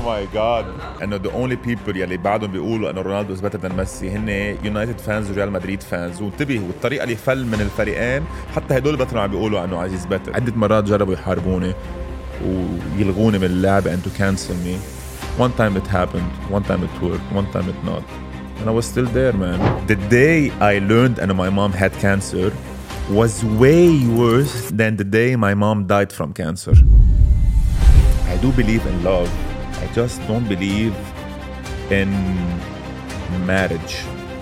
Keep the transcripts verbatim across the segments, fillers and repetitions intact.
my god انه the only people يلي بعدهم بيقولوا انه رونالدو is better than ميسي هن يونايتد فانز وريال مدريد فانز. وانتبه والطريقه اللي فل من الفريقين حتى هدول بطلوا عم بيقولوا انه عزيز better. عده مرات جربوا يحاربوني ويلغوني من اللعبه and to cancel me. One time it happened, one time it worked, one time it not, and I was still there, man. The day I learned and my mom had cancer was way worse than the day my mom died from cancer. I do believe in love. I just don't believe in marriage.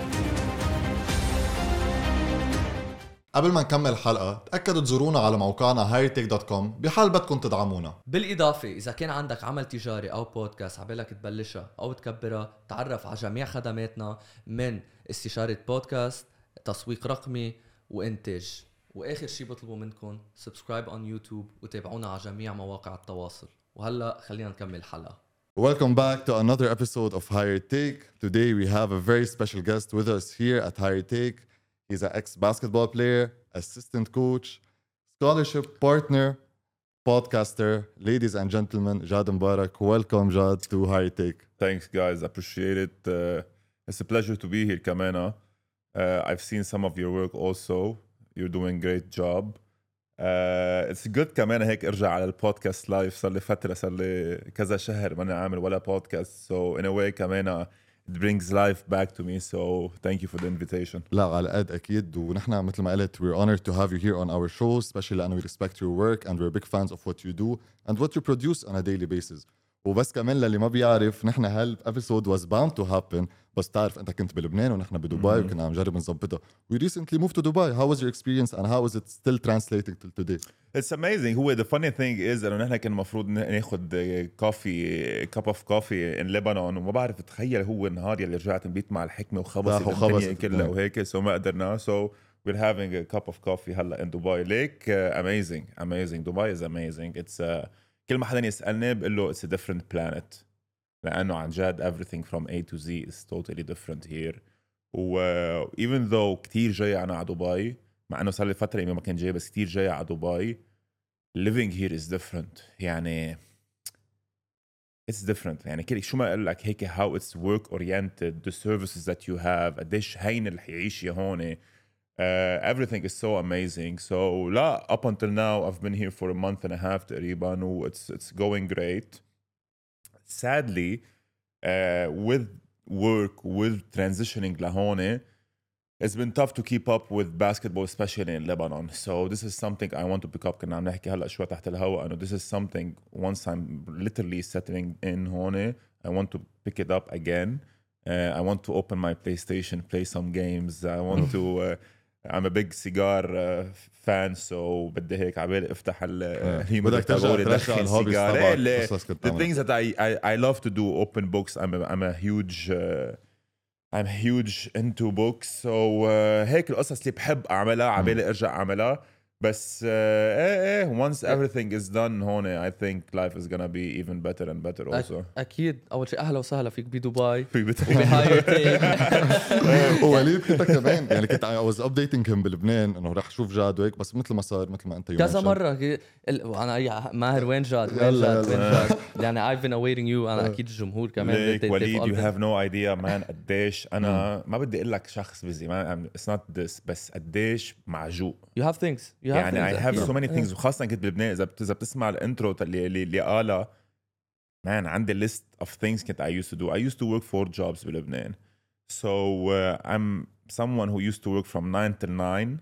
قبل ما نكمل الحلقة تأكدوا تزورونا على موقعنا هاير تيك دوت كوم بحال بدكم تدعمونا. بالإضافة إذا كان عندك عمل تجاري أو بودكاست عبالك تبلشها أو تكبرها تعرف على جميع خدماتنا من استشارة بودكاست، تسويق رقمي وإنتاج. وآخر شي بطلبوا منكم سبسكرايب on يوتيوب وتابعونا على جميع مواقع التواصل. وهلأ خلينا نكمل الحلقة. Welcome back to another episode of Higher Take. Today we have a very special guest with us here at Higher Take. He's an ex-basketball player, assistant coach, scholarship partner, podcaster. Ladies and gentlemen, Jad Mbarak. Welcome, Jad, to Higher Take. Thanks, guys. Appreciate it. Uh, it's a pleasure to be here, Kamena. Uh, I've seen some of your work also. You're doing a great job. Uh, it's good كمان هيك ارجع على البودكاست لايف. صار لي فترة صار لي كذا شهر ماني عامل ولا بودكاست. So in a way كمان it brings life back to me. So thank you for the invitation. لا على قد أكيد ونحن مثل ما قلت we're honored to have you here on our show, especially لأنه we respect your work and we're big fans of what you do and what you produce on a daily basis. وبس كمان للي ما بيعرف نحن هالابيسود was bound to happen بس تعرف انت كنت بلبنان ونحن بدبي mm-hmm. وكنا عم نجرب نظبطها. We recently moved to Dubai. How was your experience and how is it still translating till today? It's amazing. هو the funny thing is انه نحن كان المفروض ناخد كوفي cup of coffee in Lebanon وما بعرف اتخيل هو النهار يلي رجعت نبيت مع الحكمة وخبصت الدنيا كلها وهيك so ما قدرنا. So we're having a cup of coffee هلا in Dubai. Lake uh, amazing amazing. Dubai is amazing. It's uh, كل ما حدا يسألني بقول له it's a different planet لأنه عن جد everything from A to Z is totally different here. و uh, even though كتير جاي أنا على دبي مع أنه صار لي فترة إنه ما كان جاي بس كتير جاي على دبي living here is different. يعني it's different. يعني كل شو ما أقول لك هيك how it's work oriented, the services that you have قديش هين اللي حيعيش هون. Uh, everything is so amazing. So لا up until now I've been here for a month and a half تقريبا و it's it's going great. Sadly uh, with work with transitioning لهون it's been tough to keep up with basketball especially in Lebanon. So this is something I want to pick up. كنا عم نحكي هلا شوي تحت الهواء انه this is something once I'm literally settling in هون I want to pick it up again. Uh, I want to open my PlayStation, play some games. I want to uh, I'm a big cigar uh, fan, so بدي هيك عبالي افتح بدك ترجع ترجع الهوبيز تبعك. The things that I, I I love to do, open books. I'm a, I'm a huge uh, I'm huge into books. So uh, هيك القصص اللي بحب أعملها عبالي أرجع أعملها. بس uh, eh, eh, once everything is done هون I think life is gonna be even better and better also. أكيد. أول شيء أهلا وسهلا فيك بدبي. فيك بهاير تيك. ووليد كنت كمان يعني كنت I was updating him بلبنان إنه رح شوف جاد وهيك بس مثل ما صار مثل ما أنت يوم كذا مرة أنا ماهر وين جاد وين جاد وين جاد يعني I've been awaiting you. أنا أكيد الجمهور كمان. وليد you have no idea man قديش أنا ما بدي أقول لك شخص بزي ما it's not this بس قديش معجوق. You have things. You يعني I have so many things وخاصة كنت بلبنان إذا إذا بتسمع الانترو اللي اللي اللي قالها man عندي list of things كنت I used to do. I used to work four jobs بلبنان. So uh, I'm someone who used to work from nine till nine.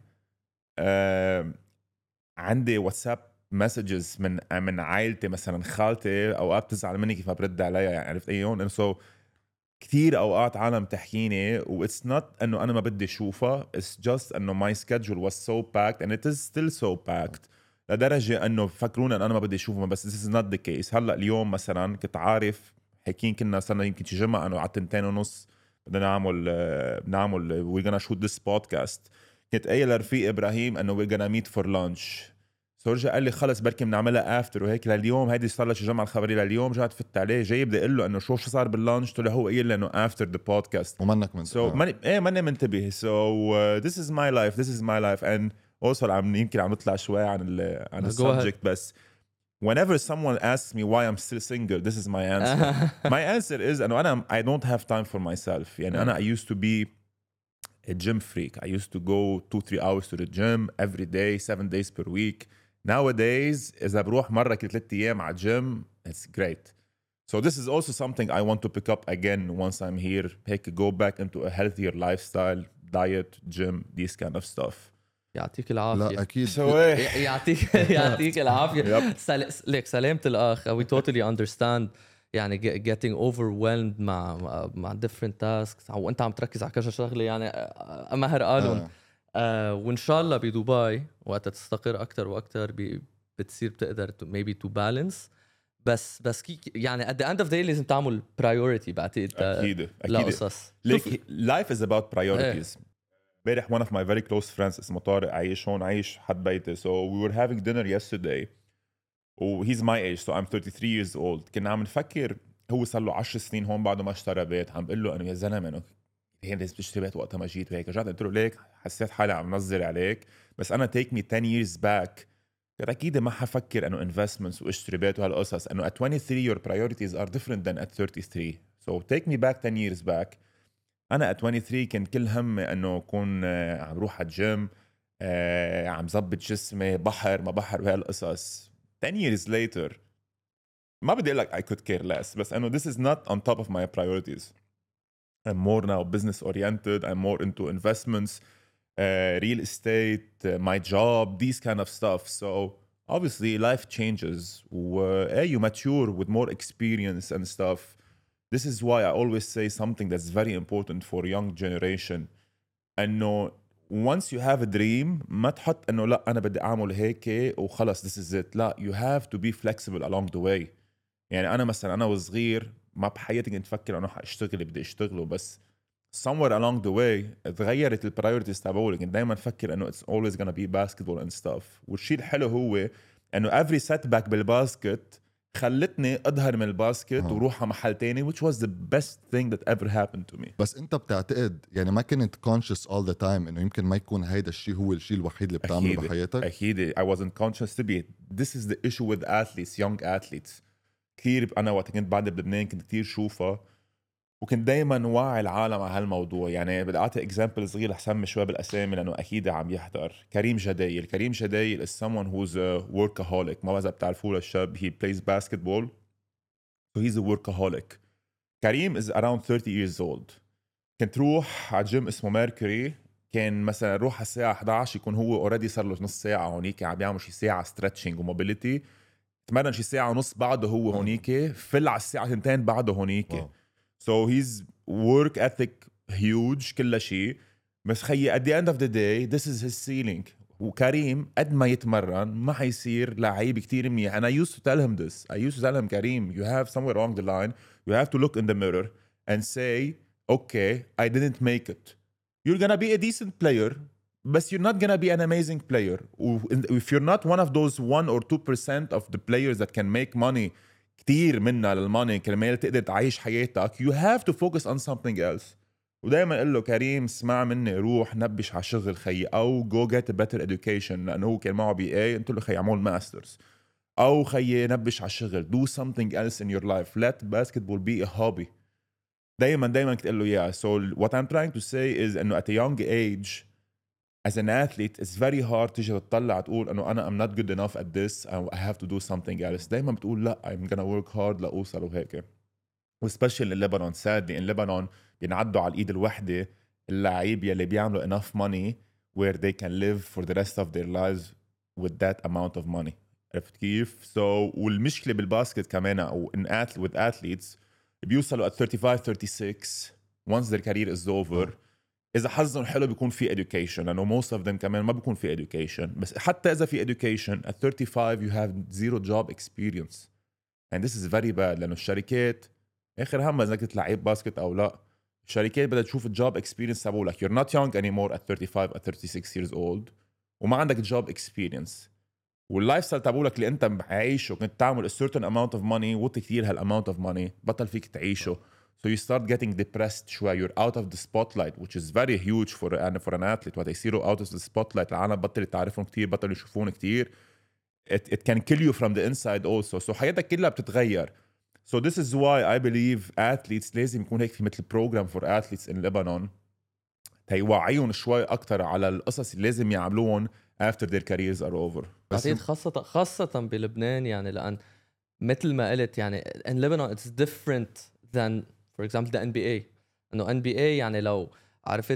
Uh, عندي واتساب messages من من عائلتي مثلا خالتي أوقات بتزعل مني كيف ما برد عليها يعني عرفت أيون. So كتير أوقات عالم تحكيني و it's not أنه أنا ما بدي شوفها. It's just أنه my schedule was so packed and it is still so packed لدرجة أنه فكرونا أن أنا ما بدي شوفها بس this is not the case. هلأ اليوم مثلا كنت عارف حكين كنا صرنا يمكن شي جمعة أنه على تنتين ونص بدنا نعمل نعمل we're gonna shoot this podcast. كنت قايل لرفيق إبراهيم أنه we're gonna meet for lunch. سورجا قال لي خلص بركي بنعملها افتر وهيك لليوم هيدي صار لها شي جمعه الخبريه لليوم جات فت عليه جاي بدي اقول له انه شو شو صار باللانش طلع هو قايل لي انه افتر ذا بودكاست ومنك من سو so, ماني ايه ماني منتبه سو ذس از ماي لايف ذس از ماي لايف اند اوصل عم يمكن عم نطلع شوي عن ال عن السبجكت بس whenever someone asks me why I'm still single, this is my answer. My answer is أنه أنا I don't have time for myself. يعني أنا I used to be a gym freak. I used to go two, three hours to the gym every day, seven days per week. Nowadays, إذا بروح مرة كل ثلاثة أيام على gym, it's great. So this is also something I want to pick up again once I'm here. Heck, go back into a healthier lifestyle, diet, gym, these kind of stuff. يعطيك العافية. لا أكيد. يعطيك يعطيك العافية. ليك سلامة الأخ. We totally understand. يعني getting overwhelmed مع مع different tasks وأنت عم تركز على كذا شغلة يعني مهر قالون. آه وإن شاء الله بدبي وقت تستقر أكتر وأكتر بتصير بتقدر to, maybe to balance. بس بس كي يعني at the end of the day لازم تعمل priority بعتقد. أكيد أكيد. Like life is about priorities. امبارح one of my very close friends اسمه طارق عايش هون عايش حد بيته. So we were having dinner yesterday. Oh, he's my age, so I'm thirty-three years old. كنا عم نفكر هو صار له عشر سنين هون بعده ما اشترى بيت. عم بقول له انه يا زلمه انه هي لازم تشتري بيت وقتها ما جيت وهيك. رجعت قلت له ليك حسيت حالي عم نظر عليك بس انا take me ten years back كنت اكيد ما حفكر انه investments واشتري بيت وهالقصص. انه at twenty-three your priorities are different than at thirty-three. So take me back ten years back. انا at twenty-three كان كل همي انه اكون عم روح على الجيم عم زبط جسمي بحر ما بحر وهالقصص. ten years later ما بدي أقول لك I could care less بس أنه this is not on top of my priorities. I'm more now business oriented. I'm more into investments, uh, real estate, uh, my job, these kind of stuff. So obviously life changes. Uh, you mature with more experience and stuff. This is why I always say something that's very important for young generation. أنه once you have a dream ما تحط انه لا انا بدي اعمل هيك وخلص this is it. لا you have to be flexible along the way. يعني انا مثلا انا وصغير ما بحياتي كنت افكر انه حاشتغل بدي اشتغله بس somewhere along the way تغيرت البرايورتيز تبعولي. كنت دائما افكر انه it's always gonna be basketball and stuff. والشيء الحلو هو انه every setback بالباسكت خلتني اظهر من الباسكت آه. وروح على محل تاني which was the best thing that ever happened to me. بس انت بتعتقد يعني ما كنت conscious all the time انه يمكن ما يكون هيدا الشيء هو الشيء الوحيد اللي بتعمله بحياتك؟ اكيد I wasn't conscious to be. This is the issue with athletes, young athletes. كثير انا وقت كنت بعد بلبنان كنت كثير شوفها وكنت دايما واعي العالم على هالموضوع. يعني بدي اعطي اكزامبل صغير لحسن شوي بالاسامي لانه اكيد عم يحضر. كريم جدايل. كريم جدايل is someone who's a workaholic. ما بعرف بتعرفوه للشاب. he plays basketball so he's a workaholic. كريم is around thirty years old. كنت روح على جيم اسمه ميركوري. كان مثلا روح على الساعه إحدى عشر يكون هو اوريدي صار له نص ساعه هونيك عم بيعمل شي ساعه ستريتشنج وموبيليتي. تمرن شي ساعه ونص بعده هو هونيك. فل على الساعه اثنتين بعده هونيك. So his work ethic huge كل شيء. بس خيي at the end of the day this is his ceiling. وكريم قد ما يتمرن ما حيصير لعيب كتير منيح. and I used to tell him this. I used to tell him كريم you have somewhere along the line you have to look in the mirror and say okay I didn't make it. You're gonna be a decent player but you're not gonna be an amazing player. If you're not one of those one or two percent of the players that can make money كتير منها للماني كرمال تقدر تعيش حياتك you have to focus on something else. ودايما اقول له كريم اسمع مني روح نبش على شغل خي او go get a better education لانه هو كان معه بي اي. قلت له خي اعمل ماسترز او خي نبش على شغل do something else in your life. let basketball be a hobby. دايما دايما كنت اقول له yeah. So what I'm trying to say is انه at a young age as an athlete it's very hard تيجي تطلع تقول انه انا I'm not good enough at this I have to do something else. دايما بتقول لا I'm gonna work hard لأوصل وهيك. وسبيشال in Lebanon sadly in Lebanon بينعدوا على الايد الوحده اللاعب يلي بيعملوا enough money where they can live for the rest of their lives with that amount of money. عرفت كيف؟ so والمشكله بالباسكت كمان او in athlete with athletes بيوصلوا at thirty-five thirty-six once their career is over. إذا حظهم حلو بيكون في education لأنه most of them كمان ما بيكون في education. بس حتى إذا في education at thirty-five you have zero job experience and this is very bad. لأنه الشركات آخر هم إذا كنت لعيب باسكت أو لا الشركات بدها تشوف job experience تبعولك. you're not young anymore at thirty-five at thirty-six years old وما عندك job experience واللايف ستايل تبعولك اللي أنت عايشه كنت تعمل a certain amount of money وطي كتير هالamount of money بطل فيك تعيشه. So you start getting depressed شوي. You're out of the spotlight which is very huge for, for an athlete. وقت يصيروا out of the spotlight العالم بطل تعرفهم كتير بطل يشوفون كتير it, it can kill you from the inside also. So حياتك كلها بتتغير. So this is why I believe athletes لازم يكون هيك في مثل program for athletes in Lebanon تيوعيهم شوي أكتر على القصص اللي لازم يعملوهم after their careers are over. بعدين خاصة خاصة بلبنان يعني لأن مثل ما قلت يعني in Lebanon it's different than for example the إن بي إيه. إنه إن بي إيه يعني لو عرفت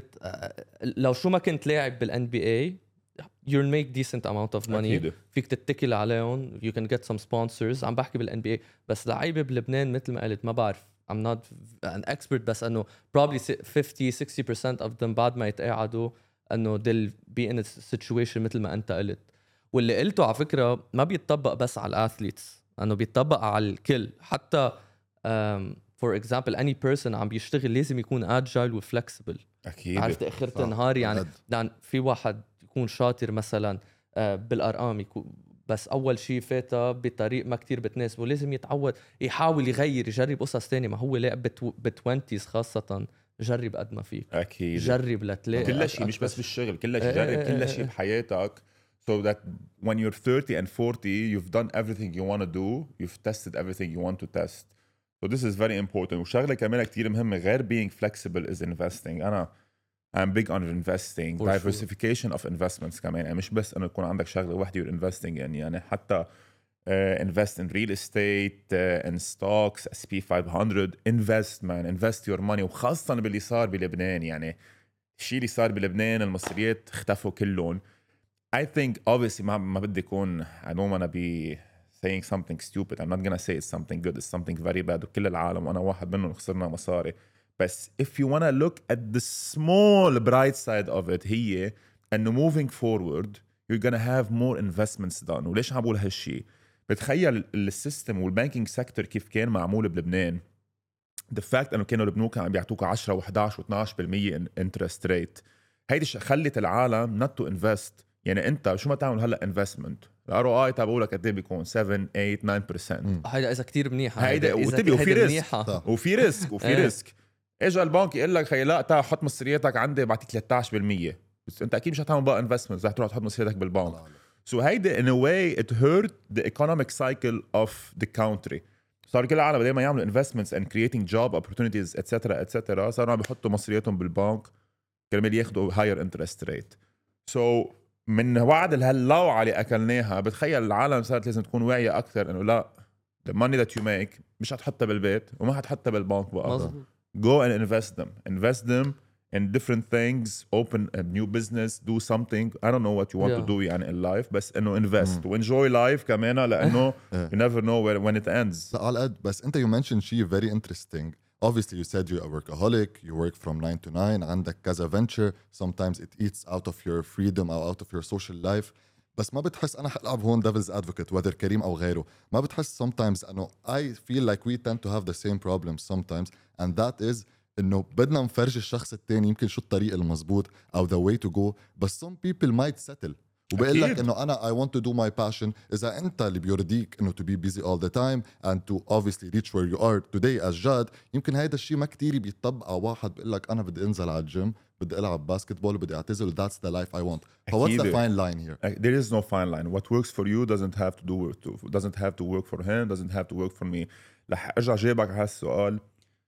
لو شو ما كنت لاعب بالإن بي إيه you'll make decent amount of money. أكيد. فيك تتكل عليهم you can get some sponsors. عم بحكي بالإن بي إيه بس لعيبة بلبنان مثل ما قلت ما بعرف I'm not an expert بس انه probably fifty sixty percent of them بعد ما يتقاعدوا انه they'll be in a situation مثل ما انت قلت. واللي قلته على فكرة ما بيتطبق بس على الاثليتس انه بيتطبق على الكل حتى um, for example any person عم بيشتغل لازم يكون agile و flexible. اكيد عرفت اخرت النهار يعني لان في واحد يكون شاطر مثلا بالارقام يكون بس اول شيء فاتها بطريق ما كتير بتناسبه لازم يتعود يحاول يغير يجرب قصص تانية. ما هو لاعب بالتوينتيز خاصة جرب قد ما فيك اكيد جرب لتلاقي كل شيء مش بس بالشغل كل شيء جرب كل شيء بحياتك so that when you're thirty and forty you've done everything you want to do you've tested everything you want to test so this is very important. وشغلة كمان كتير مهمة غير being flexible is investing. أنا I'm big on investing For diversification sure. of investments كمان يعني مش بس انه يكون عندك شغله واحده you're investing يعني يعني حتى uh, invest in real estate uh, in stocks إس بي five hundred invest man invest your money. وخاصه باللي صار بلبنان يعني الشيء اللي صار بلبنان المصريات اختفوا كلهم. I think obviously ما ما بدي يكون I don't wanna be saying something stupid. I'm not gonna say it's something good it's something very bad وكل العالم وانا واحد منهم خسرنا مصاري. بس if you wanna look at the small bright side of it هي انه moving forward you're gonna have more investments done. وليش عم بقول هالشي؟ بتخيل السيستم والبانكينج سيكتور كيف كان معمول بلبنان. the fact انه كانوا البنوك عم بيعطوك عشرة وإحدعش واتناشر بالمية interest rate هيدي خلت العالم not to invest. يعني انت شو ما تعمل هلا انفستمنت الار او اي تبعولك قد ايه بيكون seven eight nine percent. هيدا اذا كثير منيحه هيدا وتبي وفي ريسك وفي ريسك وفي ريسك. اجى البنك يقول لك خي لا تعال حط مصرياتك عندي بعطيك ثلاثة عشر بالمية بس انت اكيد مش هتعمل بقى انفستمنت رح تروح تحط مصرياتك بالبنك. سو هيدا in a way it hurt the economic cycle of the country. صار كل العالم بدل ما يعملوا investments and creating job opportunities etc etc صاروا عم بيحطوا مصرياتهم بالبنك كرمال ياخذوا higher interest rate. so من وعد الهاللوعة اللي اكلناها بتخيل العالم صارت لازم تكون واعيه اكثر انه لا the money that you make مش هتحطها بالبيت وما هتحطها بالبنك بقى. مزبوط. go and invest them invest them in different things open a new business do something I don't know what you want yeah. to do يعني in life بس انه invest mm. وenjoy life كمان لانه you never know where, when it ends. لا على قد بس انت you mentioned شيء very interesting. Obviously you said you're a workaholic you work from nine to nine عندك كذا venture sometimes it eats out of your freedom or out of your social life. بس ما بتحس أنا حلعب هون devil's advocate whether كريم أو غيره ما بتحس sometimes أنه I feel like we tend to have the same problems sometimes and that is إنه بدنا نفرج الشخص التاني يمكن شو الطريق المزبوط أو the way to go بس some people might settle وبقول لك إنه أنا I want to do my passion. إذا أنت اللي بيرضيك إنه to be busy all the time and to obviously reach where you are today as جاد يمكن هيدا الشيء ما كتير بيطبق على واحد بقول لك أنا بدي أنزل على الجيم بدي ألعب باسكتبول وبدي أعتزل that's the life I want. But what's the fine line here? There is no fine line. What works for you doesn't have to do to, doesn't have to work for him doesn't have to work for me. رح أرجع جاوبك على هالسؤال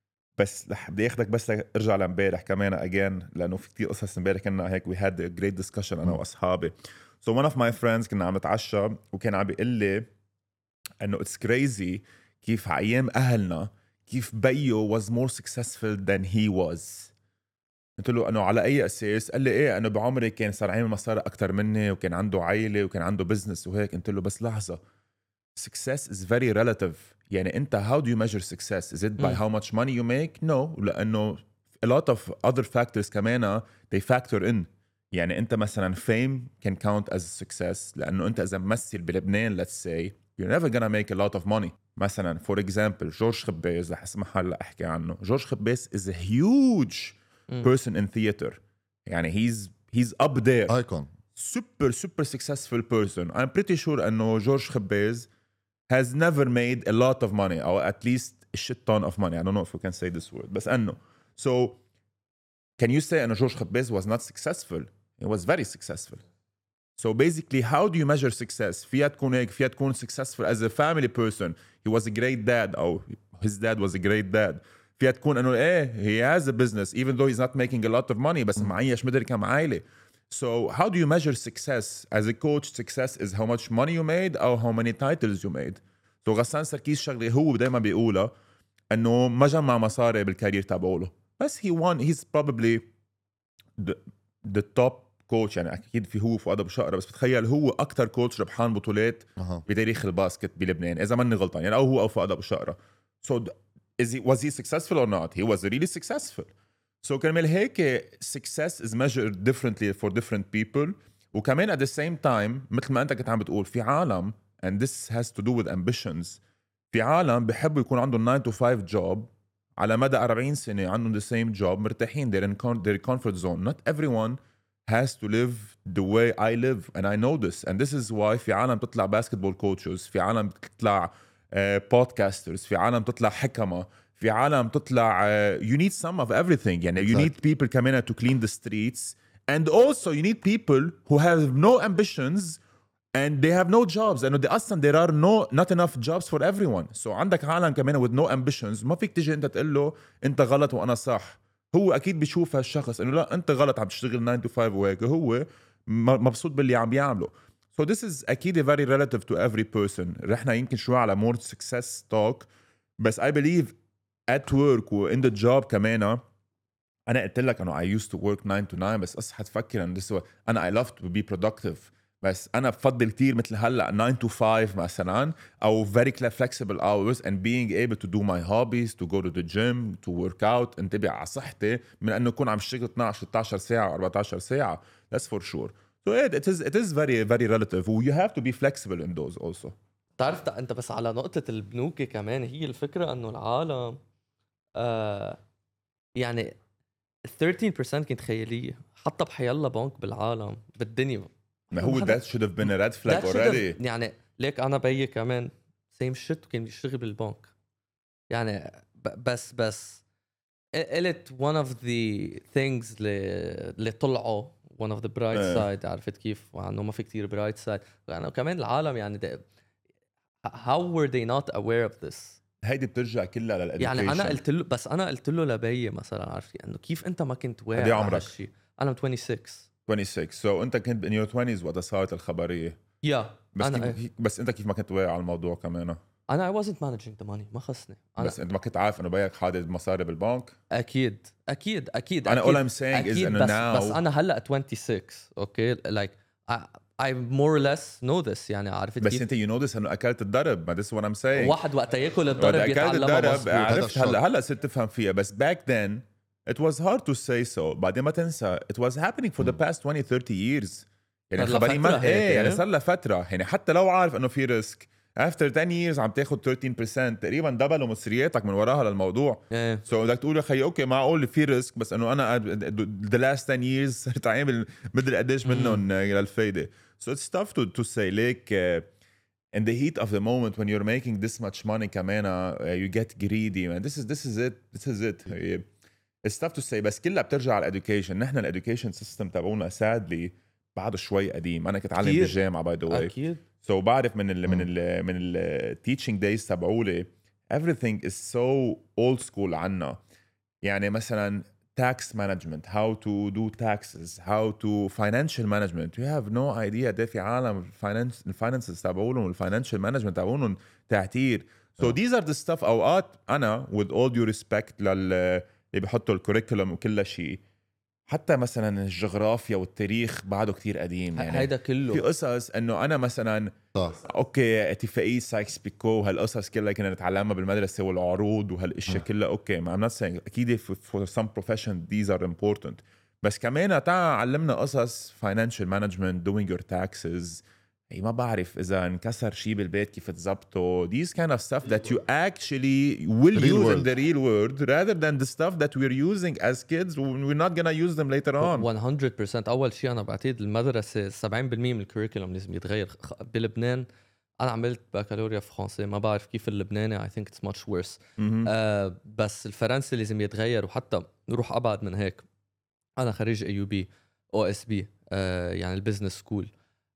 بس رح بدي أخدك بس أرجع لامبارح كمان again لأنه في كتير قصص امبارح كنا هيك we had a great discussion أنا وأصحابي. So one of my friends كنا عم نتعشى وكان عم بيقول لي انه it's crazy كيف ايام اهلنا كيف بيو was more successful than he was. قلت له انه على اي اساس؟ قال لي ايه انه بعمري كان صار عامل مصاري اكتر مني وكان عنده عائله وكان عنده بزنس وهيك. قلت له بس لحظه success is very relative. يعني انت how do you measure success? Is it by how much money you make? No, لانه a lot of other factors كمان they factor in. يعني انت مثلا fame can count as a success لانه انت اذا ممثل بلبنان let's say you're never gonna make a lot of money. مثلا for example جورج خباز رح اسمح هلا احكي عنه. جورج خباز is a huge person in theater. يعني he's he's up there icon super super successful person. I'm pretty sure انه جورج خباز has never made a lot of money or at least a shit ton of money. I don't know if we can say this word بس انه so can you say انه جورج خباز was not successful? He was very successful. So basically how do you measure success فيها تكون هيك فيها تكون successful as a family person he was a great dad أو his dad was a great dad فيها تكون انه ايه he has a business even though he's not making a lot of money بس معيش مدري كم عائلة. So how do you measure success as a coach? Success is how much money you made or how many titles you made. So غسان سركيس شغله هو دايما بيقولها انه ما جمع مصاري بالكارير تبعوله بس he won he's probably the, the top coach يعني اكيد في هو فؤاد ابو شقره بس بتخيل هو اكثر كوتش ربحان بطولات أه. بتاريخ الباسكت بلبنان اذا ماني غلطان يعني او هو او فؤاد ابو شقره. So is he was he successful or not? He was really successful. So كرمال هيك success is measured differently for different people وكمان at the same time مثل ما انت كنت عم بتقول في عالم and this has to do with ambitions في عالم بيحبوا يكون عندهم nine to five job على مدى أربعين سنة عندهم the same job مرتاحين they're in their comfort zone. Not everyone has to live the way I live and I know this and this is why في عالم تطلع basketball coaches في عالم تطلع uh, podcasters في عالم تطلع حكمة في عالم تطلع uh, you need some of everything يعني you need people كمان to clean the streets and also you need people who have no ambitions and they have no jobs and they اصلا there are no not enough jobs for everyone. So عندك عالم كمان with no ambitions ما فيك تيجي انت تقول له انت غلط وانا صح. هو اكيد بيشوف هالشخص انه لا انت غلط عم تشتغل nine to five وهيك هو مبسوط باللي عم بيعمله. So this is اكيد very relative to every person. رحنا يمكن شوي على more success talk بس I believe at work و in the job كمان انا قلت لك انه I used to work nine to nine بس اصحى تفكر انه this انا I love to be productive بس انا بفضل كتير مثل هلا nine to five مثلا او very flexible hours and being able to do my hobbies to go to the gym to work out انتبه على صحتي من انه اكون عم اشتغل اثناشر ستاشر ساعه أربعتاشر ساعه. That's for sure. So it, it is it is very very relative. You have to be flexible in those also. تعرف انت بس على نقطه البنوك كمان هي الفكره انه العالم آه يعني thirteen percent كانت خياليه حتى بحيالله بنك بالعالم بالدنيا ما هو that should have been a red flag already. يعني ليك أنا بيي كمان same shit كان بيشتغل بالبنك يعني بس بس قلت one of the things اللي طلعوا one of the bright side عرفت كيف وعنه ما في كتير bright side يعني كمان العالم يعني ده how were they not aware of this. هيدي بترجع كلها للإديوكيشن. يعني أنا قلت له بس أنا قلت له لبيي مثلا عرفت إنه يعني كيف أنت ما كنت واعي على هالشيء. أنا twenty-six twenty-six so انت كنت in your twenties وقت صارت الخبريه يا yeah. بس أنا كيف... بس انت كيف ما كنت واعي على الموضوع كمان؟ انا I wasn't managing the money ما خصني أنا... بس انت ما كنت عارف انه بيك حادد مصاري بالبنك. اكيد اكيد اكيد انا all I'm saying is انه بس, now بس انا هلا twenty-six اوكي like I, I more or less know this يعني عرفت بس كيف؟ انت you know this انه اكلت الضرب ما this what I'm saying. واحد وقت ياكل الضرب يتعلمها مظبوط. عرفت هلا هلا صرت تفهم فيها بس back then it was hard to say so. بعدين ما تنسى it was happening for the past twenty thirty years يعني الخبريه ما ايه يعني صار لها فتره يعني حتى لو عارف انه في ريسك after ten years عم تاخذ thirteen percent تقريبا دبلوا مصرياتك من وراها للموضوع. yeah. so بدك تقول يا خيي اوكي معقول في ريسك بس انه انا the last ten years صرت عامل مدري قديش منهم للفايده. so it's tough to to say like uh, in the heat of the moment when you're making this much money كمان uh, you get greedy man. this is this is it this is it it's tough to say بس كلها بترجع على الاديوكيشن. نحن الاديوكيشن سيستم تبعونا sadly بعده شوي قديم. انا كنت اتعلم بالجامعه باي ذا واي اكيد so بعرف من ال من ال من ال teaching days تبعولي everything is so old school عنا. يعني مثلا tax management how to do taxes how to financial management you have no idea ده في عالم finance الفاينانسز تبعولهم والفاينانشال مانجمنت تبعولهم تعتير. so these are the stuff اوقات انا with all due respect لل اللي بيحطوا الكوريكولم وكل شيء حتى مثلا الجغرافيا والتاريخ بعده كتير قديم. يعني هيدا كله في قصص انه انا مثلا صح. اوكي اتفاقية سايكس بيكو هالقصص كلها كنا نتعلمها بالمدرسة والعروض وهالاشياء كلها اوكي ما I'm not saying اكيد for some profession these are important بس كمان تعال علمنا قصص financial management doing your taxes اي ما بعرف اذا انكسر شيء بالبيت كيف تزبطه these kind of stuff that you actually will real use world. in the real world rather than the stuff that we're using as kids we're not gonna use them later on. one hundred percent اول شيء انا بعتقد المدرسه seventy percent من الكوريكولم لازم يتغير. بلبنان انا عملت بكالوريا في فرنسي ما بعرف كيف اللبناني I think it's much worse آه بس الفرنسي لازم يتغير وحتى نروح ابعد من هيك. انا خريج اي يو بي او اس بي يعني البزنس سكول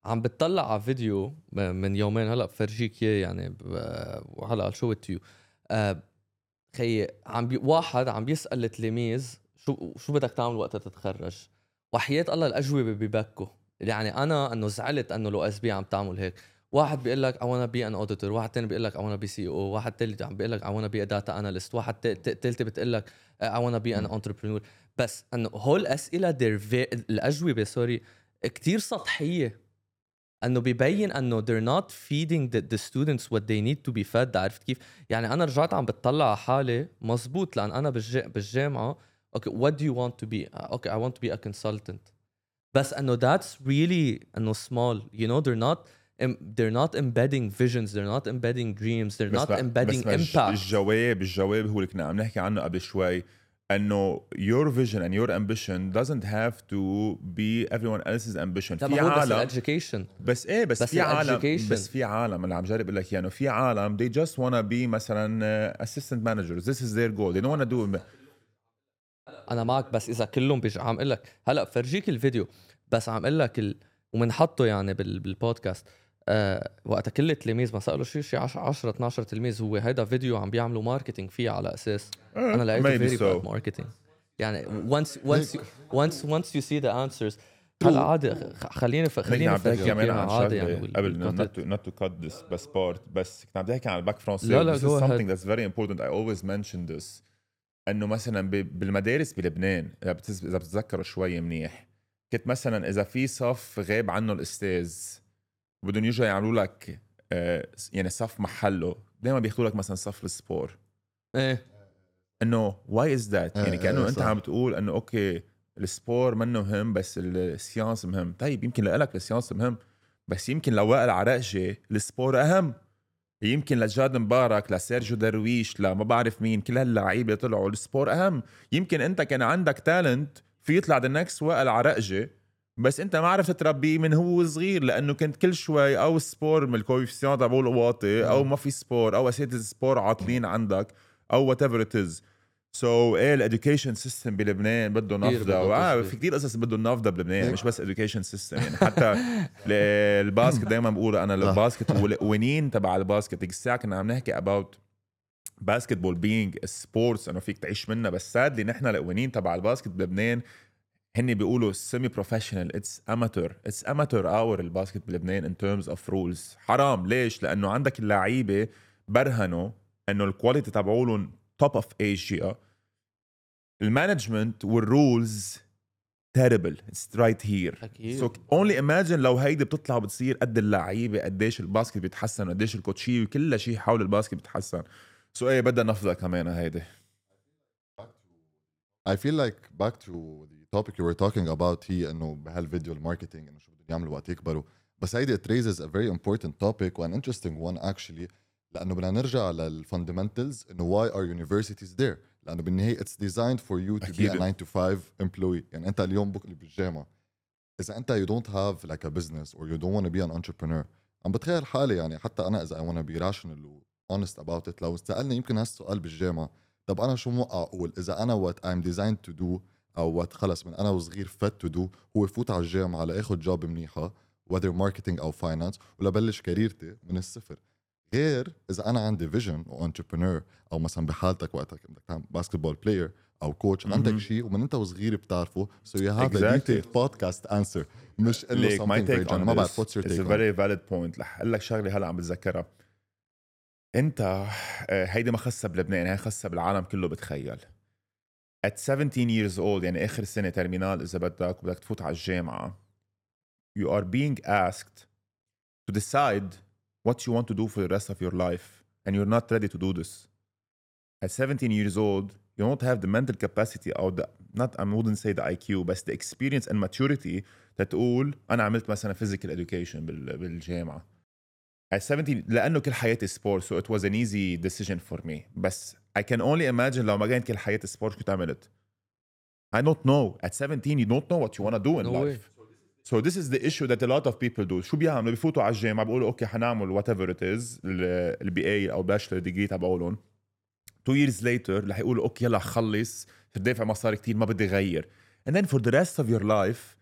عم بتطلع على فيديو من يومين هلا بفرجيك اياه يعني وهلا شو تيو آه خي عم بي واحد عم بيسأل التلاميذ شو شو بدك تعمل وقت تتخرج، وحياة الله الأجوبة ببكوا. يعني أنا إنه زعلت إنه لو إس بي عم تعمل هيك. واحد بيقول لك I wanna be an auditor، واحد تاني بيقول لك I wanna be سي او، واحد تالت عم بيقول لك I wanna be a data analyst، واحد تالت بتقول لك I wanna be an entrepreneur. بس إنه هول الأسئلة الأجوبة سوري كتير سطحية، انه بيبين انه they're not feeding the, the students what they need to be fed. عرفت كيف؟ يعني انا رجعت عم بتطلع على حالي مزبوط، لان انا بالج... بالجامعه اوكي okay, what do you want to be اوكي okay, I want to be a consultant. بس انه that's really انه small, you know, they're not they're not embedding visions, they're not embedding dreams, they're not embedding بس impact. الجواب الجواب هو اللي كنا عم نحكي عنه قبل شوي، انه your vision and your ambition doesn't have to be everyone else's ambition. في عالم بس education بس ايه بس, بس في عالم بس في عالم اللي عم جرب اقول لك يعني في عالم they just wanna be مثلا assistant managers, this is their goal, they don't wanna do. انا معك، بس اذا كلهم بيج عم اقول لك هلا فرجيك الفيديو، بس عم اقول لك ال... ومنحطه يعني بال... بالبودكاست أه... وقت كل التلاميذ ما سالوا شيء شيء عشرة اثناشر تلميذ هو هيدا فيديو عم بيعملوا ماركتينج فيه على اساس uh, انا لقيته فيري باد ماركتينج. يعني once once you, once once you see the answers هلا عادي خليني ف... خليني نحكي كمان عن عادي يعني قبل not to, not to cut this بس بارت، بس كنت عم بحكي عن الباك فرونسي. لا لا this is something that's very important, I always mention this. انه مثلا بالمدارس بلبنان اذا اذا بتتذكروا شوي منيح، كنت مثلا اذا في صف غاب عنه الاستاذ بدهم يجوا يعملوا لك آه يعني صف محله، دائما بياخذوا لك مثلا صف السبور. ايه انه واي از ذات، يعني كانه انت عم بتقول انه اوكي السبور منه مهم بس السيانس مهم. طيب يمكن لك السيانس مهم، بس يمكن لوائل عرقجي السبور اهم، يمكن لجاد مبارك لسيرجيو درويش لما بعرف مين كل هاللعيبه طلعوا السبور اهم. يمكن انت كان عندك تالنت في يطلع ذا نكست وائل عرقجي، بس انت ما عرفت تربيه من هو صغير لانه كنت كل شوي او سبور من الكويفيسيون تبعوله واطي او ما في سبور او اساتذه سبور عاطلين عندك او وات ايفر ات از. سو ايه الاديوكيشن سيستم بلبنان بده نفضه، واه في كثير قصص بده نفضه بلبنان، مش بس اديوكيشن سيستم. يعني حتى الباسكت دائما بقول انا الباسكت والقوانين تبع الباسكت الساعه كنا عم نحكي اباوت باسكتبول بينج سبورتس انه فيك تعيش منها، بس سادلي نحن القوانين تبع الباسكت بلبنان هني بيقولوا سيمي بروفيشنال، اتس اماتور اتس اماتور اور الباسكت بلبنان ان تيرمز اوف رولز. حرام ليش؟ لانه عندك اللعيبه برهنوا انه الكواليتي تبعولهم توب اوف ايجيا، المانجمنت والرولز terrible, it's right here. أكيد. so only imagine لو هيدي بتطلع بتصير قد اللعيبه قديش الباسكت بيتحسن قديش الكوتشي وكل شيء حول الباسكت بيتحسن. سو so ايه بدها نفضه كمان هيدي. I feel like back to the topic you were talking about هي انه بهالفيديو الماركتينج انه شو بدهم يعملوا وقت يكبروا، بس هيدي it raises a very important topic and interesting one actually، لانه بدنا نرجع للفاندمنتالز انه why are universities there، لانه بالنهايه it's designed for you to أكيد. be a nine to five employee. يعني انت اليوم بكره بالجامعه اذا انت you don't have like a business or you don't want to be an entrepreneur، عم بتخيل حالي يعني حتى انا اذا I want to be rational و honest about it، لو سألني يمكن هالسؤال بالجامعه طب انا شو موقع اقول اذا انا what I'm designed to do او what خلص من انا وصغير fit to do هو فوت على الجامعه لاخذ جوب منيحه whether marketing او finance ولا بلش كاريرتي من الصفر، غير اذا انا عندي فيجن او انتربرنور او مثلا بحالتك وقتك بدك تعمل باسكتبول بلاير او كوتش عندك شيء ومن انت وصغير بتعرفه so you have exactly. a detailed podcast answer مش انه something very general. ما بعرف what's your take it's a very valid point. رح اقول لك شغله هلا عم بتذكرها. انت هيدي ما خاصه بلبنان، هي خاصه بالعالم كله. بتخيل at seventeen years old يعني اخر سنه ترمينال اذا بدك وبدك تفوت على الجامعه you are being asked to decide what you want to do for the rest of your life and you're not ready to do this. At seventeen years old you don't have the mental capacity or the not I wouldn't say the I Q but the experience and maturity تقول أنا عملت مثلا physical education بالجامعة. At seventeen لأنه كل حياتي sport so it was an easy decision for me. بس I can only imagine لو ما كانت كل حياتي sport كنت عملت. I don't know. At seventeen you don't know what you want to do in no life. Way. So this is the issue that a lot of people do. شو بيعملوا؟ بيفوتوا على الجامعة بيقولوا أوكي حنعمل whatever it is ال بي إيه أو bachelor degree تبعولهم. two years later رح يقولوا أوكي يلا خلص دافع مصاري كتير ما بدي غير. And then for the rest of your life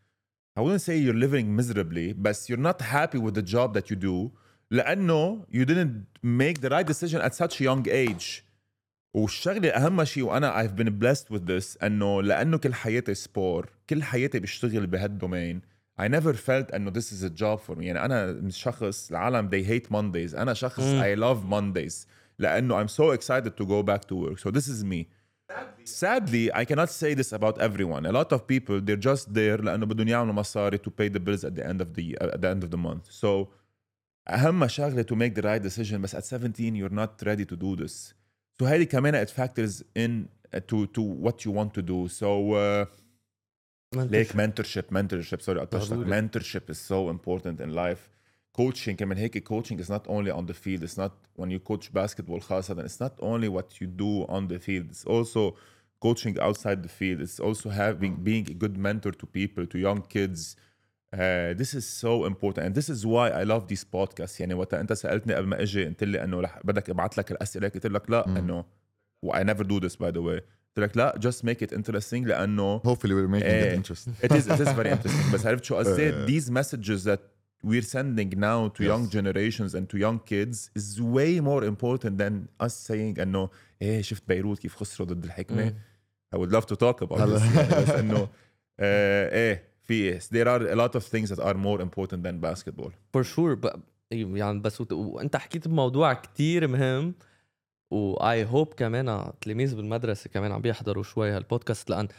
I wouldn't say you're living miserably but you're not happy with the job that you do لأنه you didn't make the right decision at such a young age. والشغلة أهم شيء وأنا I've been blessed with this أنه لأنه كل حياتي سبور كل حياتي بشتغل بهالدومين I never felt أنه this is a job for me. يعني أنا شخص العالم they hate Mondays أنا شخص mm. I love Mondays لأنه I'm so excited to go back to work. So this is me. Sadly, Sadly I cannot say this about everyone. A lot of people they're just there لأنه بدهم يعملوا مصاري to pay the bills at the end of the at the end of the month. So أهم شغلة to make the right decision بس at seventeen you're not ready to do this. So هذه كمان it factors in to to what you want to do. So uh, like mentorship mentorship sorry mentorship is so important in life. Coaching كمان هيك coaching is not only on the field. It's not when you coach basketball خاصة. It's not only what you do on the field. It's also coaching outside the field. It's also having being a good mentor to people, to young kids. Uh, this is so important and this is why I love these podcasts. يعني وقت انت سألتني قبل ما اجي قلت لي انه رح بدك ابعث لك الاسئله قلت لك لا انه I never do this by the way. قلت لك لا just make it interesting لانه hopefully we're making uh, it interesting. It is it is very interesting. بس عرفت شو قصدي uh, these messages that we're sending now to yes. young generations and to young kids is way more important than us saying انه ايه شفت بيروت كيف خسروا ضد الحكمه. I would love to talk about this يعني بس انه ايه Yes, there are a lot of things that are more important than basketball. For sure. But, يعني بس وانت حكيت بموضوع كتير مهم و I hope كمان تلاميذ بالمدرسة كمان عم بيحضروا شوي هالبودكاست لأن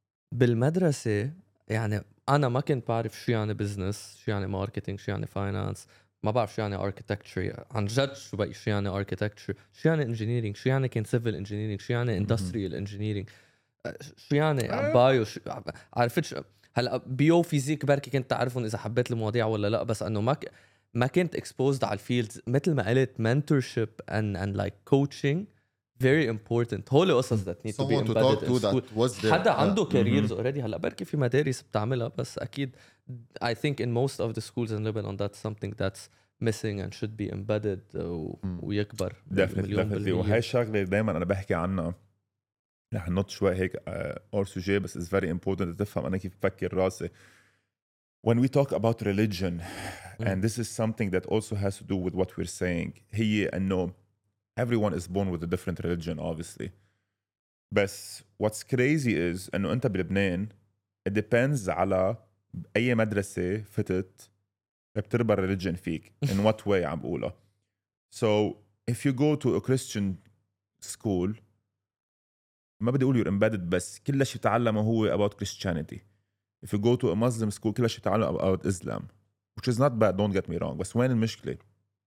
بالمدرسة يعني أنا ما كنت بعرف شو يعني بزنس شو يعني ماركتينج شو يعني فاينانس ما بعرف شو يعني architecture عن جد شو بقى شو يعني architecture شو يعني engineering شو يعني كان civil engineering شو يعني industrial engineering شو يعني بايو شو عرفت شو هلا بيو فيزيك بركي كنت تعرفون اذا حبيت المواضيع ولا لا بس انه ما ك... ما كنت exposed على الفيلدز مثل ما قلت mentorship and and like coaching very important. هول قصص that need to be embedded in school. حدا عنده careers already هلا بركي في مدارس بتعملها بس اكيد I think in most of the schools in Lebanon that's something that's missing and should be embedded و... ويكبر مليون بالمية. وهي الشغله دائما انا بحكي عنها رح نط شوي هيك اور سوجي بس is very important تفهم أنا كيف بفكر راسي. When we talk about religion mm. and this is something that also has to do with what we're saying هي أنه everyone is born with a different religion obviously بس what's crazy is أنه أنت بلبنان it depends على أي مدرسة فتت بتربى religion فيك in what way عم بقولها. So if you go to a Christian school ما بدي أقول you're embedded بس كل شيء تعلمه هو about Christianity. If you go to a Muslim school كل شيء تعلمه about Islam which is not bad don't get me wrong بس وين المشكلة؟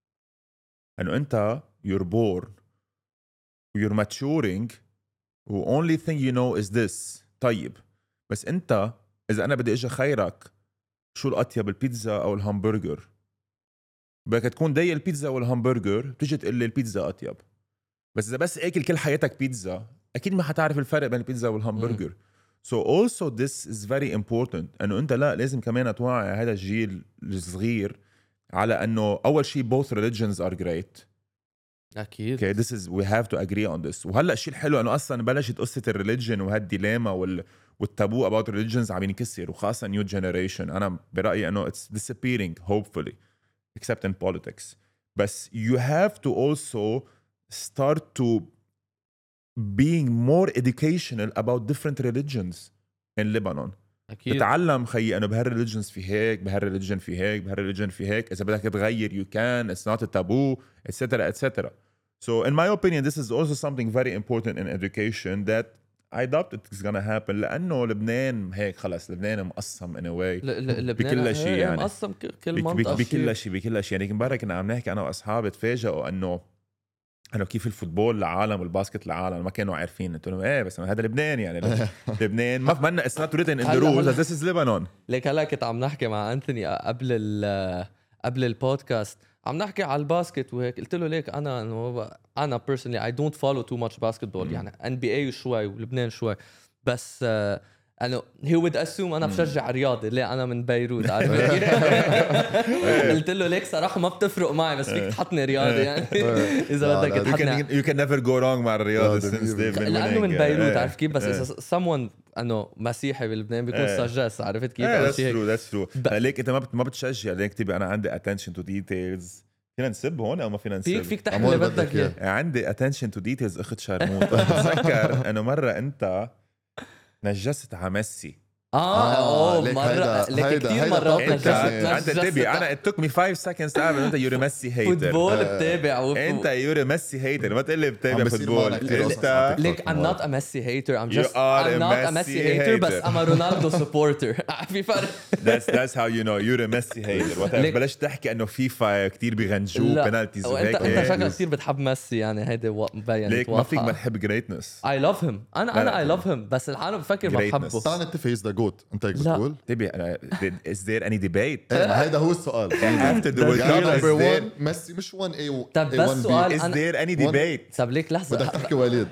أنه أنت you're born you're maturing و only thing you know is this. طيب بس أنت إذا أنا بدي أجي خيرك شو الأطيب البيتزا أو الهامبرجر بدك تكون داي البيتزا والهامبرجر بتيجي تقول لي البيتزا أطيب بس إذا بس أكل كل حياتك بيتزا أكيد ما حتعرف الفرق بين البيتزا والهامبرجر. mm. So also this is very important أنه أنت لا لازم كمان توعي هذا الجيل الصغير على أنه أول شيء both religions are great. أكيد. Okay, this is we have to agree on this. وهلأ الشيء الحلو أنه أصلاً بلشت قصة الريليجن وهالديلاما وال والتابو about religions عم ينكسر وخاصة new generation. أنا برأيي أنه it's disappearing hopefully except in politics. بس you have to also start to being more educational about different religions in Lebanon. أكيد. تتعلم خي أنه بهالريليجنز في هيك بهالريليجن في هيك بهالريليجن في هيك إذا بدك تغير you can it's not a taboo etc etc. So in my opinion this is also something very important in education that I doubt it's gonna happen لأنه لبنان هيك خلاص لبنان مقسم in a way بكل شيء يعني مقسم كل منطقة بكل شيء بكل شيء يعني امبارح كنا عم نحكي أنا وأصحابي تفاجئوا أنه أنا كيف الفوتبول لعالم والباسكت لعالم ما كانوا عارفين. قلت لهم إيه بس هذا لبنان يعني لبنان ما فهمنا it's not written in the rules this is Lebanon. ليك هلا كنت عم نحكي مع أنتوني قبل ال قبل البودكاست عم نحكي على الباسكت وهيك قلت له ليك أنا أنا personally I don't follow too much basketball mm. يعني إن بي إيه شوي ولبنان شوي بس انه هي would assume انا بشجع رياضي، ليه انا من بيروت عارف. قلت له ليك صراحه ما بتفرق معي، بس فيك تحطني رياضي يعني اذا بدك تحطني. you can never go wrong مع الرياضه لانه من بيروت عارف كيف. بس اذا someone انه مسيحي بلبنان بيكون سجاس عرفت كيف. that's true that's true. ليك انت ما ما بتشجع، ليك تبي انا عندي attention to details. فينا نسب هون او ما فينا نسب؟ فيك فيك تحكي اللي بدك اياه. عندي attention to details اخت شرموطه. بتذكر انه مره انت نجست على ميسي. اه اوه مره لك كثير مرات انت تبي انا it took me five seconds تعرف انت يوري ميسي هيتر. فوتبول بتابع انت يوري ميسي هيتر، ما تقول لي بتابع فوتبول. انت ليك I'm not a Messi hater, I'm just I'm not a Messi hater بس I'm a Ronaldo supporter. في فرق. that's that's how you know you're a Messi hater. وقت بلش تحكي انه فيفا كثير بيغنجوا بنالتيز وهيك. انت انت شكلك كثير بتحب ميسي يعني. هيدا مبين. ليك ما فيك ما تحب greatness. I love him. انا انا I love him بس العالم بفكر ما بحبه. تعال نتفق is the goat. انت هيك بتقول تبي انا is there any debate؟ هذا هو السؤال. after the World Cup number one ميسي مش one A طب بس سؤال is there any debate؟ طب ليك لحظه بدك تحكي وليد.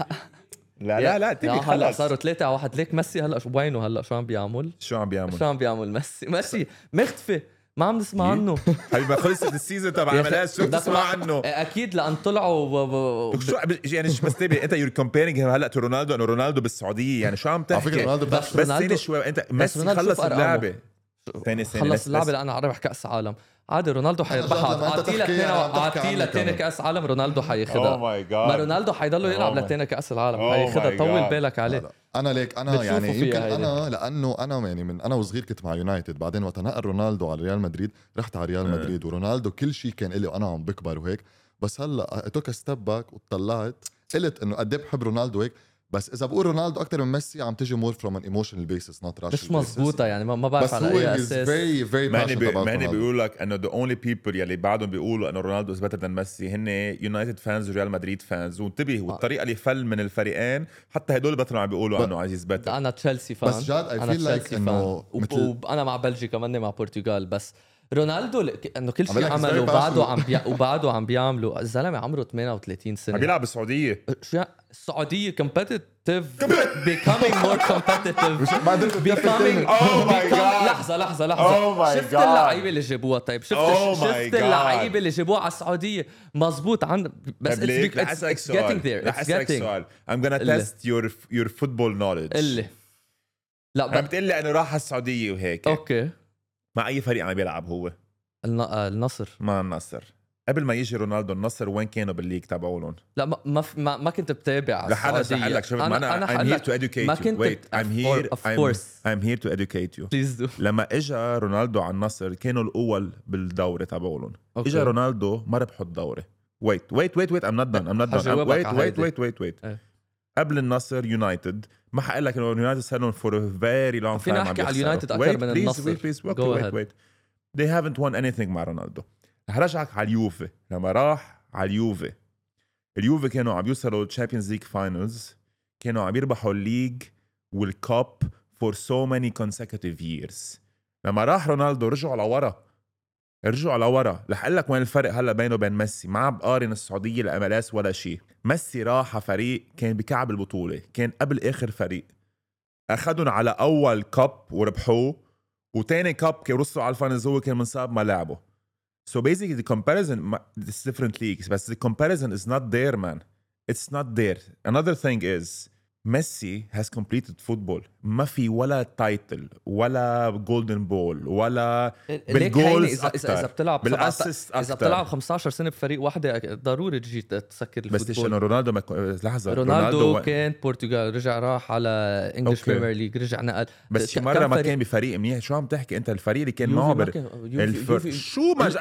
لا لا لا تبي خلص. هلا صاروا ثلاثة على واحد. ليك ميسي هلا شو وينه هلا؟ شو عم بيعمل؟ شو عم بيعمل؟ شو عم بيعمل ميسي؟ ميسي مختفي ما عم نسمع عنه. حبيبي ما خلصت السيزون تبع عملات شو بتسمع عنه؟ اكيد لان طلعوا شو يعني مش بس تبي انت يور كومبيرينج هلا تو رونالدو انه رونالدو بالسعوديه يعني شو عم تحكي؟ بس ثاني شوي انت ميسي خلص اللعبه ثاني سنه خلص اللعبه لأ انا ربح كاس عالم عادي. رونالدو حيربحها. اعطي له اثنين اعطي له ثاني كاس عالم رونالدو حياخذها. اوه ماي جاد ما رونالدو حيضل يلعب لثاني كاس العالم حياخذها. طول بالك عليه. انا ليك انا يعني يمكن انا لانه انا يعني من انا وصغير كنت مع يونايتد، بعدين وقت نقل رونالدو على ريال مدريد رحت على ريال مدريد. ورونالدو كل شيء كان لي وانا عم بكبر وهيك. بس هلا اتوك ستيب باك وطلعت قلت انه قد ايه بحب رونالدو هيك. بس اذا بقول رونالدو اكثر من ميسي عم تجي مور فروم ان ايموشنال بيسس نوت راشنال. مش مزبوطه يعني ما بعرف على اي اساس. فيري فيري ماني ماني بيقول لك انه ذا اونلي بيبل يلي بعدهم بيقولوا انه رونالدو از بيتر ذان ميسي هن يونايتد فانز وريال مدريد فانز. وانتبه والطريقه اللي فل من الفريقين حتى هدول بطلوا عم بيقولوا انه عزيز بيتر. انا تشيلسي فان بس جاد اي فيل لايك انه انا مع بلجيكا كمان مع برتغال. بس رونالدو انه كل شيء عمله وبعده عم بي... وبعده عم بيعملوا. الزلمه عمره ثمانية وثلاثين سنه عم بيلعب بالسعوديه. شو السعوديه competitive becoming more competitive becoming oh my god لحظه لحظه لحظه oh شفت اللعيبه اللي جابوها. طيب شفت oh شفت اللعيبه اللي جابوها على السعوديه مزبوط عن بس it's getting there it's getting I'm gonna test your your football knowledge. اللي لا عم بتقول لي انه راح على السعوديه وهيك. اوكي مع اي فريق عم بيلعب هو؟ النصر. مع النصر. قبل ما يجي رونالدو النصر وين كانوا بالليج تبعولهم؟ لا ما ما, ما, ما كنت بتابع رح انا لك شوف انا انا I'm here to educate ما you. كنت wait I'm here of course I'm, I'm here to educate you. please do. لما اجى رونالدو على النصر كانوا الاول بالدوري تبعولهم. اجى رونالدو ما ربحوا الدوري. wait wait wait wait I'm not done I'm not done I'm, wait wait wait wait wait اه. قبل النصر يونايتد ما حقول لك انه يونايتد صار لهم for a very long time. فينا نحكي على اليونايتد اكثر من النصر. wait please wait wait wait they haven't won anything مع رونالدو. رح رجعك على اليوفي. لما راح على اليوفي اليوفي كانوا عم يوصلوا تشامبيونز ليج فاينلز. كانوا عم يربحوا الليج والكاب for so many consecutive years. لما راح رونالدو رجعوا لورا رجعوا لورا. رح اقول لك وين الفرق هلا بينه وبين ميسي. ما عم بقارن السعوديه الاملاس ولا شيء. ميسي راح فريق كان بكعب البطوله، كان قبل اخر فريق، اخذهم على اول كاب وربحوه، وتاني كاب كي وصلوا على الفاينلز هو كان منصاب ما لعبه. So basically the comparison it's different leagues but the comparison is not there man. It's not there. Another thing is Messi has completed football. ما في ولا تايتل ولا جولدن بول ولا بالجولز اكثر. اذا بتلعب بالاسيست اكثر. اذا بتلعب خمسة عشر سنه بفريق واحده ضروري تجي تسكر الفوتبول. بس انه رونالدو ما لحظه رونالدو, رونالدو كان برتغال رجع راح على انجلش بريمير ليج رجع نقل. بس شي مره ما كان بفريق منيح. شو عم تحكي انت؟ الفريق اللي كان معه الفر... شو ما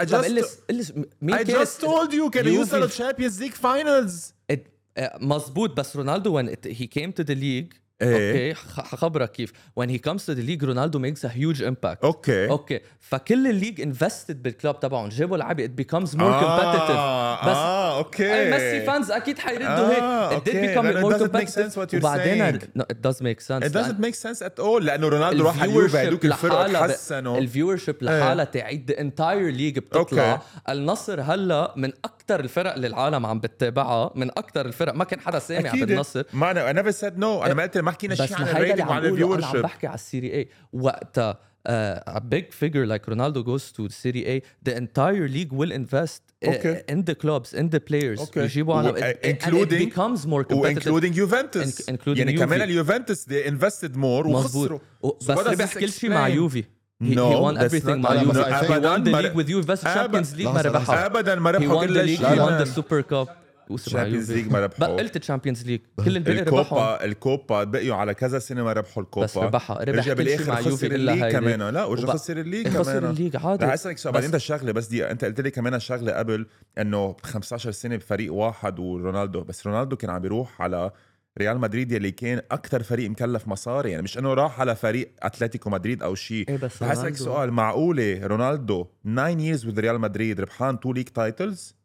I just told you كان يوصل Champions League finals. مزبوط. بس رونالدو when it, he came to the league اوكي okay. حخبرك كيف when he comes to the league رونالدو makes a huge impact. اوكي اوكي فكل الليج انفستد بالكلاب تبعهم جابوا لعيبه it becomes more competitive. آه بس اه اوكي ميسي فانز اكيد حيردوا هيك آه it did become more competitive. وبعدين no, it does make sense. it doesn't make sense at all لانه رونالدو راح على اليوفي هذوك الفرق تحسنوا. الفيورشيب لحالها تعيد the entire league بتطلع. okay. النصر هلا من أك... اكتر الفرق اللي العالم عم بتتابعها، من اكتر الفرق ما كان حدا سامع بالنصر. ما انا اي نيفر سيد نو، انا ما قلت ما حكينا شيء عن الريتنج وعن الفيور شيب. انا عم بحكي على السيري اي وقتها. Uh, a big figure like Ronaldo goes to the Serie A, the entire league will invest okay. uh, in the clubs, in the players. Okay. يجيبوا على uh, including and it becomes more competitive. including Juventus. In, including يعني Juve. كمان اليوفنتوس they invested more وخسروا. بس ربح كل شيء مع يوفي. He, no, he won everything مع يوفي. No, he won the league with Juve بس Champions League ما ربحها. أبدا ما ربحوا كل شيء. He won the Super Cup. Champions League ما ربحوا. قلت Champions League. كل الباقي ربحهم. الكوبا الكوبا بقيوا على كذا سنة ما ربحوا الكوبا. بس ربحها. ربح كل شيء مع يوفي إلا هاي. كمان لا ورجع خسر الليج كمان. خسر الليج عادي. رح أسألك سؤال بعدين ده الشغلة بس دي أنت قلت لي كمان الشغلة قبل إنه خمسة عشر سنة بفريق واحد ورونالدو، بس رونالدو كان عم بيروح على ريال مدريد يلي كان أكتر فريق مكلف مصاري، يعني مش إنه راح على فريق أتلتيكو مدريد أو شيء. إيه بس رح أسألك سؤال، معقولة رونالدو nine years with ريال مدريد ربحان two league titles؟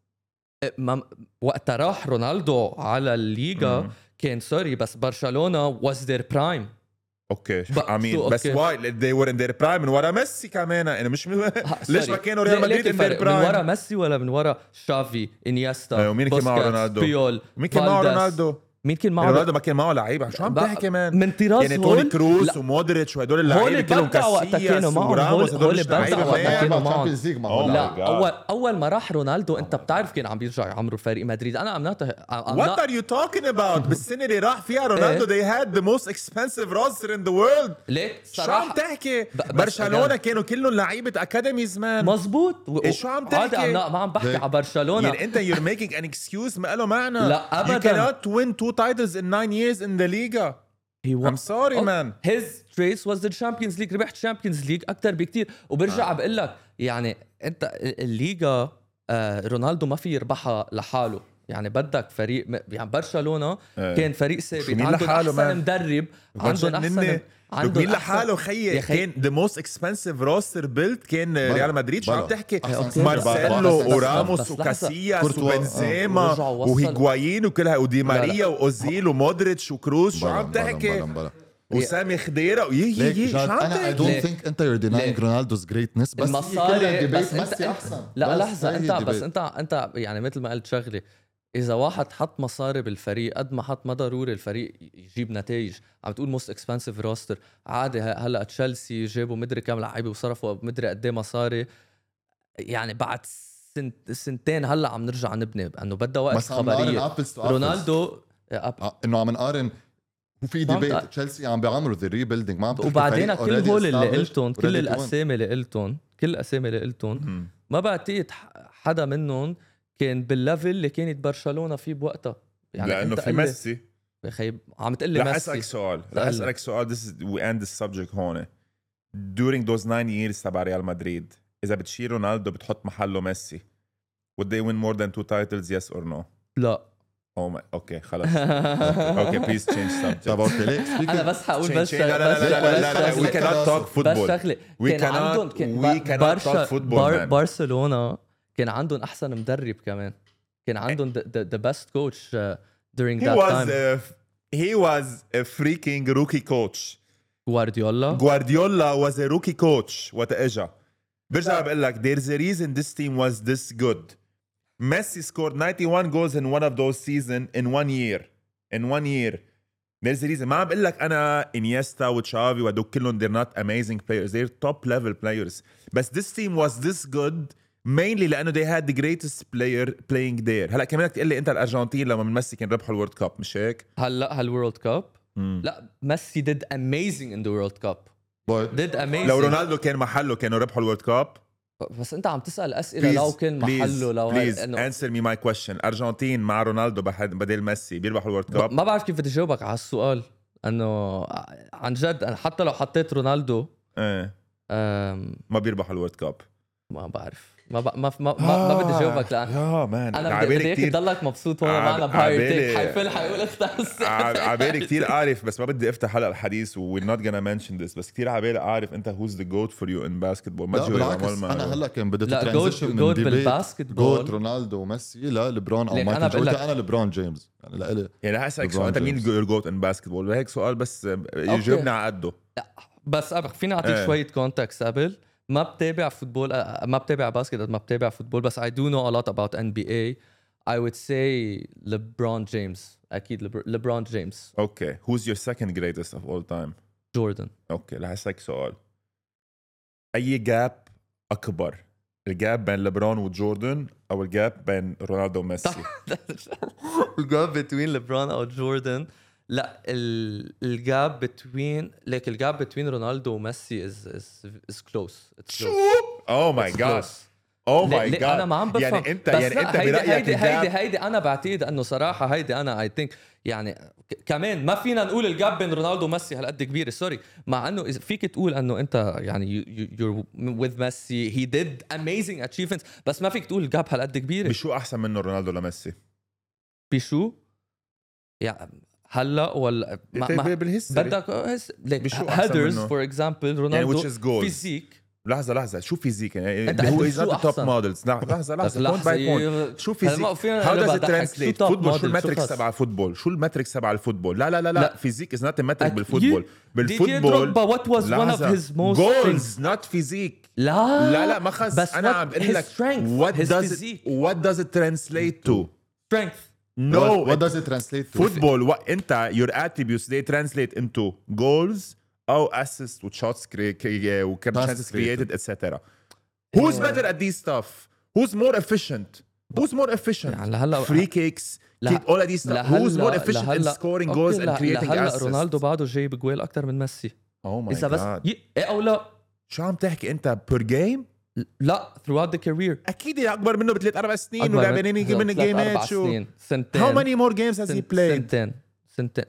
ما وقت راح رونالدو على الليغا mm. كان سوري بس برشلونة was their prime. اوكي I mean بس واي they were in their prime من ورا ميسي كمان، يعني مش من... ليش ما كانوا ريال مدريد in their prime؟ من ورا ميسي ولا من ورا شافي انيستا ومين كان معه رونالدو؟ بيول مين كان معه رونالدو؟ مين كان معه رونالدو؟ ما كان معه لعيبه شو عم تحكي كمان من طراز يعني توني كروس ومودريتش وهدول اللعيبه كلهم كاسياس وراموس هدول كانوا معهم. لا اول اول ما راح رونالدو انت بتعرف كان عم بيرجع يعمروا فريق مدريد. انا امناته What are you talking about؟ بالسنه اللي راح فيها رونالدو they had the most expensive roster in the world. ليك صراحه شو عم تحكي؟ برشلونه كانوا كلهم لعيبه اكاديميز مان. مظبوط. شو عم تحكي؟ عادي ما عم بحكي على برشلونه. يعني انت you're making an excuse ما له معنى. لا ابدا. You cannot win two titles in nine years in the Liga. He won. I'm sorry oh, man. His race was the Champions League. ربح Champions League أكتر بكتير. وبرجع آه. بقول لك يعني أنت الليغا آه رونالدو ما في يربحها لحاله. يعني بدك فريق يعني برشلونة آه. كان فريق ثابت عندهم أحسن مدرب عندهم أحسن عندهم مين لحاله خيي كان the most expensive roster built كان ريال مدريد. شو عم تحكي؟ مارسيلو وراموس وكاسياس وبنزيما وهيغوايين وكلها ودي ماريا واوزيل ومودريتش وكروس. شو عم تحكي؟ وسامي خضيره ويي يي شو عم تحكي؟ I don't think انت you're denying Ronaldo's greatness بس المصاري بس انت احسن. لا لحظه انت بس انت انت يعني مثل ما قلت شغله، إذا واحد حط مصاري بالفريق قد ما حط ما ضروري الفريق يجيب نتائج. عم تقول موست اكسبنسيف روستر عادي. هلا تشيلسي جابوا مدري كم لعيبه وصرفوا مدري قد ايه مصاري. يعني بعد سنت سنتين هلا عم نرجع نبني لانه بدها وقت خبريه. رونالدو انه عم نقارن وفي ديبيت تشيلسي عم بيعملوا ذا ريبيلدينج ما عم. وبعدين كل هول اللي قلتون كل الاسامي اللي قلتون كل الاسامي اللي قلتون ما بعتقد حدا منهم كان بالليفل اللي كانت برشلونة فيه بوقتها. يعني لأنه في ميسي يا أخي عم تقول لي ميسي. رح أسألك سؤال رح أسألك سؤال this is we end this subject هون. during those nine years تبع ريال مدريد إذا بتشيل رونالدو بتحط محله ميسي would they win more than two titles yes or no؟ لا. Oh my okay خلاص okay please change subject. طب أوكي ليه؟ أنا بس حقول بس لا لا لا لا لا we cannot talk football we cannot we cannot talk football. برشلونة كان عندهم أحسن مدرب كمان. كان عندهم the, the, the best coach uh, during he that was time. A, he was a freaking rookie coach. Guardiola. Guardiola was a rookie coach. وقت اجا برجع بقول لك there's a reason this team was this good. Messi scored ninety-one goals in one of those seasons in one year. In one year. There's a reason. ما عم بقول لك أنا إنيستا وتشافي ودوك كلهم they're not amazing players. They're top level players. بس this team was this good mainly لأنه they had the greatest player playing there. هلا كمان تقول لي أنت الأرجنتين لما من ميسي كان ربحوا الورد كاب مش هيك؟ هلا هالورد كاب؟ لا ميسي did amazing in the World Cup. did amazing. لو رونالدو كان محله كانوا ربحوا الورد كاب. بس أنت عم تسأل أسئلة لو كان محله لو please إنه... answer me my question. أرجنتين مع رونالدو بدل ميسي بيربحوا الورد كاب؟ ما بعرف كيف بدي جاوبك على السؤال. إنه عن جد حتى لو حطيت رونالدو إيه أم... ما بيربحوا الورد كاب. ما بعرف ما ب... ما ما ما, ما بدي جاوبك لأن يا مان انا بدي هيك تضلك مبسوط هون معنا بهايرتك حيفل حيقول اختار عبالي كتير اعرف بس ما بدي افتح هلا الحديث و we're not gonna mention this بس كتير عبالي اعرف انت who's the goat for you in basketball. ما تجي انا هلا كان بدي ترانزيشن من ديبيت جوت رونالدو وميسي لا لبرون او مايكل جوردن. انا لبرون جيمس يعني لإلي يعني هسألك سؤال انت مين your goat in basketball وهيك سؤال بس يجاوبني على قده. بس فينا اعطيك شويه كونتكست قبل ما بتابع فوتبول ما بتابع باسكت ما بتابع فوتبول بس I do know a lot about N B A. I would say LeBron James. أكيد LeBron James. Okay. Who's your second greatest of all time? Jordan. Okay. رح أسألك سؤال. أي جاب أكبر؟ الجاب بين ليبرون وجوردن أو الجاب بين رونالدو وميسي؟ الجاب between LeBron أو جوردن. لا الجاب between like الجاب between رونالدو وميسي is is is close. It's close. Oh my God. Oh my God. أنا ما عم بفهم. يعني أنت يعني أنت هيدي برأيك هيدي الجاب هيدي هيدي أنا بعتقد إنه صراحة هيدي أنا I think يعني كمان ما فينا نقول الجاب بين رونالدو وميسي هالقد كبيرة سوري مع إنه فيك تقول إنه أنت يعني you're with Messi he did amazing achievements بس ما فيك تقول الجاب هالقد كبيرة. بشو أحسن منه رونالدو لميسي؟ بشو؟ يعني هلا ولا ما بالهيستوري بدك هيدرز فور اكزامبل رونالدو يعني فيزيك لحظه لحظه شو فيزيك يعني هو از نوت توب مودلز لحظه لحظه بوينت باي بوينت شو فيزيك هاو داز ات ترانسليت فوتبول شو الماتريكس تبع الفوتبول شو الماتريكس تبع الفوتبول لا لا لا لا فيزيك از نوت ماتريك بالفوتبول بالفوتبول وات واز ون اوف هيز موست جولز نوت فيزيك لا لا لا ما خص انا عم بقول لك وات داز وات داز ات ترانسليت تو strength. No, what, what does it translate to? Football, what انت your attributes they translate into goals أو assists و shots و chances created et cetera. Who's yeah. better at these stuff? Who's more efficient? Who's more efficient? يعني هلا free kicks, all of these stuff. Who's more efficient in scoring goals and creating assists? رونالدو بعده جايب جوال أكتر من ميسي. Oh my إذا بس God. ي... إيه أو لا؟ شو عم تحكي أنت per game؟ لا throughout the career. أكيد أكبر منه بثلاث أربع سنين ولعبانين يجي من جيمات شو. سنتين. How many more games has he played? سنتين سنتين.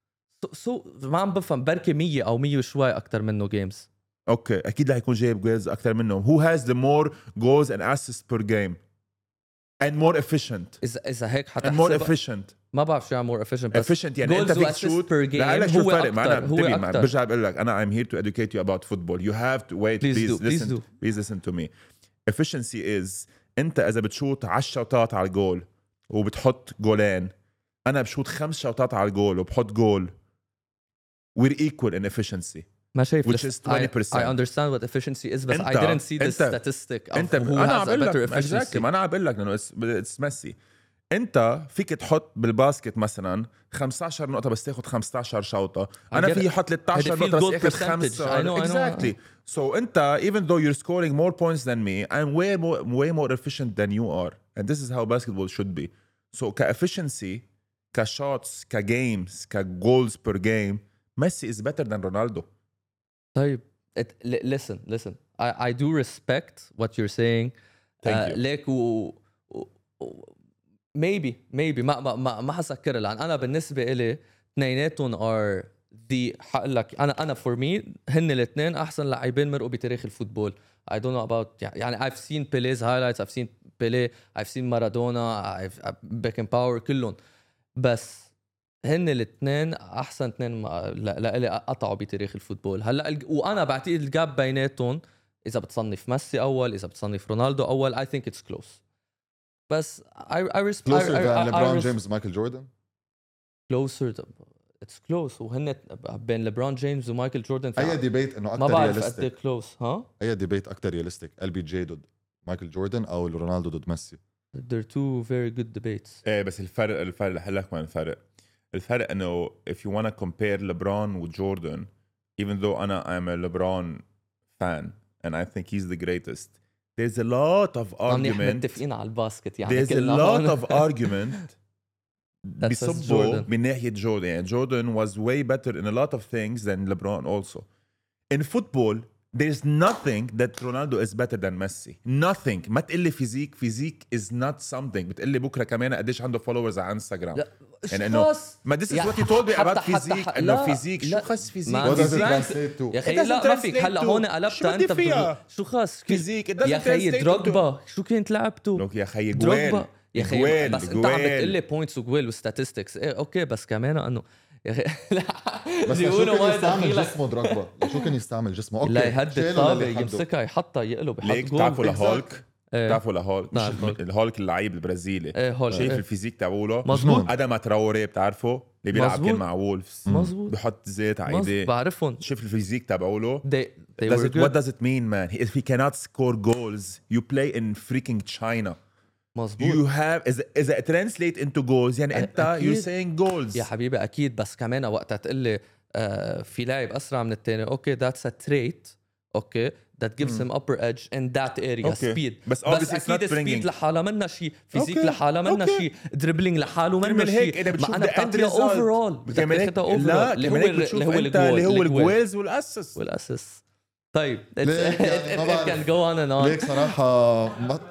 سو so, ما عم بفهم بركي مية أو مية وشوي أكتر منه games. أوكي أكيد رح يكون جايب جولز أكتر منه. Who has the more goals and assists per game and more efficient? إذا إذا هيك حتى. And more efficient. ما بعرف شو يعني more efficient بس. efficient يعني أنت فيك شوت. لا لا شو الفرق معنا انتبه معنا برجع بقول لك أنا I'm here to educate you about football. You have to wait. Please, please do, listen. Please, do. please listen to me. Efficiency is أنت إذا بتشوت عشر شوطات على الجول وبتحط جولين أنا بشوت خمس شوطات على الجول وبحط جول. We're equal in efficiency. ما شايف which is twenty percent. I, I understand what efficiency is but I didn't see the statistic of انت who أنا has a better efficiency. exactly. ما أنا عم بقول لك إنه it's messy. أنت فيك تحط بالباسكت مثلا خمسة عشر نقطة بس تاخد خمسة عشر شوطة. أنا في حط ثلاثة عشر نقطة بس أخذ خمسة. I know, exactly. I know. So أنت even though you're scoring more points than me, I'm way more way more efficient than you are. And this is how basketball should be. So كefficiency, كshots, كgames, كgoals per game, Messi is better than Ronaldo. طيب it, listen listen I I do respect what you're saying. Thank uh, you. ليك و, و, و maybe maybe ما ما ما, ما حسكر لان انا بالنسبه إلي اثنيناتهم are the حقول لك انا انا for me هن الاثنين احسن لاعبين مرقوا بتاريخ الفوتبول. I don't know about يعني I've seen Pele's highlights, I've seen Pele, I've seen Maradona, I've Beckenbauer كلهم بس هن الاثنين احسن اثنين لإلي قطعوا بتاريخ الفوتبول. هلا وانا بعتقد الجاب بيناتهم اذا بتصنف ميسي اول اذا بتصنف رونالدو اول I think it's close. بس I I respect closer than LeBron James ومايكل جوردن. closer it's close وهن بين ليبرون جيمس ومايكل جوردن. اي ديبيت انه اكثر رياليستيك. ما بعرف قد كلوز ها. اي ديبيت اكثر رياليستيك ال بي جي ضد مايكل جوردن او رونالدو ضد ميسي. They're two very good debates. ايه بس الفرق الفرق رح لك. ما الفرق الفرق انه if you want to compare LeBron with Jordan, even though أنا I'm a LeBron fan and I think he's the greatest, there's a lot of argument. متفقين على الباسكت يعني. There's a lot of argument بيصبوا من ناحية جوردن. يعني Jordan was way better in a lot of things than LeBron also. In football, there's nothing that Ronaldo is better than Messi. Nothing. ما تقلي فيزيك. فيزيك is not something. بتقلي بكرة كمان قديش عنده followers على انستغرام. يعني انه ما this is what you told me about فيزيك. انه فيزيك شو خاص فيزيك؟ يا اخي لا ما فيك. هلا هون قلبت انت بتقول شو خاص فيزيك؟ يا اخي دروجبا شو كنت لعبته؟ لوك يا اخي جوال يا اخي بس انت عم بتقلي بوينتس وجوال وستاتستكس. ايه اوكي بس كمان انه يا اخي بس شو كان يستعمل جسمه دروجبا؟ شو كان يستعمل جسمه؟ اوكي لا يهدد الطابة يمسكها يحطها يقلب يحط جول. ليك تعرفوا لهولك بتعرفوا لهولك مش الهولك اللعيب البرازيلي ايه شايف الفيزيك تبعوله مظبوط ادم تراوري بتعرفه اللي بيلعب كان مع وولفز مظبوط بحط زيت على ايديه بعرفهم شوف الفيزيك تبعوله they, they does were it, good. what does it mean man if he cannot score goals you play in freaking China مظبوط you have is is it translate into goals يعني انت أكيد. you're saying goals يا حبيبي اكيد بس كمان وقتها تقول لي آه في لاعب اسرع من الثاني اوكي that's a trait اوكي that gives him upper edge in that area okay. speed بس, بس اكيد سبيد لحالها منا شيء فيزيك okay. لحالها منا okay. شيء دريبلينج لحاله منا شيء ما انا بتعطيها اوفرول بتاخدها اوفرول اللي هو اللي هو اللي هو الجويلز والاسس والاسس طيب it can go on and on ليك صراحه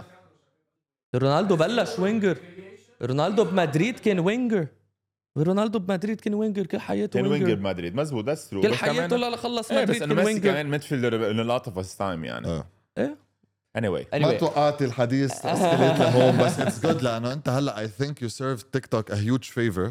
رونالدو بلش وينجر رونالدو بمدريد كان وينجر رونالدو بمدريد كان وينجر كل حياته وينجر كان وينجر بمدريد مزبوط ذاتس ترو كل حياته لا خلص ايه مدريد بس انه ميسي كمان ميدفيلدر ان لوت اوف هيز تايم يعني اه ايه anyway ما توقعت الحديث اسكليت لهون بس اتس جود لانه انت هلا اي ثينك يو سيرف تيك توك ا هيوج فيفر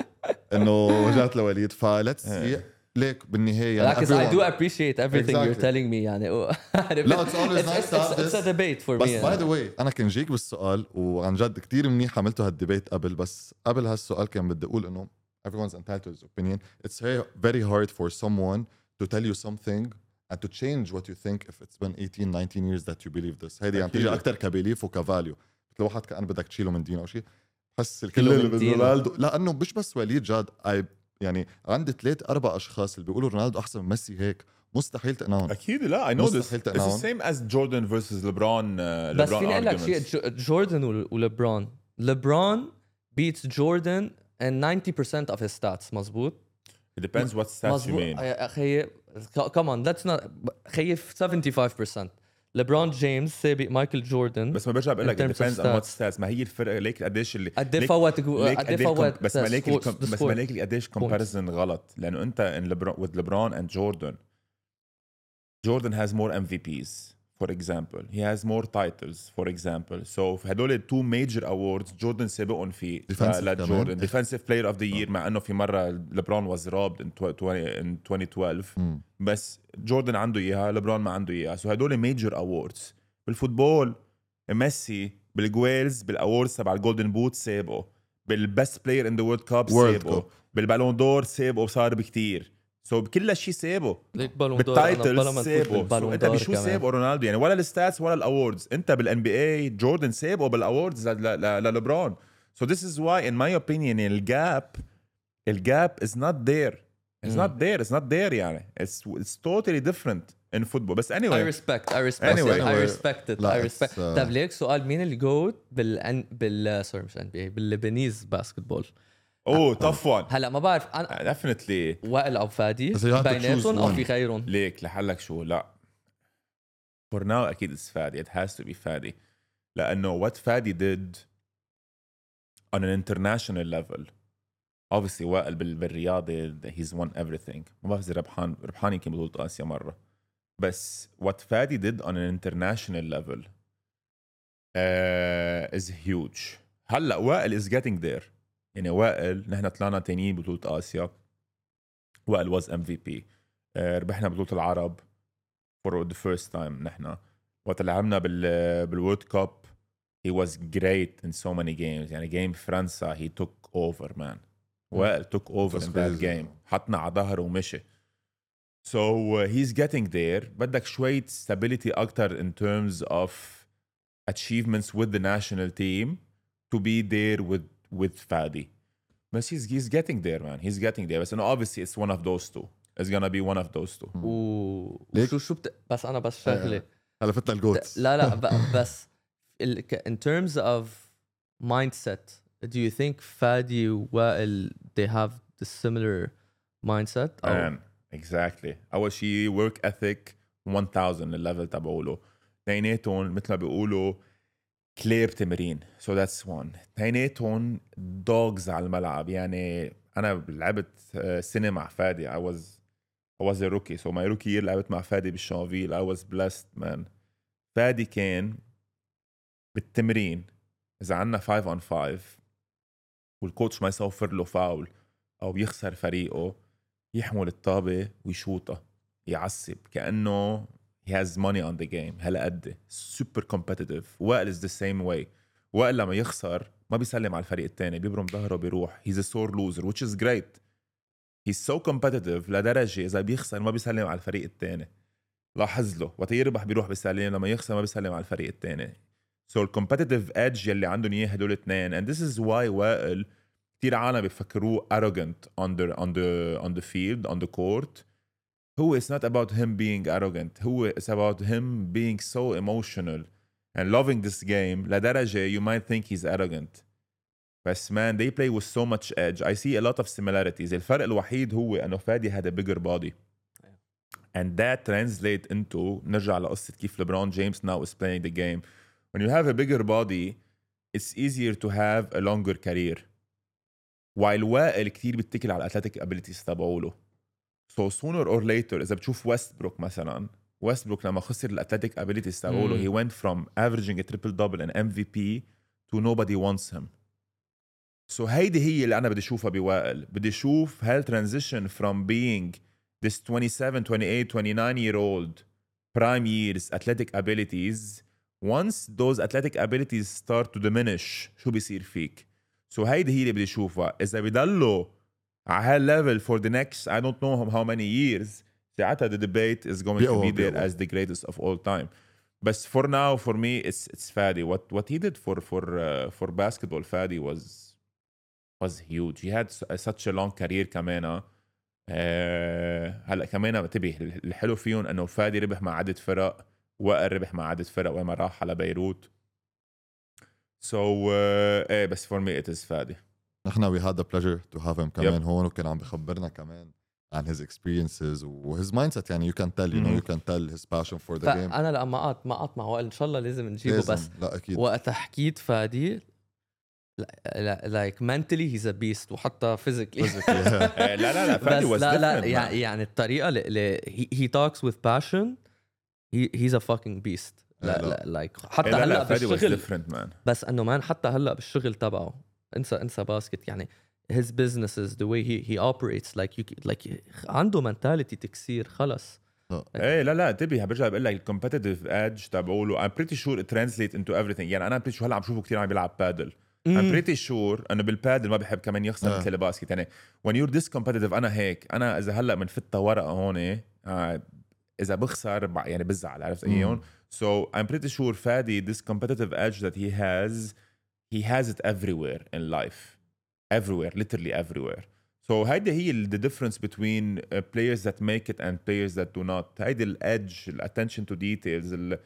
انه جات لوليد فليتس سي ليك بالنهايه يعني because I do appreciate everything exactly. you're telling me يعني لا it's always nice to have this it's a debate for بس me by the way أنا كان جيك بالسؤال وعن جد كتير منيح عملته هالديبيت قبل بس قبل هالسؤال كان بدي أقول إنه everyone's entitled to his opinion it's very, very hard for someone to tell you something and to change what you think if it's been eighteen nineteen years that you believe this هيدي يعني تيجي أكتر كبيليف وكفاليو مثل واحد كأن بدك تشيله من دينه أو شيء بس الكل اللي برونالدو لأنه مش بس وليد جاد I يعني عندي ثلاث اربع اشخاص اللي بيقولوا رونالدو احسن من ميسي هيك مستحيل تقنعهم اكيد لا I know this it's the same as Jordan versus LeBron uh, بس فيني اقول لك شيء جوردن وليبرون ليبرون beats Jordan in ninety percent of his stats مزبوط it depends what stats you mean اخي come on let's not خي seventy-five percent ليبرون جيمس سابق مايكل جوردن بس ما برجع بقول لك depends on what stats ما هي الفرق ليك قديش اللي قد ايه فوت قد ايه فوت بس ما ليك بس ما ليك قديش comparison غلط لانه انت in LeBron with LeBron and Jordan Jordan has more M V Ps for example he has more titles for example so هدول two major awards Jordan سابقهم فيه لا Jordan defensive player of the year مع انه في مره LeBron was robbed in twenty twelve م. بس جوردن عنده اياها ليبرون ما عنده اياها سو هدول ميجر اووردز بالفوتبول ميسي بالجويلز بالاووردز تبع الجولدن بوت سابقه بالبست بلاير ان ذا وورلد كاب سابقه بالبالون دور سابقه وصار بكتير سو so بكل شيء سابقه بالتايتلز سابقه انت بشو سابقه رونالدو يعني ولا الستاتس ولا الاووردز انت بالان بي اي جوردن سابقه بالاووردز لليبرون سو ذس از واي ان ماي اوبينيون الجاب الجاب از نوت ذير It's mm. not there. It's not there يعني. It's it's totally different in football. بس anyway. I respect. I respect. Anyway. I respect it. I respect. Uh... طب ليك سؤال مين اللي جوت بال بال سوري مش ان بي اي باللبنيز باسكتبول؟ اوه tough one. هلا ما بعرف انا definitely وائل او فادي بيناتهم او في غيرهم؟ ليك لحلك شو لا. For now أكيد it's فادي. It has to be فادي. لأنه what فادي did on an international level. obviously وائل بالرياضة he's won everything ما بعرف إذا ربحان ربحان يمكن بطولة آسيا مرة بس what فادي did on an international level uh, is huge هلأ وائل is getting there يعني وائل نحن طلعنا تانيين بطولة آسيا وائل was M V P uh, ربحنا بطولة العرب for the first time نحن وقت لعبنا بال بالورد كاب he was great in so many games يعني game فرنسا he took over man وائل took over in that game حطنا على ظهره ومشي so uh, he's getting there بدك شوية stability أكتر in terms of achievements with the national team to be there with with Fadi but he's, he's getting there man he's getting there بس إنه obviously it's one of those two it's gonna be one of those two وشو شو بت... بس أنا بس شغلة هلا فتنا الجوت لا لا بس in terms of mindset do you think Fadi وائل they have the similar mindset man exactly أول شيء work ethic one thousand الليفل تبعوله اثنيناتهم مثل ما بيقولوا كليب تمرين so that's one اثنيناتهم dogs على الملعب يعني أنا لعبت سنة مع فادي I was I was a rookie so my rookie year لعبت مع فادي بالشانفيل I was blessed man فادي كان بالتمرين إذا عنا five on five والكوتش ما يصفر له فاول أو يخسر فريقه يحمل الطابة ويشوطها يعصب كأنه he has money on the game هلا قد super competitive. وائل is the same way. وائل لما يخسر ما بيسلم على الفريق التاني بيبرم ظهره بيروح. he's a sore loser which is great. he's so competitive لدرجة إذا بيخسر ما بيسلم على الفريق التاني. لاحظ له وقت يربح بيروح بيسلم لما يخسر ما بيسلم على الفريق التاني. so the competitive edge يلي عندهم إياه هدول الاثنين. and this is why وائل كتير عالم بيفكروه arrogant on the, on the, on the field on the court. هو it's not about him being arrogant. هو it's about him being so emotional and loving this game لدرجة you might think he's arrogant. بس man they play with so much edge. I see a lot of similarities. الفرق الوحيد هو أنه فادي had a bigger body and that translate into نرجع لقصة كيف LeBron James now is playing the game. when you have a bigger body it's easier to have a longer career. while وائل كتير بيتكل على athletic abilities تبعوله. so sooner or later إذا بتشوف ويستبروك مثلا ويستبروك لما خسر الأثليتيك abilities تبعوله he went from averaging a triple double and M V P to nobody wants him. so هيدي هي اللي أنا بدي أشوفها بوائل. بدي أشوف هل transition from being this twenty-seven, twenty-eight, twenty-nine year old prime years athletic abilities once those athletic abilities start to diminish شو بيصير فيك. so هيدي هي اللي بدي أشوفها. إذا بيضلوا على هالlevel for the next I don't know how many years ساعتها the debate is going to be there as the greatest of all time. but for now for me it's it's Fadi. what what he did for for uh, for basketball Fadi was was huge. he had such a long career كمان. أه هلا كمان انتبه الحلو فيهم انه فادي ربح مع عدد فرق وائل ربح مع عدد فرق وما راح على بيروت. so uh, ايه بس for me it is فادي. نحن we had the pleasure to have him كمان yep. هون وكان عم بخبرنا كمان عن his experiences و his mindset. يعني you can tell you know you can tell his passion for the game. أنا لما قعدت ما قعدت مع وائل إن شاء الله لازم نجيبه لازم. بس لا أكيد. وقت حكيت فادي like mentally he's a beast وحتى physically. لا لا لا فادي was لا لا different. يعني, يعني الطريقة اللي he, he talks with passion he, he's a fucking beast. لا لا like حتى لا هلا لا بالشغل different, man. بس انه مان حتى هلا بالشغل تبعه انسى انسى باسكت يعني his businesses the way he he operates like you like عنده mentality تكسير خلص. ايه لا لا انتبه برجع بقول لك الكومبيتيتيف ايدج تبعوله I'm pretty sure it translates into everything. يعني انا pretty sure هلا عم شوفه كتير عم بيلعب بادل. I'm pretty sure انه بالبادل ما بحب كمان يخسر مثل الباسكت. يعني when you're this competitive انا هيك انا اذا هلا من فتة ورقه هون آه اذا بخسر يعني بزعل عرفت ايون. so I'm pretty sure فادي this competitive edge that he has he has it everywhere in life everywhere literally everywhere. so هيدي هي the difference between uh, players that make it and players that do not. هيدي ال edge ال attention to details ال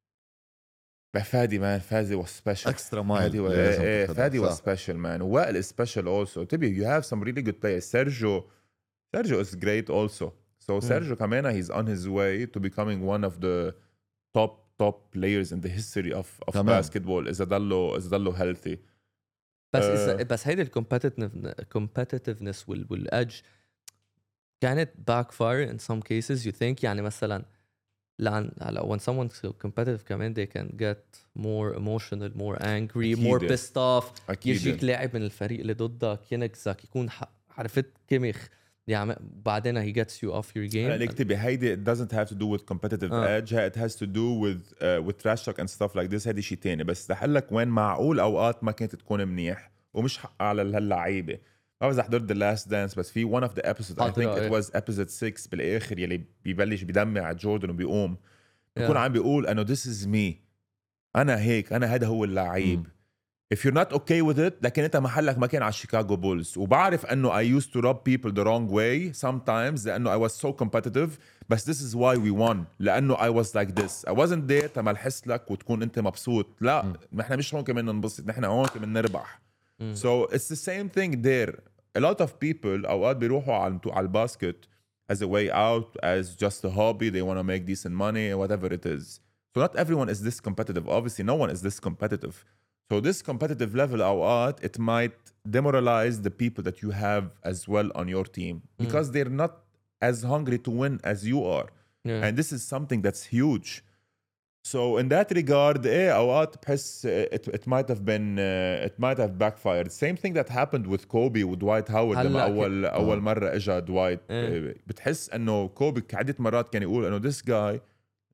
فادي man فادي was special extra mile. فادي was, eh, فادي was special man. وائل is special also. تبي you have some really good players. Sergio Sergio is great also. so mm. Sergio كمان he's on his way to becoming one of the top top players in the history of of تمام. basketball إذا ضلوا إذا ضلوا healthy. بس uh, بس هيدي الكومبيتيتيف competitiveness وال والedge كانت backfire in some cases you think. يعني مثلا لأن when someone's competitive كمان they can get more emotional more angry أكيد. more pissed off. يجيك لاعب من الفريق اللي ضدك ينكسك يكون عرفت كمخ يعني بعدين he gets you off your game. يعني اكتبي هيدي it doesn't have to do with competitive uh. edge. it has to do with uh, with trash talk and stuff like this. هيدي شيء تاني. بس دحلك وين معقول أوقات ما كانت تكون منيح ومش حق على هاللعيبة. ما بس حضرت the last dance بس في one of the episodes I think it was episode six بالآخر يلي بيبلش بيدمع جوردن وبيقوم بيكون yeah. عم بيقول أنه this is me أنا هيك أنا هذا هو اللعيب. mm. if you're not okay with it لكن أنت محلك ما كان على شيكاغو بولز. وبعرف أنه I used to rub people the wrong way sometimes لأنه I was so competitive بس this is why we won لأنه I was like this. I wasn't there تما الحس لك وتكون أنت مبسوط. لا mm. نحن مش هون كمان ننبسط نحن هون كمان نربح. mm. so it's the same thing there. a lot of people أوقات بيروحوا على على الباسكت as a way out as just a hobby. they want to make decent money whatever it is. so not everyone is this competitive. obviously no one is this competitive. so this competitive level أوقات it might demoralize the people that you have as well on your team because mm. they're not as hungry to win as you are. yeah. and this is something that's huge. so in that regard eh أوقات بحس it, it might have been uh, it might have backfired. same thing that happened with Kobe ودوايت هاورد لما أول أول مرة إجا دوايت. eh. بتحس إنه كوبي عدة مرات كان يقول إنه this guy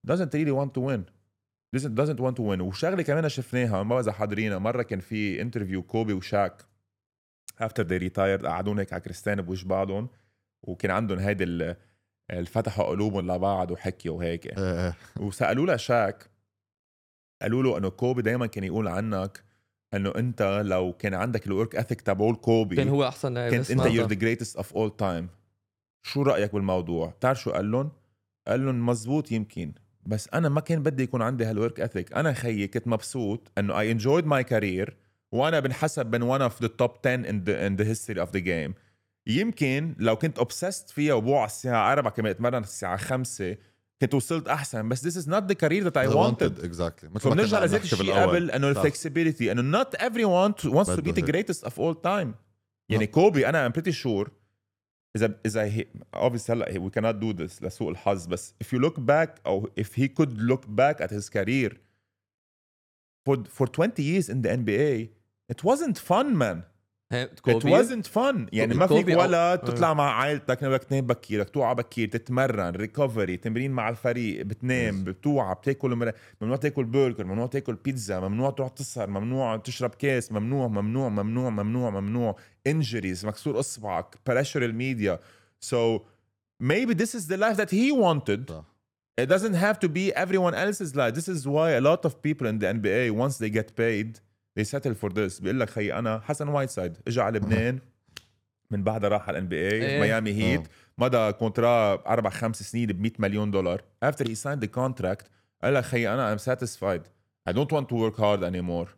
doesn't really want to win doesn't doesn't want to win. وشغله كمان شفناها ما بذا حاضرينها مرة، كان في انترفيو كوبي وشاك after they retired قعدون هيك على كريستيان بوش بعضهم، وكان عندهم هيدي اللي فتحوا قلوبهم لبعض وحكيوا وهيك. وسألوا له شاك، قالوا له انه كوبي دايما كان يقول عنك انه انت لو كان عندك الورك اثيك تبعول كوبي كان هو احسن لاعب، كنت انت you're the greatest of all time. شو رأيك بالموضوع؟ بتعرف شو قال لهم؟ قال لهم مزبوط يمكن، بس انا ما كان بدي يكون عندي هالورك اثيك. انا خيي كنت مبسوط انه I enjoyed my career وانا بنحسب من one of the top ten in the, in the history of the game. يمكن لو كنت obsessed فيها وبوع الساعة أربعة كمان اتمرن الساعة خمسة كنت وصلت أحسن، بس this is not the career that I wanted. Exactly. فبنرجع لذات الشيء قبل أنه الflexibility، أنه not everyone wants to be the greatest of all time. يعني كوبي أنا I'm pretty sure إذا إذا he, obviously هلا we cannot do this لسوء الحظ، بس if you look back أو if he could look back at his career for for twenty years in the N B A it wasn't fun man. It wasn't fun. يعني ما فيك ولا تطلع مع عائلتك بدك تنام بكير، بدك توعى بكير، تتمرن، ريكفري، تمرين مع الفريق، بتنام، بتوعى، بتاكل مر... ممنوع تاكل برجر، ممنوع تاكل بيتزا، ممنوع تروح تسهر، ممنوع تشرب كاس، ممنوع ممنوع ممنوع ممنوع ممنوع injuries، مكسور اصبعك، pressure الميديا. So maybe this is the life that he wanted. It doesn't have to be everyone else's life. This is why a lot of people in the N B A once they get paid they settle for this. بيقول لك خي انا حسن وايتسايد اجى على لبنان من بعدها راح على الان بي اي ميامي هيت، مضى كونترا اربع خمس سنين ب مية مليون دولار. after he signed the contract قال لك خي انا I'm satisfied I don't want to work hard anymore.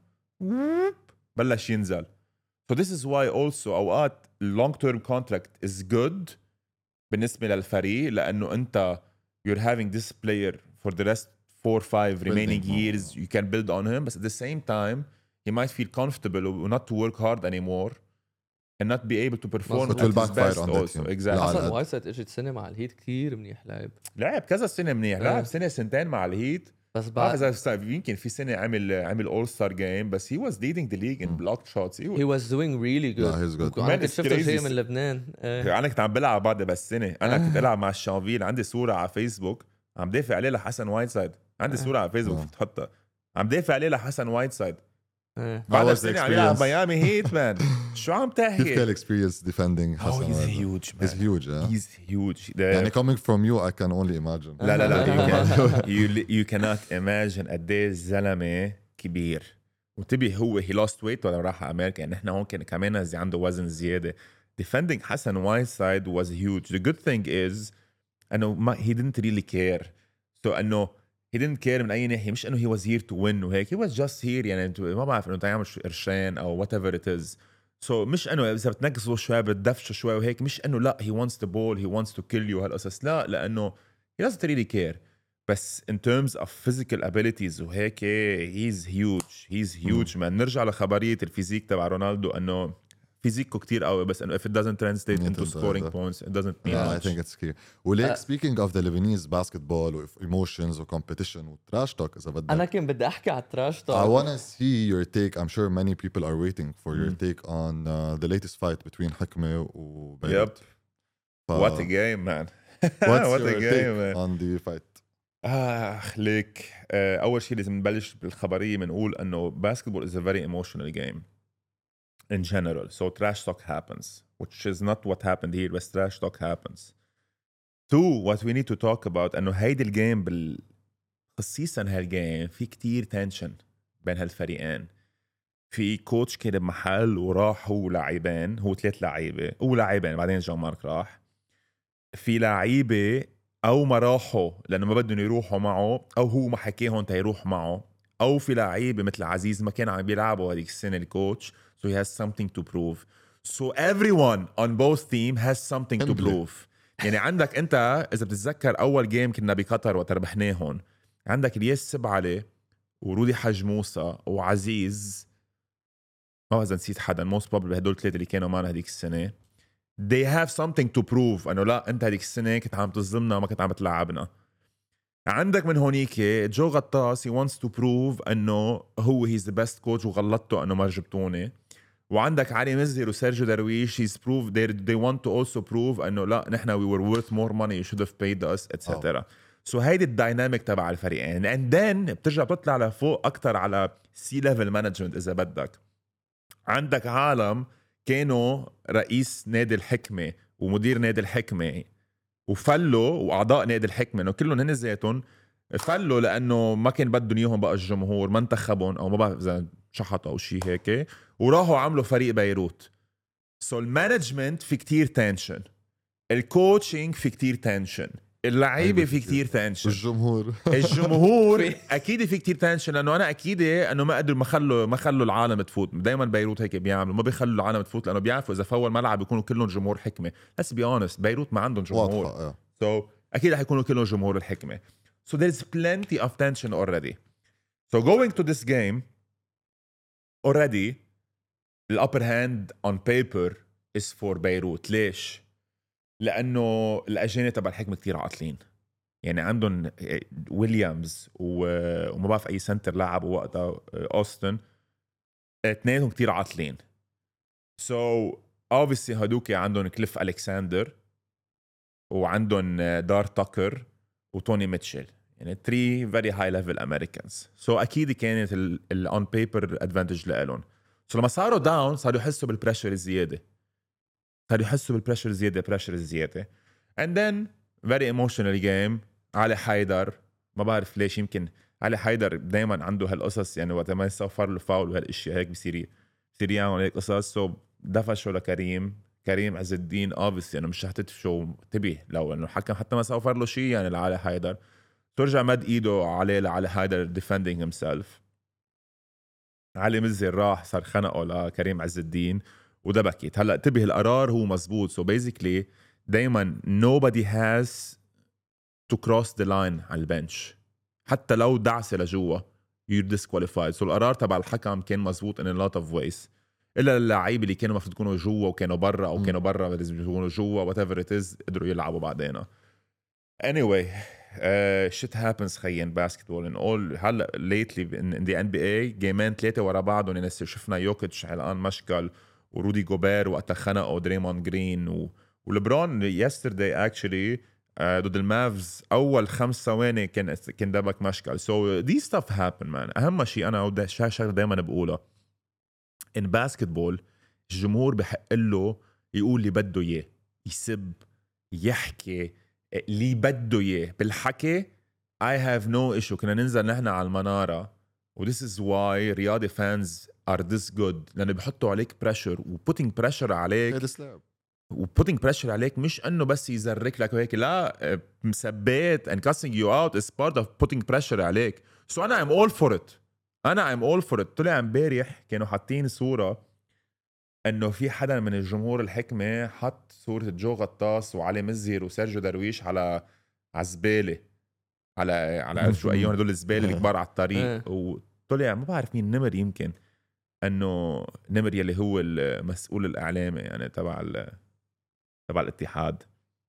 بلش ينزل. So this is why also اوقات long term contract is good بالنسبة للفريق، لانه انت you're having this player for the rest four five remaining years you can build on him, but at the same time he might feel comfortable not to work hard anymore and not be able to perform at his best also. Exactly. حسن وايتسايد اجت سنة مع الهيت كتير منيح لعب. لعب كذا سنة منيح، لعب سنة سنتين مع الهيت. بس بعد يمكن في سنة عمل عمل all star game بس he was leading the league in blocked shots. He was doing really good. Yeah, he's good. أنا كنت شفت شيء من لبنان. أنا كنت عم بلعب بعد بس سنة. أنا كنت ألعب مع الشانفيل، عندي صورة على فيسبوك عم دافع عليه لحسن وايتسايد. عندي صورة على فيسبوك تحطها عم دافع عليه لحسن وايتسايد. بعد السنة عم يلعب ميامي هيت مان. شو عم تحكي؟ كيف كان experience defending حسن؟ Oh, he's huge man. He's huge. Yeah. He's huge. يعني coming from you I can only imagine. لا لا لا you, can, you, you cannot imagine قد ايه الزلمة كبير. وانتبه هو he lost weight ولا راح أمريكا، يعني احنا هون كان كمان عنده وزن زيادة. Defending حسن وايتسايد was huge. The good thing is انه ما he didn't really care. So انه he didn't care من أي ناحية، مش إنه he was here to win وهيك. He was just here يعني ما بعرف إنه تعمل شو قرشين أو whatever it is. So مش إنه إذا بتنقصه شوي بتدفشه شوي وهيك، مش إنه لا he wants the ball he wants to kill you هالقصص، لا، لأنه he doesn't really care. بس in terms of physical abilities وهيك he's huge he's huge man. نرجع لخبرية الفيزيك تبع رونالدو إنه فيزيكو كتير قوي، بس انه if it doesn't translate into scoring that. points it doesn't mean yeah, much. I think it's clear. وليك uh, speaking of the Lebanese basketball و emotions و competition و trash talk إذا بدك، أنا كنت بدي أحكي على trash talk. I wanna see your take. I'm sure many people are waiting for your mm. take on uh, the latest fight between حكمة و بيروت. Yep. ف... What a game man. What's What your a game take man. on the fight? آه ليك آه أول شيء لازم نبلش بالخبرية بنقول إنه basketball is a very emotional game in general. So trash talk happens, which is not what happened here, but trash talk happens. Two, what we need to talk about انه هيدي الجيم بال خصيصا هالجيم في كتير تنشن بين هالفريقين. في كوتش كان بمحل وراح هو لاعبين، هو ثلاث لعيبه او لاعبين بعدين جون مارك راح. في لعيبه او ما راحوا لانه ما بدهم يروحوا معه، او هو ما حكيهم تيروح معه، او في لعيبه مثل عزيز ما كان عم بيلعبوا هذيك السنه الكوتش. So he has something to prove. So everyone on both team has something to prove. يعني عندك انت اذا بتتذكر اول جيم كنا بقطر وتربحناهم، عندك الياس سبعلي ورودي حج موسى وعزيز، ما اذا نسيت حدا، most probably هدول الثلاثه اللي كانوا معنا هذيك السنه. They have something to prove انه لا انت هذيك السنه كنت عم تظلمنا وما كنت عم تلعبنا. عندك من هونيك جو غطاس he wants to prove انه هو he's the best coach وغلطته انه ما جبتوني. وعندك علي مزهر وسيرجيو درويش he's proved they, they want to also prove انه لا نحن we were worth more money you should have paid us et cetera. Oh. سو هيدي الدايناميك تبع الفريقين اند ذن بترجع بتطلع لفوق اكتر على سي ليفل مانجمنت اذا بدك. عندك عالم كانوا رئيس نادي الحكمه ومدير نادي الحكمه وفلوا، واعضاء نادي الحكمه انه كلهم هن ذاتهم فلوا لانه ما كان بدهم اياهم بقى الجمهور، ما انتخبهم او ما بعرف اذا شحطوا او شيء هيك، وراحوا عملوا فريق بيروت. سو المانجمنت في كتير تنشن، الكوتشنج في كتير تنشن، اللعيبه في كتير تنشن، الجمهور الجمهور اكيد في كتير تنشن، لانه انا اكيد انه ما قدروا ما خلوا ما خلوا العالم تفوت. دائما بيروت هيك بيعملوا، ما بيخلوا العالم تفوت لانه بيعرفوا اذا فول ملعب بيكونوا كلهم جمهور حكمه. بس بي اونست بيروت ما عندهم جمهور، سو so, اكيد رح يكونوا كلهم جمهور الحكمه. So there's plenty of tension already. So going to this game already the upper hand on paper is for بيروت. ليش؟ لأنه الأجانب تبع الحكمة كتير عاطلين، يعني عندهم ويليامز وما بعرف أي سنتر لعبوا وقتها أوستن، اثنينهم كتير عاطلين. So obviously هدوكي عندهم كليف ألكساندر وعندهم دار تاكر وتوني ميتشل، يعني three very high level Americans. So أكيد كانت ال on paper advantage لهم. So لما صاروا داون صاروا يحسوا بالبريشر الزيادة، صاروا يحسوا بالبريشر الزيادة بريشر الزيادة and then very emotional game. علي حيدر ما بعرف ليش، يمكن علي حيدر دايما عنده هالقصص، يعني وقت ما يصفر له فاول وهالاشياء هيك بصير بصير يعمل هيك قصص. so دفشوا لكريم كريم عز الدين obviously يعني مش هتتفشوا تبي لو انه الحكم حتى ما صفر له شيء يعني لعلي حيدر. ترجع مد ايده عليه لعلي حيدر defending himself. علي مزر راح صار خنقه لكريم عز الدين ودبكت. هلا انتبه القرار هو مزبوط. so basically دايما nobody has to cross the line على البنش، حتى لو دعسه لجوا you're disqualified. so القرار تبع الحكم كان مزبوط in a lot of ways، الا اللعيبه اللي كانوا المفروض يكونوا جوا وكانوا برا او كانوا برا لازم يكونوا جوا whatever it is قدروا يلعبوا بعدين. anyway uh, shit happens خيين basketball in all. هلا lately in, in the إن بي إيه جيمين ثلاثه ورا بعض ونسي شفنا يوكيتش علقان مشكل ورودي جوبير وقتها خنقوا دريمون جرين و... ولبرون yesterday actually uh, ضد المافز اول خمس ثواني كان كان دبك مشكل. so these stuff happen man. اهم شيء انا وده شغله دائما بقولها in basketball، الجمهور بحق له يقول اللي بده اياه، يسب يحكي اللي بده اياه بالحكي. I have no issue. كنا ننزل نحن على المنارة و this is why رياضي fans are this good، لأنه بيحطوا عليك pressure و putting pressure عليك و putting pressure عليك مش أنه بس يزرك لك وهيك، لا مسبات and cussing you out is part of putting pressure عليك. so أنا I'm all for it. أنا I'm all for it. طلع امبارح كانوا حاطين صورة انه في حدا من الجمهور الحكمه حط صوره جو غطاس وعلي مزهر وسيرجيو درويش على عزباله على على شو ايون هدول الزباله الكبار على الطريق. وطلع ما بعرف مين نمر، يمكن انه نمر يلي هو المسؤول الاعلامي يعني تبع تبع الاتحاد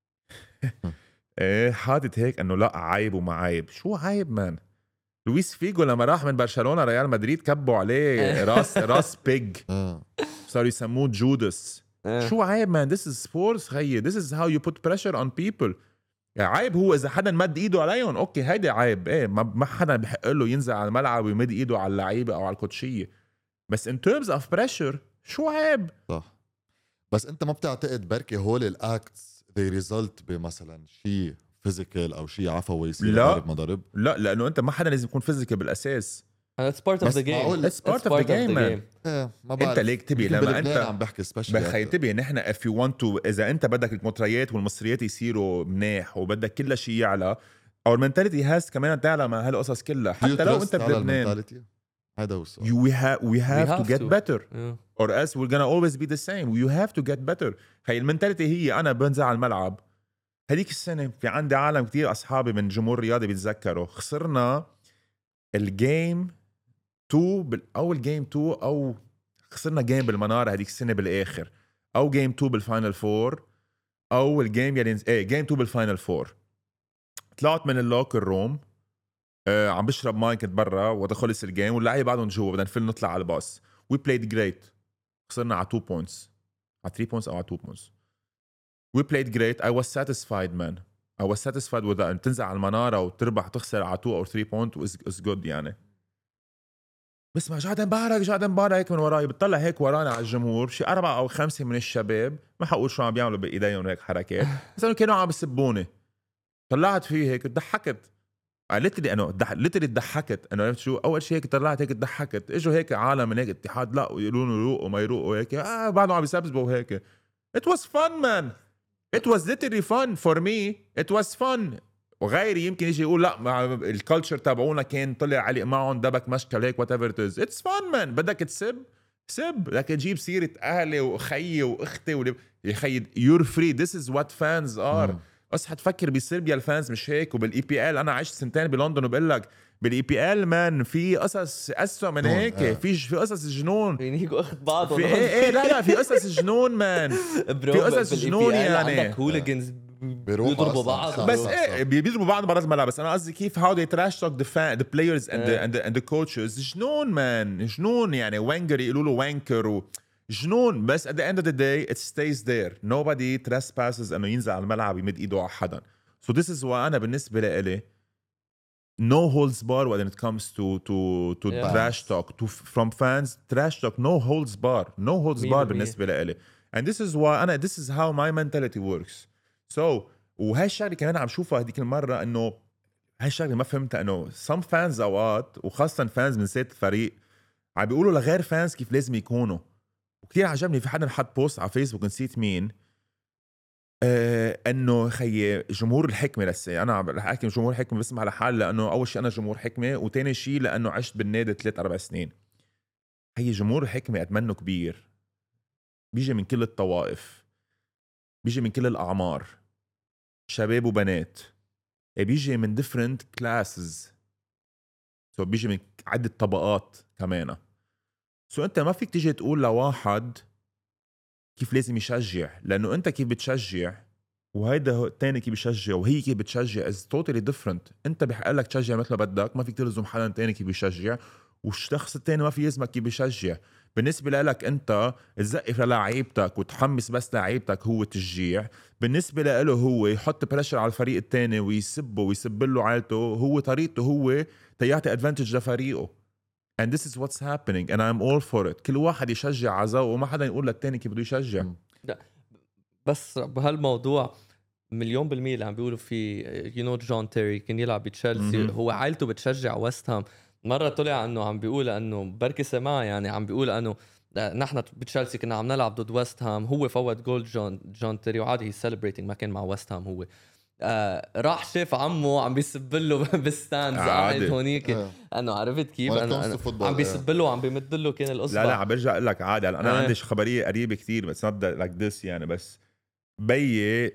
ايه حاطط هيك انه لا عيب وما عيب. شو عيب مان؟ لويس فيجو لما راح من برشلونه ريال مدريد كبوا عليه راس راس بيج صاروا يسموه جودس. شو عيب مان؟ this is sports خيي. this is how you put pressure on people. يعني عيب هو اذا حدا مد ايده عليهم اوكي هيدا عيب، ايه ما حدا بحق له ينزل على الملعب ويمد ايده على اللعيبه او على الكوتشيه. بس in terms of pressure شو عيب؟ صح. بس انت ما بتعتقد بركي هول الاكتس they result بمثلا شيء فيزيكال او شيء عفوي يصير ضرب ما ضرب؟ لا لانه انت ما حدا لازم يكون فيزيكال بالاساس. It's part of the game. It's part of the game man. ايه ما بعرف. انت ليك تبي لما انت عم بحكي سبيشال بخي تبي نحن if you want to اذا انت بدك المطريات والمصريات يصيروا مناح وبدك كل شيء يعلى او المنتاليتي هاز كمان تعلى مع هالقصص كلها حتى لو انت بلبنان. هذا هو السؤال. we have we have, we have to get to. better yeah. or else we're gonna always be the same. you have to get better. هي المنتاليتي هي انا بنزل على الملعب. هذيك السنه في عندي عالم كتير اصحابي من جمهور رياضي بيتذكروا خسرنا الجيم تو بالاول جيم تو او خسرنا جيم بالمناره هذيك السنه بالاخر او جيم تو بالفاينل فور او الجيم يلي ايه جيم تو بالفاينل فور. طلعت من اللوكر روم آه عم بشرب ماي كنت برا ودخلت الجيم واللعيبه بعدهم جوا بدنا نفل نطلع على الباص. وي بلايد جريت. خسرنا على two points على three points او على two points. We played great. I was satisfied man. I was satisfied with that. أن تنزل على المنارة وتربح تخسر على two or three point is, is good يعني. بس ما جاد مبارك جاد مبارك هيك من وراي بتطلع هيك ورانا على الجمهور شي أربعة أو خمسة من الشباب ما حقول شو عم بيعملوا بإيديهم هيك حركات بس أنه كانوا عم بيسبوني طلعت فيه هيك ضحكت ليتري أنا ليتري ضحكت أنا عرفت شو أول شيء هيك طلعت هيك ضحكت إجوا هيك عالم من هيك اتحاد لا ويقولوا له يروقوا ما يروقوا هيك آه بعدهم عم يسبسبوا هيك. It was fun man. It was literally fun for me. It was fun. وغيري يمكن يجي يقول لا الكالتشر تابعونا كان طلع علق معهم دبك مشكل هيك whatever it is. It's fun man. بدك تسب سب بدك تجيب سيرة أهلي وأخي وأختي ولي يا خي you're free. This is what fans are. بس حتفكر بصربيا الفانز مش هيك وبالاي بي ال انا عشت سنتين بلندن وبقول لك بالاي بي ال مان في قصص اسوء من هيك في في قصص جنون ينيجوا اخذ بعض في ايه ايه لا لا في قصص جنون مان في قصص جنون يعني عندك هوليجنز بيضربوا بعض بس ايه بيضربوا بعض برات الملعب بس انا قصدي كيف how they trash talk the fan the players and the and the, and the coaches جنون مان جنون يعني وانجر يقولوا له وانكر و جنون بس at the end of the day it stays there nobody trespasses انه ينزل على الملعب يمد ايده على حدا so this is why انا بالنسبه لي no holds bar when it comes to to to yeah. trash talk to from fans trash talk no holds bar no holds bar بالنسبه لي and this is why انا this is how my mentality works so وهي الشغله كمان عم شوفها هذيك المره انه هاي الشغله ما فهمتها انه some fans اوقات وخاصه fans من سيت الفريق عم بيقولوا لغير fans كيف لازم يكونوا وكتير عجبني في حدا حط بوست على فيسبوك نسيت مين آه انه خي جمهور الحكمه لسه انا رح احكي جمهور الحكمه بسمع على حال لانه اول شيء انا جمهور حكمه وتاني شيء لانه عشت بالنادي ثلاث اربع سنين. هي جمهور الحكمه اتمنه كبير بيجي من كل الطوائف بيجي من كل الاعمار شباب وبنات بيجي من different classes سو so بيجي من عده طبقات كمان سو so انت ما فيك تيجي تقول لواحد كيف لازم يشجع لانه انت كيف بتشجع وهيدا الثاني كيف بيشجع وهي كيف بتشجع is totally different. انت بحق لك تشجع مثل ما بدك ما فيك تلزم حدا تاني كيف بيشجع والشخص الثاني ما في يلزمك كيف بيشجع. بالنسبه لك انت تزقف للاعيبتك وتحمس بس لاعيبتك هو تشجيع بالنسبه له هو يحط بريشر على الفريق الثاني ويسبه ويسب له عائلته هو طريقته هو تيعطي ادفانتج لفريقه and this is what's happening and I'm all for it. كل واحد يشجع عزاء وما حدا يقول للتاني كيف بده يشجع. لا بس بهالموضوع مليون بالمية اللي عم بيقولوا فيه you know جون تيري كان يلعب بتشيلسي هو عائلته بتشجع ويست هام. مرة طلع انه عم بيقول انه بركي سماع يعني عم بيقول انه نحن بتشيلسي كنا عم نلعب ضد ويست هام هو فوت جول جون جون تيري وعادي هي celebrating ما كان مع ويست هام هو آه راح شاف عمه عم بيسب له بالستاندز قاعد هونيك آه. انه عرفت كيف انا, أنا عم بيسب له وعم بيمد له كان الاصبع. لا لا عم برجع اقول لك عادي انا آه. عندي خبريه قريبه كتير بس نبدا لايك ذس يعني بس بيي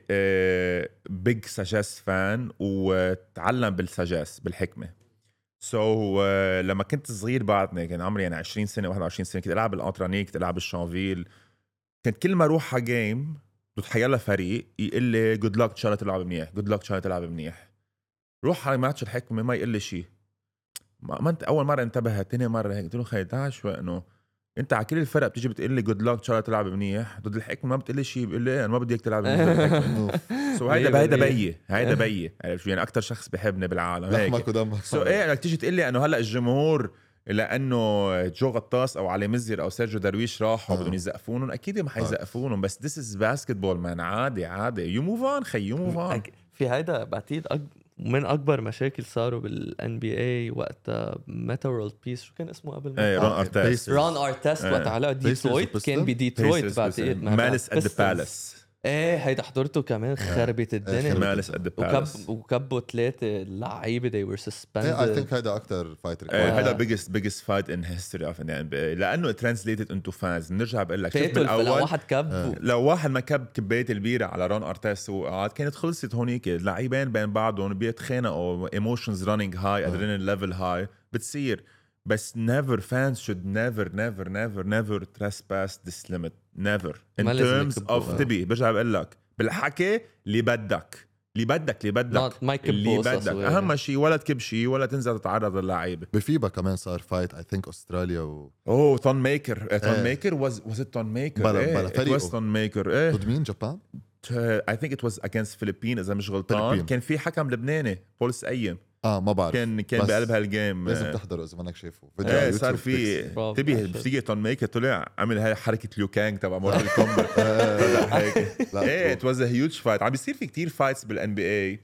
بيج ساجاس فان وتعلم بالساجاس بالحكمه سو so, uh, لما كنت صغير بعدني كان عمري يعني عشرين سنه واحد وعشرين سنه كنت العب بالانترانيك كنت العب بالشانفيل كنت كل ما اروح على جيم بتحيلا فريق يقول لي جود لك ان شاء الله تلعب منيح جود لك ان شاء الله تلعب منيح روح على ماتش الحكمه ما يقول لي شيء ما, ما انت اول مره انتبهت ثاني مره هيك قلت له خي تعال شوي انه انت على كل الفرق بتيجي بتقول لي جود لك ان شاء الله تلعب منيح ضد الحكمه ما بتقول لي شيء بقول لي انا ما بدي اياك تلعب منيح سو هيدا هيدا بيي هيدا بيي عرفت يعني اكثر شخص بحبني بالعالم هيك سو ايه انك تيجي تقول لي انه هلا الجمهور لانه جو غطاس او علي مزير او سيرجيو درويش راحوا بدهم يزقفونهم اكيد ما حيزقفونهم بس this is basketball مان عادي عادي يو موف اون خي يو موف اون. في هيدا بعتقد أك... من اكبر مشاكل صاروا بالان بي اي وقت ميتا وورلد بيس شو كان اسمه قبل ايه رون ارتست رون ارتست وقت على ديترويت كان بديترويت بعتقد مالس ات ذا بالاس ايه هيدا حضرته كمان خربت الدنيا مالس ات ذا بالاس وكبوا ثلاثه لعيبه they were suspended. I think هيدا اكثر فايتر هيدا biggest biggest fight in history of N B A لانه translated into fans. نرجع بقول لك شوف بالاول لو واحد كب لو واحد ما كب كبايه البيره على رون ارتست وقعد كانت خلصت هونيك اللاعبين بين بعضهم بيتخانقوا emotions running high adrenaline level high بتصير بس never fans should never never never never trespass this limit never in terms of تبي برجع بقول لك بالحكي اللي بدك اللي بدك اللي بدك اللي بدك اهم شيء ولا تكب شيء ولا تنزل تتعرض للعيبه. بفيبا كمان صار فايت اي ثينك استراليا و اوه تون ميكر تون ميكر واز واز ات تون ميكر ايه واز تون ميكر ايه ضد مين جابان I think it was against Philippines اذا مش غلطان. Philippines. كان في حكم لبناني بولس ايم اه ما بعرف كان كان بس بقلب هالجيم. لازم تحضره اذا منك شايفه فيديو ايه على صار يوتيوب في Bravo. تبي بتيجي تون ميك طلع عمل هاي حركه ليو كانج تبع مورتال كومبات هيك. ايه ات واز ا هيوج فايت. عم بيصير في كتير فايتس بالان بي اي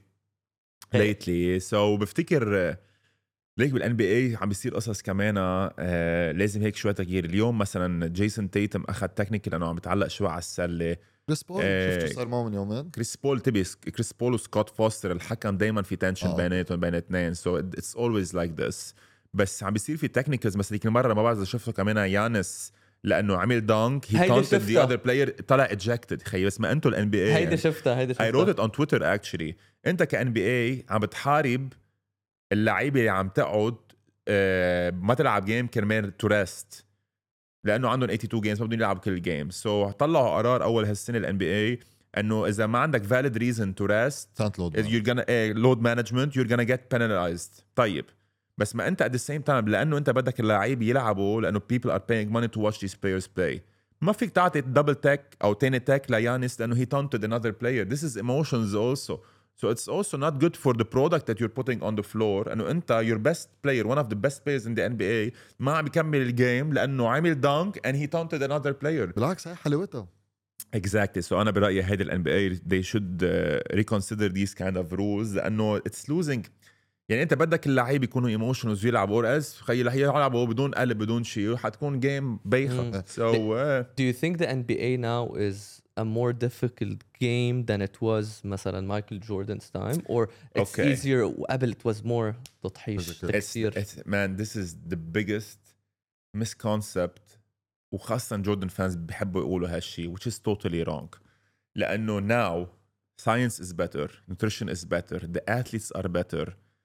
ليتلي. سو بفتكر ليك بالان بي اي عم بيصير قصص كمان آه لازم هيك شويه تغيير. اليوم مثلا جيسون تيتم اخذ تكنيكال لانه عم بتعلق شوي على السله. كريس بول آه، شفته صار معه من يومين. كريس بول تبي كريس بول وسكوت فوستر الحكم دايما في تنشن آه. بيناتهم بين اثنين. سو اتس اولويز لايك ذس. بس عم بيصير في تكنيكالز مثلا ديك المره ما بعرف اذا شفته كمان يانس لانه عمل دانك هي هيدي تونتد ذا شفتها. اذر بلاير طلع اجكتد. خيي بس ما انتم الان بي اي هيدي شفتها هيدي I شفتها wrote it on Twitter actually. انت كان بي اي عم بتحارب اللعيبه اللي عم تقعد آه ما تلعب جيم كرمال تو ريست لانه عندهم ثمانية وثمانين جيمز ما بدهم يلعبوا كل جيم. سو so, طلعوا قرار اول هالسنه الان بي اي انه اذا ما عندك valid reason to rest كانت لود you're gonna uh, load management you're gonna get penalized. طيب بس ما انت at the same time لانه انت بدك اللاعب يلعبوا لانه people are paying money to watch these players play ما فيك تعطي دبل تاك او تاني تاك ليانس لانه he taunted another player. This is emotions also. So it's also not good for the product that you're putting on the floor. انه انت your best player one of the best players in the N B A ما عم بيكمل الجيم لانه عمل dunk and he taunted another player. بالعكس هاي حلاوتها. Exactly. So أنا برأيي هيدا ال N B A they should uh, reconsider these kind of rules لأنه it's losing. يعني أنت بدك اللعيبة يكونوا emotionals يلعبوا or else خيي رح يلعبوا بدون قلب بدون شيء وحتكون جيم بايخة. So uh, Do you think the N B A now is a more difficult game than it was مثلا Michael Jordan's time or it's Okay. easier وقبل it was more تضحيش Physical. it's, تكسير it's, man this is the biggest misconcept وخاصة جوردن فانز بيحبوا يقولوا هالشي which is totally wrong. لأنه now science is better, nutrition is better, the athletes are better,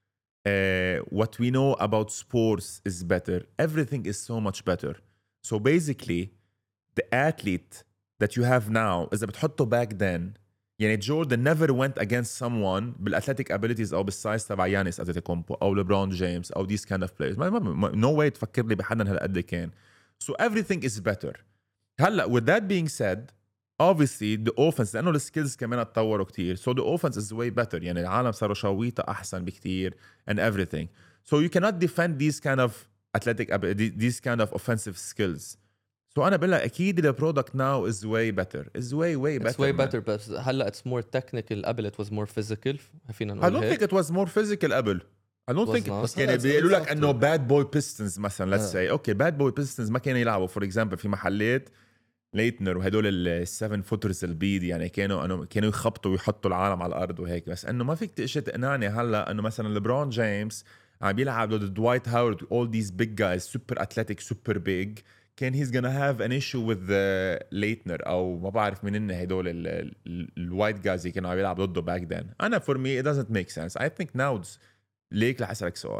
uh, what we know about sports is better, everything is so much better. So basically the athlete that you have now إذا بتحطه back then يعني جوردن never went against someone بالاثليتيك abilities او بالسايز تبع يانيس أنتيتوكومبو او ليبرون جيمس او these kind of players. ما ما no way تفكر لي بحدا هالقد كان. So everything is better. هلا with that being said obviously the offense لانه السكيلز كمان تطوروا كتير. So the offense is way better. يعني العالم صاروا شويطة احسن بكتير and everything. So you cannot defend these kind of athletic these kind of offensive skills. So أنا بقول لك أكيد the product now is way better. Is way way better. It's way man. better بس هلا it's more technical قبل it was more physical فينا I نقول don't هيك think it was more physical قبل. I don't Was think not. يعني It's- بيقولوا it's لك انه after. bad boy pistons مثلا let's Yeah. say اوكي bad boy pistons ما كانوا يلعبوا for example في محلات ليتنر وهدول السفن فوترز البيض يعني كانوا انه كانوا يخبطوا ويحطوا العالم على الارض وهيك. بس انه ما فيك تقشي تقنعني هلا انه مثلا ليبرون جيمس عم بيلعب ضد دوايت هاورد all these big guys super athletic super big كان he's gonna have an issue with the ليتنر او ما بعرف منين هدول الوايت جايز اللي كانوا عم يلعبوا ضده back then. انا for me it doesn't make sense. I think now it's ليك رح اسالك سؤال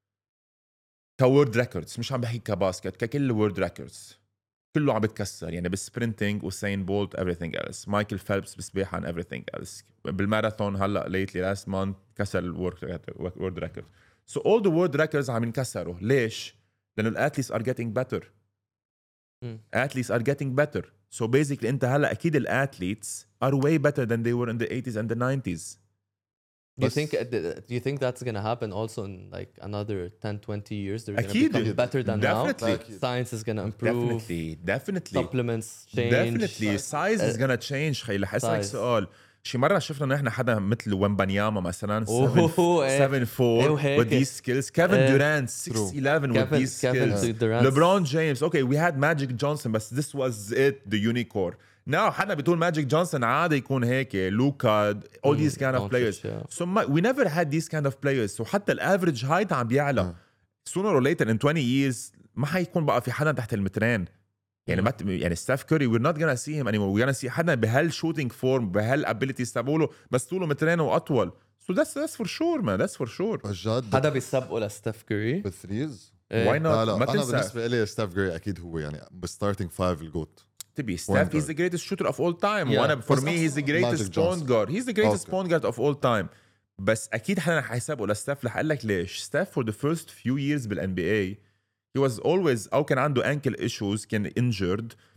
كورد ريكوردز مش عم بحكي كباسكت ككل وورد ريكوردز كله عم بتكسر يعني بالسبرنتينج وسين بولت everything else مايكل فيلبس بالسباحه and everything else بالماراثون هلا ليتلي لاست مانث كسر الورد ريكورد. so all the world records عم ينكسروا. ليش؟ لانه الاثليتس are getting better. مم. athletes are getting better. so basically انت هلا اكيد الاثليتس are way better than they were in the eighties and the nineties. Do you بس- think do you think that's gonna happen also in like another ten twenty years they're gonna أكيد. become better than Definitely. now science is gonna improve definitely definitely supplements change definitely size is gonna change. خي رح اسالك Size. سؤال شي مره شفنا نحن حدا مثل ومبانياما مثلا أوه، إيه. seven four إيه وهيك. with these skills. Kevin إيه. Durant six eleven with Kevin these Kevin skills. Durant LeBron James okay we had Magic Johnson but this was it the unicorn. now حدا بتقول ماجيك جونسون عادي يكون هيك لوكا all these kind of players. Doncic, yeah. so my, we never had these kind of players. so حتى الافريج هايت عم بيعلى. sooner or later in twenty years ما حيكون بقى في حدا تحت المترين. يعني ما ت- يعني ستاف كوري we're not gonna see him anymore. we're gonna see حدا بهال shooting form بهال abilities تبعوله بس طوله مترين واطول. so that's that's for sure man that's for sure. بجد حدا بيسبقوا لستيف كوري بالثريز. why not لا لا ما انا تنسى بالنسبه لي ستيف جري اكيد هو يعني بالستارتنج فايف الجوت. تبي ستاف Point he's the greatest shooter of all time. Yeah. وانا for بس me he's the Magic greatest point Johnson. guard. he's the greatest Okay. point guard of all time. بس اكيد حدا رح يسابقوا لستاف. رح اقول لك ليش. ستاف for the first few years بالان بي اي he was always او كان عنده ankle issues كان injured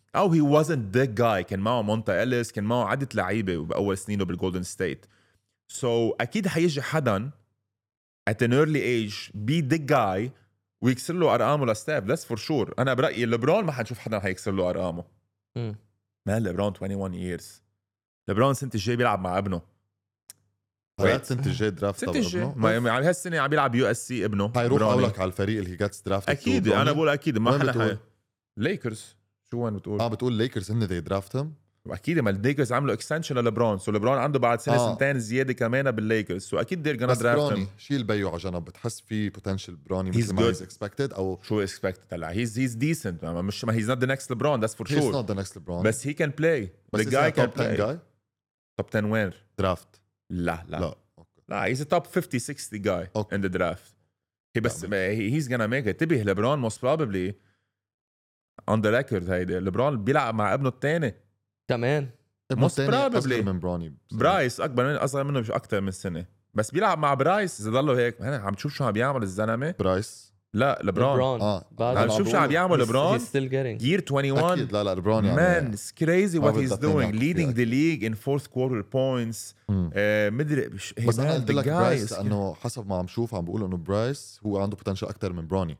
او he wasn't the guy. كان معه مونتا إليس، كان معه عدة لعيبة بأول سنينه بالجولدن ستيت. so أكيد حيجي حدا at an early age be the guy ويكسر له أرقامه لستاف. that's for sure. أنا برأيي لبرون ما حنشوف حدا حيكسر له أرقامه. م. ما لبرون twenty-one years. لبرون سنة الجاي بيلعب مع ابنه. وقت سنة الجاي درافت سنة الجاي ما على هالسنة عم بيلعب يو اس سي ابنه. هيروح أولك على الفريق اللي هي جاتس درافت. أكيد أنا بقول أكيد ما حدا. ليكرز شو وين بتقول؟ اه بتقول ليكرز هن دي درافتهم. واكيد ما الليكرز عملوا اكستنشن للبرون، سو لبرون عنده بعد سنه آه. سنتين زياده كمان بالليكرز، سو اكيد دير جانا درافت. شيل بيو على جنب، بتحس في بوتنشل بروني مثل ما هيز اكسبكتد او شو اكسبكتد؟ هلا هيز هيز ديسنت، مش ما هيز نوت ذا نكست لبرون، ذاتس فور شور. هيز نوت ذا نكست لبرون بس هي كان بلاي. ذا جاي كان بلاي. توب ten وين؟ درافت. لا لا لا لا هيز توب fifty sixty جاي ان ذا درافت. هي بس هيز جانا ميك ات. تبي لبرون موست بروبلي on the record هيدا لبرون بيلعب مع ابنه الثاني كمان. موست بروبلي من بروني. برايس اكبر من اصغر منه مش اكتر من سنه، بس بيلعب مع برايس. اذا ضلوا هيك هنا عم تشوف شو عم بيعمل الزلمه. برايس لا لبرون اه عم تشوف شو عم بيعمل لبرون. year twenty-one اكيد. لا لا لبرون يعني man it's crazy what he's doing leading the league in fourth quarter points. آه مدري بس انا قلت لك برايس لانه حسب ما عم شوف عم بيقولوا انه برايس هو عنده بوتنشل اكتر من بروني.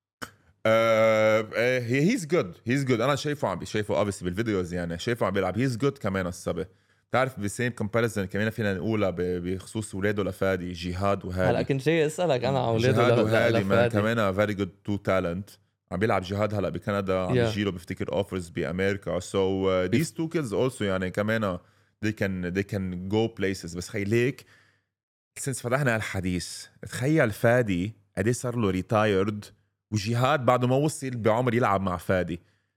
هيز جود هيز جود انا شايفه عم شايفه obviously بالفيديوز، يعني شايفه عم بيلعب هيز جود كمان. الصبي بتعرف بسيم كومباريزن كمان فينا نقولها بخصوص اولاده لفادي جهاد وهادي. هلا كنت جاي اسالك انا على اولاده جهاد وهادي مان كمان فيري جود تو تالنت. عم بيلعب جهاد هلا بكندا، عم يجي له بفتكر اوفرز بامريكا. سو ذيس تو كيدز اولسو يعني كمان they can they can go places. بس خيليك سنس فتحنا الحديث تخيل فادي قد صار له ريتايرد وجهاد بعده ما وصل بعمر يلعب مع فادي.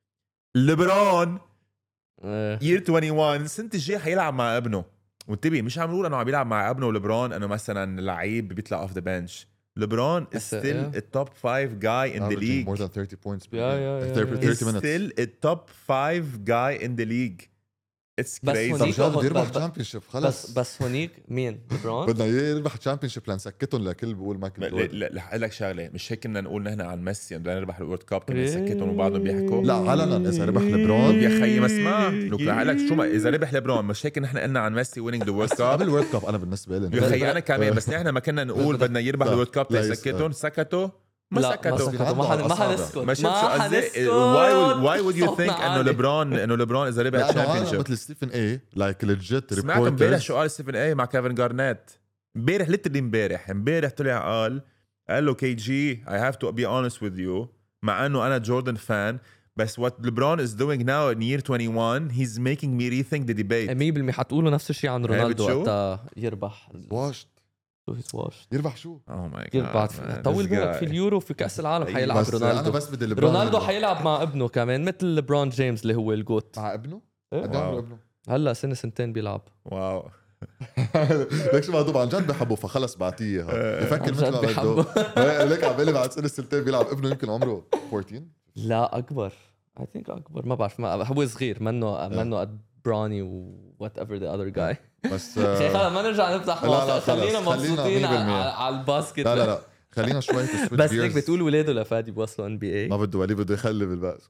لبرون يير twenty-one سنة الجاي حيلعب مع ابنه. وانتبه مش عم نقول انه عم يلعب مع ابنه ولبرون انه مثلا لعيب بيطلع اوف ذا بنش. لبرون is still a top five guy in the league. more than thirty points per yeah, yeah, yeah, thirty yeah. minutes. Still a top five guy in the league. It's crazy. بس هونيك يربح تشامبيونشيب خلص. بس بس هونيك مين لبرون بدنا يربح تشامبيونشيب لنسكتهم لكل بقول مايكل جوردن. لا لا لك شغله مش هيك كنا نقول نحن عن ميسي بدنا نربح الورد كاب كنا نسكتهم وبعضهم بيحكوا. لا علنا اذا ربح لبرون يا خيي ما اسمع لك لك شو ما اذا ربح لبرون مش هيك نحن قلنا عن ميسي وينينج ذا وورد كاب قبل الورد كاب. انا بالنسبه لي يا خيي انا كمان بس نحن ما كنا نقول بدنا يربح الورد كاب تسكتهم سكتوا ما سكتوا ما حنسكت ما حنسكت. واي واي وود يو ثينك انه لبرون انه لبرون اذا ربح الشامبيونشيب مثل ستيفن اي لايك ليجيت ريبورترز. سمعت امبارح شو قال ستيفن اي مع كيفن جارنيت امبارح ليتلي امبارح امبارح طلع قال قال له كي جي اي هاف تو بي اونست وذ يو مع انه انا جوردن فان بس what LeBron is doing now in year twenty-one he's making me rethink the debate. مية بالمية حتقولوا نفس الشيء عن رونالدو وقتها يربح واشت واش يربح شو؟ اوه ماي جاد طول بالك في اليورو في كاس العالم حيلعب رونالدو. انا بس بدي لبرون. رونالدو حيلعب مع ابنه كمان مثل لبرون جيمس اللي هو الجوت. مع ابنه؟ قد عمره ابنه؟ هلا سنه سنتين بيلعب. واو ليك شو مهضوب عن جد بحبه فخلص بعطيه يفكر مثل ما بده. ليك عم بالي بعد سنه سنتين بيلعب ابنه يمكن عمره fourteen. لا اكبر اي ثينك اكبر ما بعرف ما هو صغير منه منه قد بروني و وات ايفر ذا اذر جاي. بس خلينا ما نرجع نفتح موضوع. خلينا مبسوطين على الباسكت. لا لا لا خلينا شوي بس هيك بتقول ولاده لفادي بوصلوا ان بي اي ما بده ولي بده يخلي بالباس.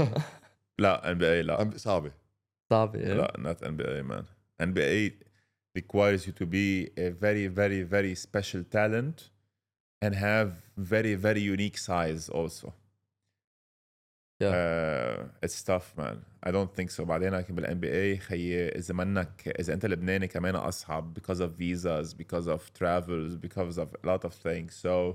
لا ان بي اي لا صعبه صعبه لا not ان بي اي man. ان بي اي requires you to be a very very very special talent and have very very unique size also. Yeah. Uh, it's tough man. I don't think so. بعدين لكن بالان بي اي خيي اذا منك اذا انت لبناني كمان اصعب because of visas, because of travels, because of a lot of things. So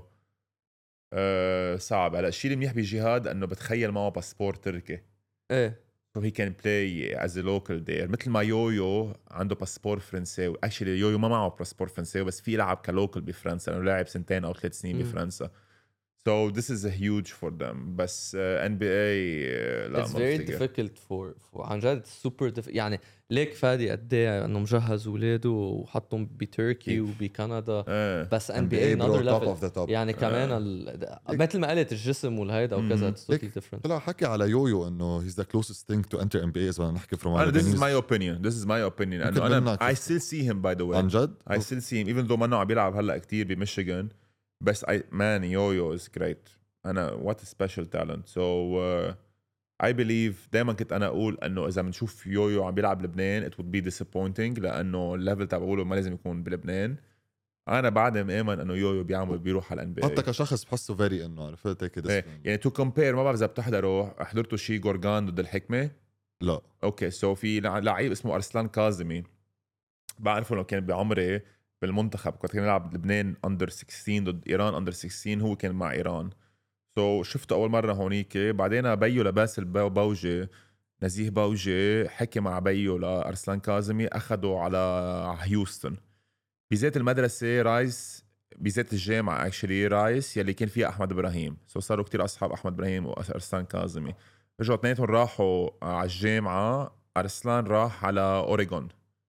uh, صعب. هلا الشيء اللي منيح بجهاد انه بتخيل معه باسبور تركي. ايه so he can play as a local there. مثل ما يويو عنده باسبور فرنساوي. actually يويو ما معه باسبور فرنساوي بس في يلعب كلوكل بفرنسا لانه لاعب سنتين او ثلاث سنين بفرنسا. So this is a huge for them. بس uh, إن بي إيه uh, لا It's very difficult for, for عن جد super diff... يعني ليك فادي قد ايه انه مجهز اولاده وحطهم بتركي وبكندا. uh, بس إن بي إيه another level. يعني uh. كمان ال... مثل ما قلت الجسم والهيدا وكذا it's totally different. طلع حكي على يويو انه he's the closest thing to enter إن بي إيه إذا نحكي from أنا this is my opinion. This is my opinion. أنا أنا I still see him by the way. عن جد؟ I still see him even though ما إنه عم بيلعب هلا كتير بميشيغان. بس I man Yo-Yo is great. أنا what a special talent. So uh, I believe دايما كنت انا اقول انه اذا بنشوف يويو عم بيلعب لبنان it would be disappointing لانه الليفل تبع بقوله ما لازم يكون بلبنان. انا بعد مآمن انه يويو بيعمل بيروح على الان بي اي حتى كشخص بحسه فيري انه عرفت هيك ايه يعني تو كومبير. ما بعرف اذا بتحضروا حضرتوا شي جورجان ضد الحكمه؟ لا اوكي سو في لعيب اسمه ارسلان كاظمي بعرفه لو كان بعمري بالمنتخب كنت كان يلعب لبنان اندر ستاشر ضد ايران اندر ستاشر هو كان مع ايران. سو so, شفته اول مره هونيك بعدين بيو لباسل بوجي نزيه بوجي حكي مع بيو لارسلان كاظمي اخذوا على هيوستن بذات المدرسه رايس بذات الجامعه اكشلي رايس يلي كان فيها احمد ابراهيم. سو so, صاروا كتير اصحاب احمد ابراهيم وارسلان كاظمي. رجعوا اثنيناتهم راحوا على الجامعه. ارسلان راح على اوريغون.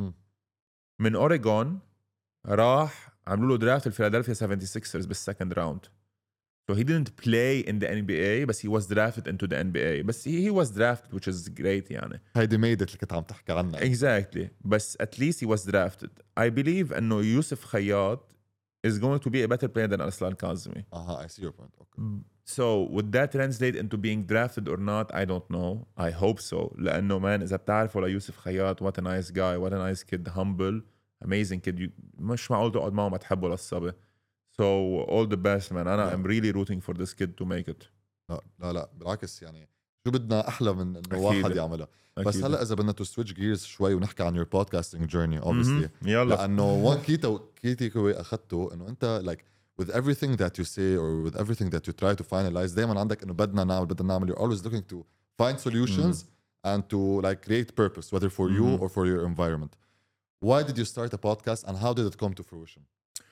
من اوريغون راح عملوا له درافت الفيلادلفيا سيفنتي سيكسرز بالسكند راوند. So he didn't play in the إن بي إيه بس he was drafted into the إن بي إيه. بس he, he was drafted which is great يعني. هيدي ميدت اللي كنت عم تحكي عنها. Exactly. بس at least he was drafted. I believe انه يوسف خياط is going to be a better player than Arslan Kazmi. Uh-huh, I see your point. Okay. So would that translate into being drafted or not? I don't know. I hope so. لأنه man إذا بتعرفوا ليوسف خياط what a nice guy, what a nice kid, humble, amazing kid. You, مش معقول تقعد معه ما تحبه للصبي. So all the best man. أنا yeah. I'm really rooting for this kid to make it. لا لا لا بالعكس يعني شو بدنا أحلى من إنه واحد يعملها. بس هلا إذا بدنا to switch gears شوي ونحكي عن your podcasting journey obviously. Mm-hmm. يلا. لأنه one key تو key takeaway أخذته إنه أنت like with everything that you say or with everything that you try to finalize دايما عندك إنه بدنا نعمل بدنا نعمل. You're always looking to find solutions mm-hmm. and to like create purpose whether for mm-hmm. you or for your environment. Why did you start a podcast and how did it come to fruition?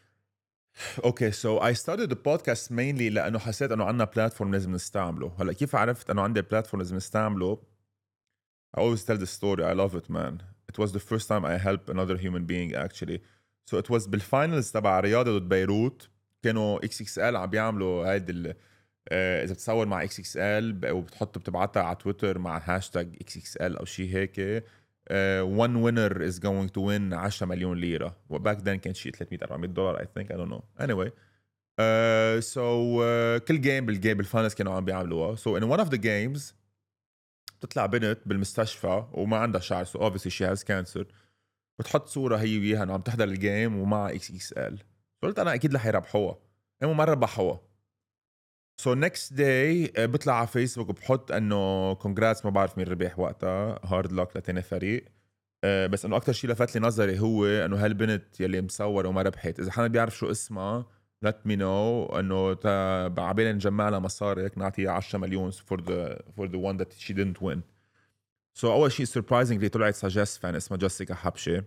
Okay, so I started the podcast mainly لأنه حسيت إنه عنا بلاتفورم لازم نستعمله. هلا كيف عرفت إنه عندي بلاتفورم لازم نستعمله؟ I always tell the story. I love it, man. It was the first time I helped another human being actually. So it was بالفاينلز تبع رياضة ضد بيروت. كانوا إكس إكس إل عم بيعملوا هيدي ال آه إذا بتصور مع إكس إكس إل وبتحط بتبعتها على تويتر مع هاشتاج إكس إكس إل أو شيء هيك. Uh, one winner is going to win عشرة مليون ليرة. وباك then كان شيء ثلاثمية أربعمية دولار I think I don't know. Anyway. Uh, so uh, كل جيم بالجيم بالفاينلز كانوا عم بيعملوها. So in one of the games بتطلع بنت بالمستشفى وما عندها شعر. So obviously she has cancer. بتحط صورة هي وياها إنه عم تحضر الجيم ومع إكس إكس إل. قلت أنا أكيد رح يربحوها. إنه ما ربحوها. So next day بطلع على فيسبوك وبحط انه congrats ما بعرف مين ربح وقتها hard luck لتاني فريق. أه بس انه اكتر شيء لفت لي نظري هو انه هالبنت يلي مصور وما ربحت اذا حدا بيعرف شو اسمها let me know انه عبالي نجمع لها مصاري هيك نعطيها عشرة مليون for the for the one that she didn't win. So اول شيء surprisingly طلعت suggest fan اسمها جيسيكا حبشة.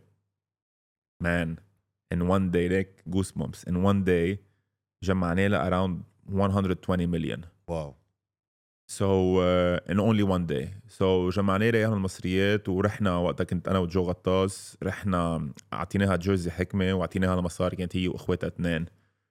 Man in one day like goosebumps in one day جمعنا لها around one hundred twenty million. Wow. So uh, in only one day. So جمعنا لها اياها المصريات ورحنا وقتها كنت انا وجو غطاس رحنا اعطيناها جيرزي حكمه واعطيناها المصاري كانت هي واخواتها اثنين.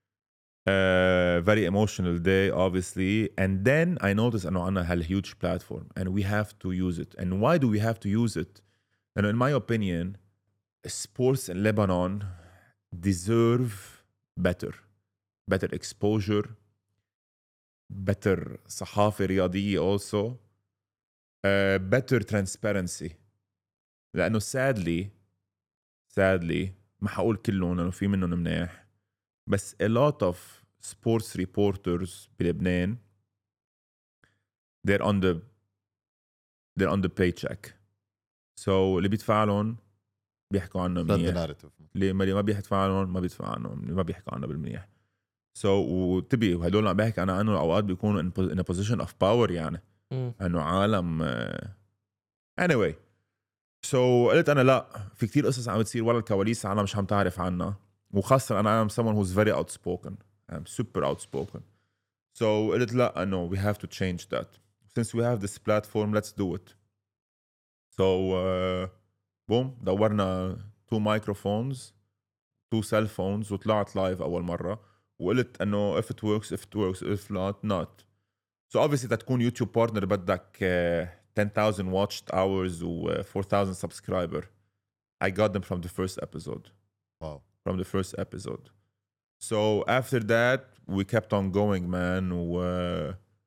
Uh, very emotional day obviously and then I noticed انه عنا هال huge platform and we have to use it. And why do we have to use it? And in my opinion sports in Lebanon deserve better better exposure, better صحافة رياضية also, uh, better transparency. لأنه sadly sadly ما حقول كلهم لأنه في منهم مناح بس a lot of sports reporters بلبنان they're on the they're on the paycheck. So اللي بيدفع لهم بيحكوا عنه منيح اللي ما بيدفع لهم ما بيدفع عنهم ما بيحكوا عنه بالمنيح. So وتبي وهدول عم بحكي أنا عنه أوقات بيكونوا in, in a position of power يعني إنه عالم uh... anyway. So قلت أنا لا في كتير قصص عم بتصير ورا الكواليس أنا مش عم تعرف عنها وخاصة أنا I'm someone who's very outspoken. I'm super outspoken. So قلت لا إنه we have to change that. Since we have this platform let's do it. So uh, boom دورنا two microphones two cell phones وطلعت لايف أول مرة وقلت انه if it works if it works if not not. So obviously تكون يوتيوب بارتنر بدك uh, ten thousand watched hours و uh, four thousand subscriber. I got them from the first episode. Wow. From the first episode. So after that we kept on going man و uh,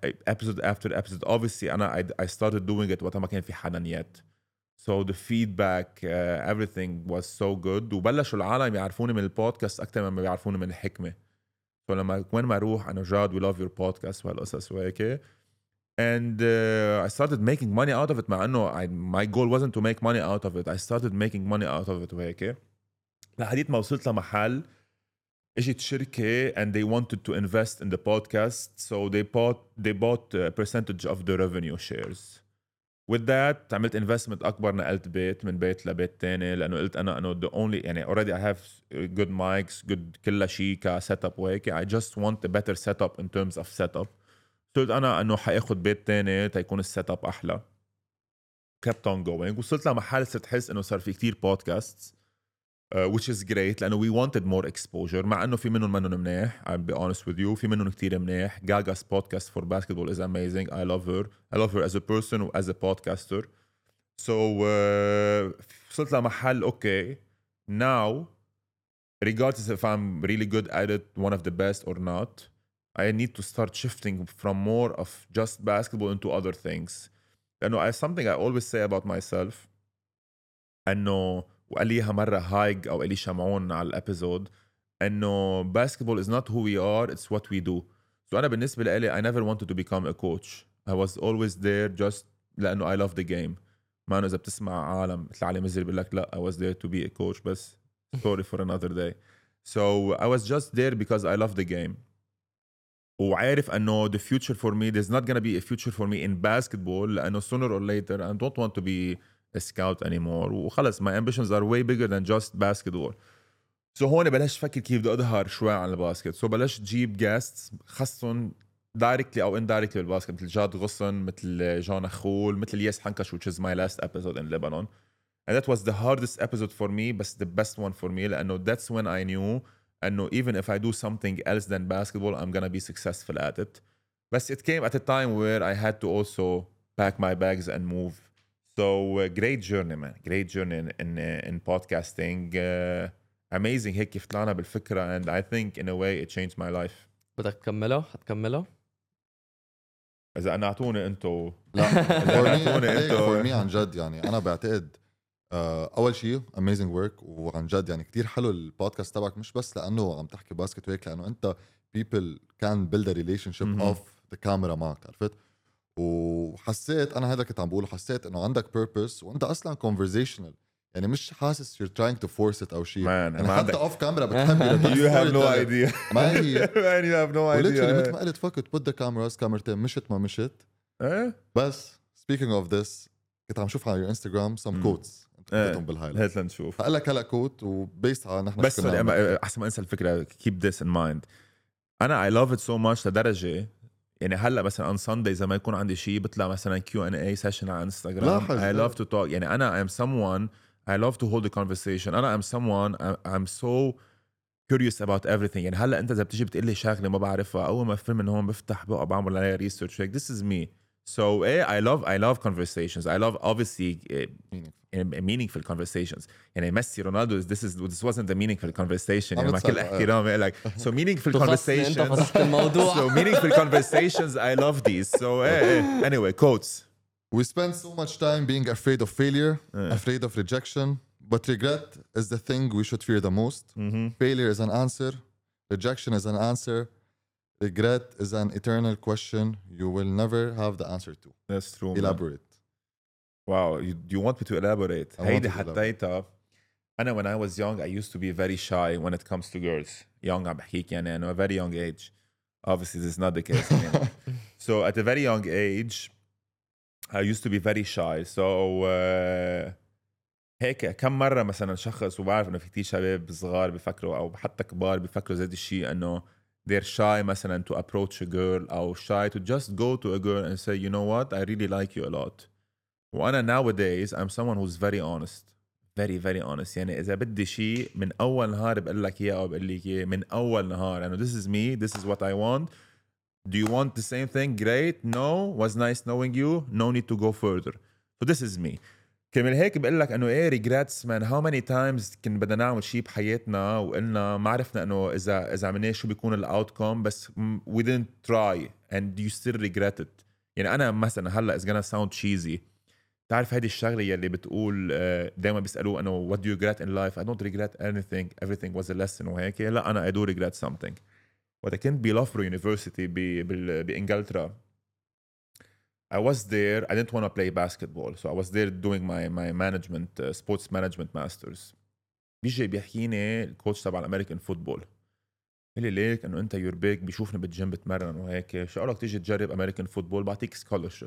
episode after episode. Obviously أنا I, I started doing it وقتها ما كان في حدا yet. So the feedback, uh, everything was so good. وبلشوا العالم يعرفوني من البودكاست أكتر مما بيعرفوني من الحكمة. So لما وين ما أروح أنا جاد we love your podcast وهالقصص وهيك. And uh, I started making money out of it. مع إنه I, my goal wasn't to make money out of it. I started making money out of it وهيك. لحديت ما وصلت لمحل اجت شركة and they wanted to invest in the podcast. So they bought they bought a percentage of the revenue shares. With that عملت investment أكبر, نقلت بيت من بيت لبيت تاني لأنه قلت أنا أنه the only يعني already I have good mics, good كل شيء كsetup وهيك. I just want a better setup in terms of setup. قلت أنا أنه حأخذ بيت تاني تيكون السيت أحلى. Kept on going. وصلت لمحل صرت حس إنه صار في كتير podcasts. Uh, which is great لأنه we wanted more exposure. مع أنه في منهم منهم منيح, I'll be honest with you, في منهم كتير منيح. Gaga's podcast for basketball is amazing. I love her. I love her as a person and as a podcaster. So uh, وصلت لمحل okay, now regardless if I'm really good at it, one of the best or not, I need to start shifting from more of just basketball into other things. لأنه I, something I always say about myself أنه وقال ليها مرة هايج أو إلي شمعون على الأبيزود إنه basketball is not who we are, it's what we do. So أنا بالنسبة لي I never wanted to become a coach. I was always there just لأنه I love the game. ما أنه إذا بتسمع عالم مثل علي مزري بيقول لك لا I was there to be a coach بس story for another day. So I was just there because I love the game. وعارف أنه the future for me, there's not gonna be a future for me in basketball لأنه sooner or later I don't want to be a scout anymore. وخلص my ambitions are way bigger than just basketball. So هون بلشت فكر كيف بدي أظهر شوي عن الباسكت. So بلشت جيب guests خصهم directly أو indirectly بالباسكت مثل جاد غصن, مثل جان أخول, مثل ياس حنكش, which is my last episode in Lebanon. And that was the hardest episode for me, but the best one for me لأنه that's when I knew أنه even if I do something else than basketball I'm gonna be successful at it. But it came at a time where I had to also pack my bags and move. So uh, great journey man, great journey in in, uh, in podcasting. Uh, amazing هيك كيف طلعنا بالفكرة and I think in a way it changed my life. بدك تكمله؟ هتكمله؟ إذا أنا أعطوني أنتو لا أعطوني أنتو for me عن جد يعني أنا بعتقد uh, أول شيء amazing work وعن جد يعني كتير حلو البودكاست تبعك مش بس لأنه عم تحكي باسكت وهيك لأنه أنت people can build a relationship mm-hmm. off the camera معك عرفت. وحسيت انا هذا كنت عم بقوله, حسيت انه عندك purpose وانت اصلا conversational يعني مش حاسس you're trying to force it او شيء يعني حتى off camera بتحب you have no idea ما هي man you have no idea مثل ما قلت فكت put the cameras كاميرتين مشت ما مشت ايه. بس speaking of this كنت عم شوف على انستغرام some quotes كتبتهم بالهايلايت. هات لنشوف. هقول لك هلا كوت وبيست على نحن بس احسن ما انسى الفكره keep this in mind. انا I love it so much لدرجه يعني هلا مثلا on Sunday إذا ما يكون عندي شيء بطلع مثلا كيو أند إيه session على انستغرام. I love to talk. يعني أنا I'm someone I love to hold a conversation. أنا I'm someone I'm so curious about everything. يعني هلا أنت إذا بتيجي بتقول لي شغلة ما بعرفها أول ما فيلم من هون بفتح بقى بعمل عليها research. Like this is me. So eh, I love I love conversations. I love obviously uh, meaningful conversations. يعني ميسي رونالدو this is this wasn't a meaningful conversation. يعني مع كل احترامي like so meaningful conversations. So meaningful conversations I love these. So eh, eh. anyway quotes. We spend so much time being afraid of failure, uh. afraid of rejection, but regret is the thing we should fear the most. Mm-hmm. Failure is an answer. Rejection is an answer. Regret is an eternal question you will never have the answer to. That's true. Elaborate. Man. Wow, you, you want me to elaborate? هيدي حطيتها. أنا when I was young I used to be very shy when it comes to girls. Young عم بحكيك يعني أنا a very young age. Obviously this is not the case anymore. So at a very young age I used to be very shy. So uh, هيك كم مرة مثلا شخص وبعرف إنه في كتير شباب صغار بفكروا أو حتى كبار بفكروا زي الشيء إنه they're shy مثلا to approach a girl أو shy to just go to a girl and say you know what I really like you a lot. وأنا nowadays I'm someone who's very honest. Very very honest. يعني إذا بدي شيء من أول نهار بقول لك إياه أو بقول لك إياه من أول نهار. يعني this is me. This is what I want. Do you want the same thing? Great. No. Was nice knowing you. No need to go further. So this is me. كمان هيك بقول لك انه ايه ريجريتس مان هاو ماني تايمز كنا بدنا نعمل شيء بحياتنا وقلنا ما عرفنا انه اذا اذا عملنا شو بيكون الاوتكم بس we didn't try and you still regret it. يعني انا مثلا هلا is gonna sound cheesy تعرف هذه الشغله يلي بتقول دائما بيسالوه انه what do you regret in life. I don't regret anything, everything was a lesson وهيك. لا انا I do regret something. وقت كنت بلافرو يونيفرسيتي بانجلترا I was there. I didn't want to play basketball, so I was there doing my my management, uh, sports management masters. بيجي بيحكيني الكوتش تبع الامريكان فوتبول قال لي ليك انه انت يور بيك بيشوفني بالجيم بتمرن وهيك شو قالك تيجي تجرب امريكان فوتبول بعطيك سكولرشيب.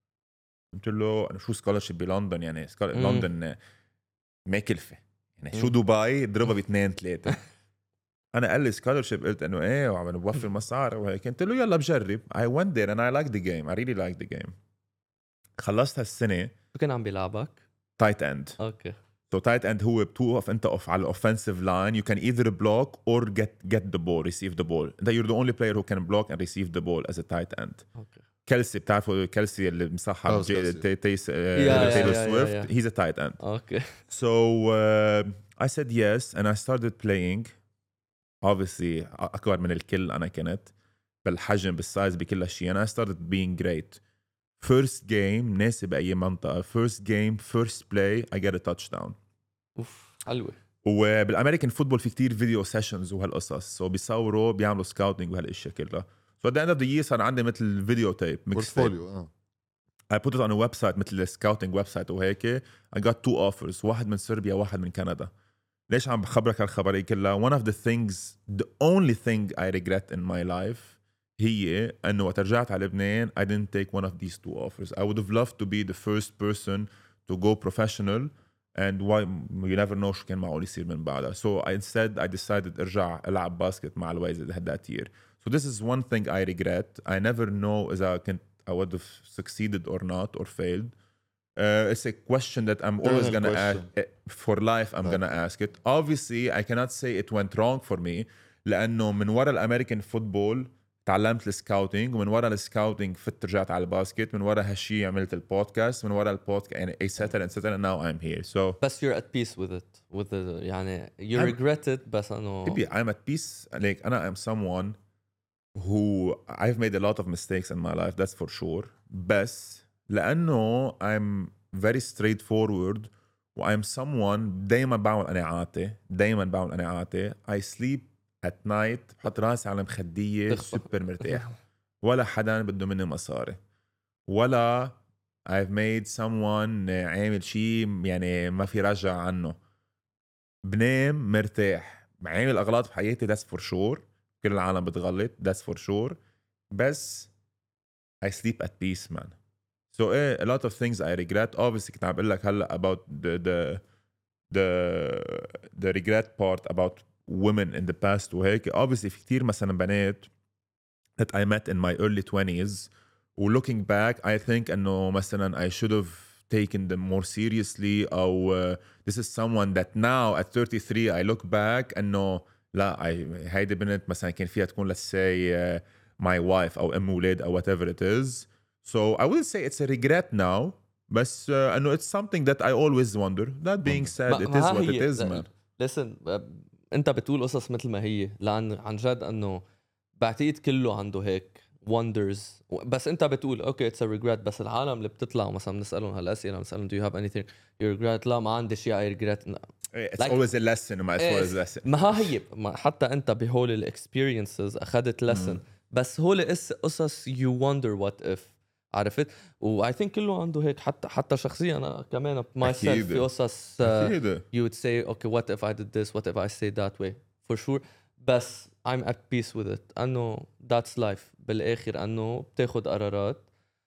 قلت له انا شو سكولرشيب بلندن يعني لندن ما كلفه يعني شو دبي اضربها باثنين ثلاثه. انا قال لي سكولرشيب قلت انه ايه وعم بوفر مصاري وهيك. قلت له يلا بجرب. I went there and I liked the game. I really liked the game. خلصت هالسنه. شو كان عم بيلعبك؟ تايت اند. اوكي. So tight end هو بتوقف انت اوف على الاوفنسيف لاين. You can either block or get get the ball, receive the ball. That you're the only player who can block and receive the ball as a tight end. اوكي. كيلسي بتعرفوا كيلسي اللي مصحح تيس تايلور سويفت. He's a tight end. اوكي. So uh, I said yes and I started playing. Obviously أكبر من الكل أنا كنت بالحجم بالسايز بكل شيء. and I started being great. First game ناسي بأي منطقة. First game first play I get a touchdown. أوف حلوة. وبالأمريكان فوتبول في كتير فيديو سيشنز وهالقصص. so بيصوروا بيعملوا سكاوتينج وهالاشياء كلها. so at the end of the year صار عندي مثل فيديو تيب بورتفوليو. I put it on a website مثل scouting website وهيك. I got two offers. واحد من صربيا واحد من كندا. ليش عم بخبرك هالخبرية كلها؟ one of the things the only thing I regret in my life هي أنه وقت رجعت على لبنان I didn't take one of these two offers. I would have loved to be the first person to go professional and why you never know شو كان معقول يصير من بعدها. So instead I decided أرجع ألعب باسكت مع الويزد that year. So this is one thing I regret. I never know إذا كنت I would have succeeded or not or failed. Uh, it's a question that I'm always Eternal gonna ask question. for life. I'm Right. gonna ask it. Obviously, I cannot say it went wrong for me. لأنه من وراء الأمريكان فوتبول تعلمت السكاوتينج ومن وراء السكاوتينج فت رجعت على الباسكت. من وراء هالشي عملت البودكاست. من وراء البودكاست يعني et cetera et cetera. Now I'm here. So. بس you're at peace with it. With the يعني you I'm, regret it بس أنه. Maybe I'm at peace. Like أنا I'm someone who I've made a lot of mistakes in my life. That's for sure. بس لأنه I'm very straightforward و I'm someone دايما بعمل قناعاتي دايما بعمل قناعاتي. I sleep at night بحط راسي على مخدية سوبر مرتاح ولا حدا بده مني مصاري ولا I've made someone عامل شيء يعني ما في رجع عنه. بنام مرتاح. عامل أغلاط في حياتي that's for sure. كل العالم بتغلط that's for sure. بس I sleep at peace man. So eh, a lot of things I regret. Obviously كنت عم بقول لك هلا about the the the the regret part about women in the past وهيك. Obviously في كتير مثلا بنات that I met in my early twenties و looking back I think انه مثلا I should have taken them more seriously أو uh, this is someone that now at thirty-three I look back انه لا I هيدي بنت مثلا كان فيها تكون let's say uh, my wife أو أم ولاد أو whatever it is. So I will say it's a regret now. بس uh, انه it's something that I always wonder. That being said it is what it is man. Listen انت بتقول قصص مثل ما هي لأن عن جد انه بعتقد كله عنده هيك wonders. بس انت بتقول اوكي it's a regret بس العالم اللي بتطلع مثلا بنسألهم هالأسئلة بنسألهم do you have anything you regret لا ما عندي شيء I regret. It's like, always a lesson وما it's always a lesson. ما هي ما حتى انت بهول الاكسبيرينسز اخذت lesson بس هول قصص you wonder what if عرفت. و I think كله عنده هيك حتى حتى شخصيا انا كمان myself في قصص uh, you would say okay what if I did this what if I say that way for sure. بس I'm at peace with it انه that's life بالاخر انه بتاخد قرارات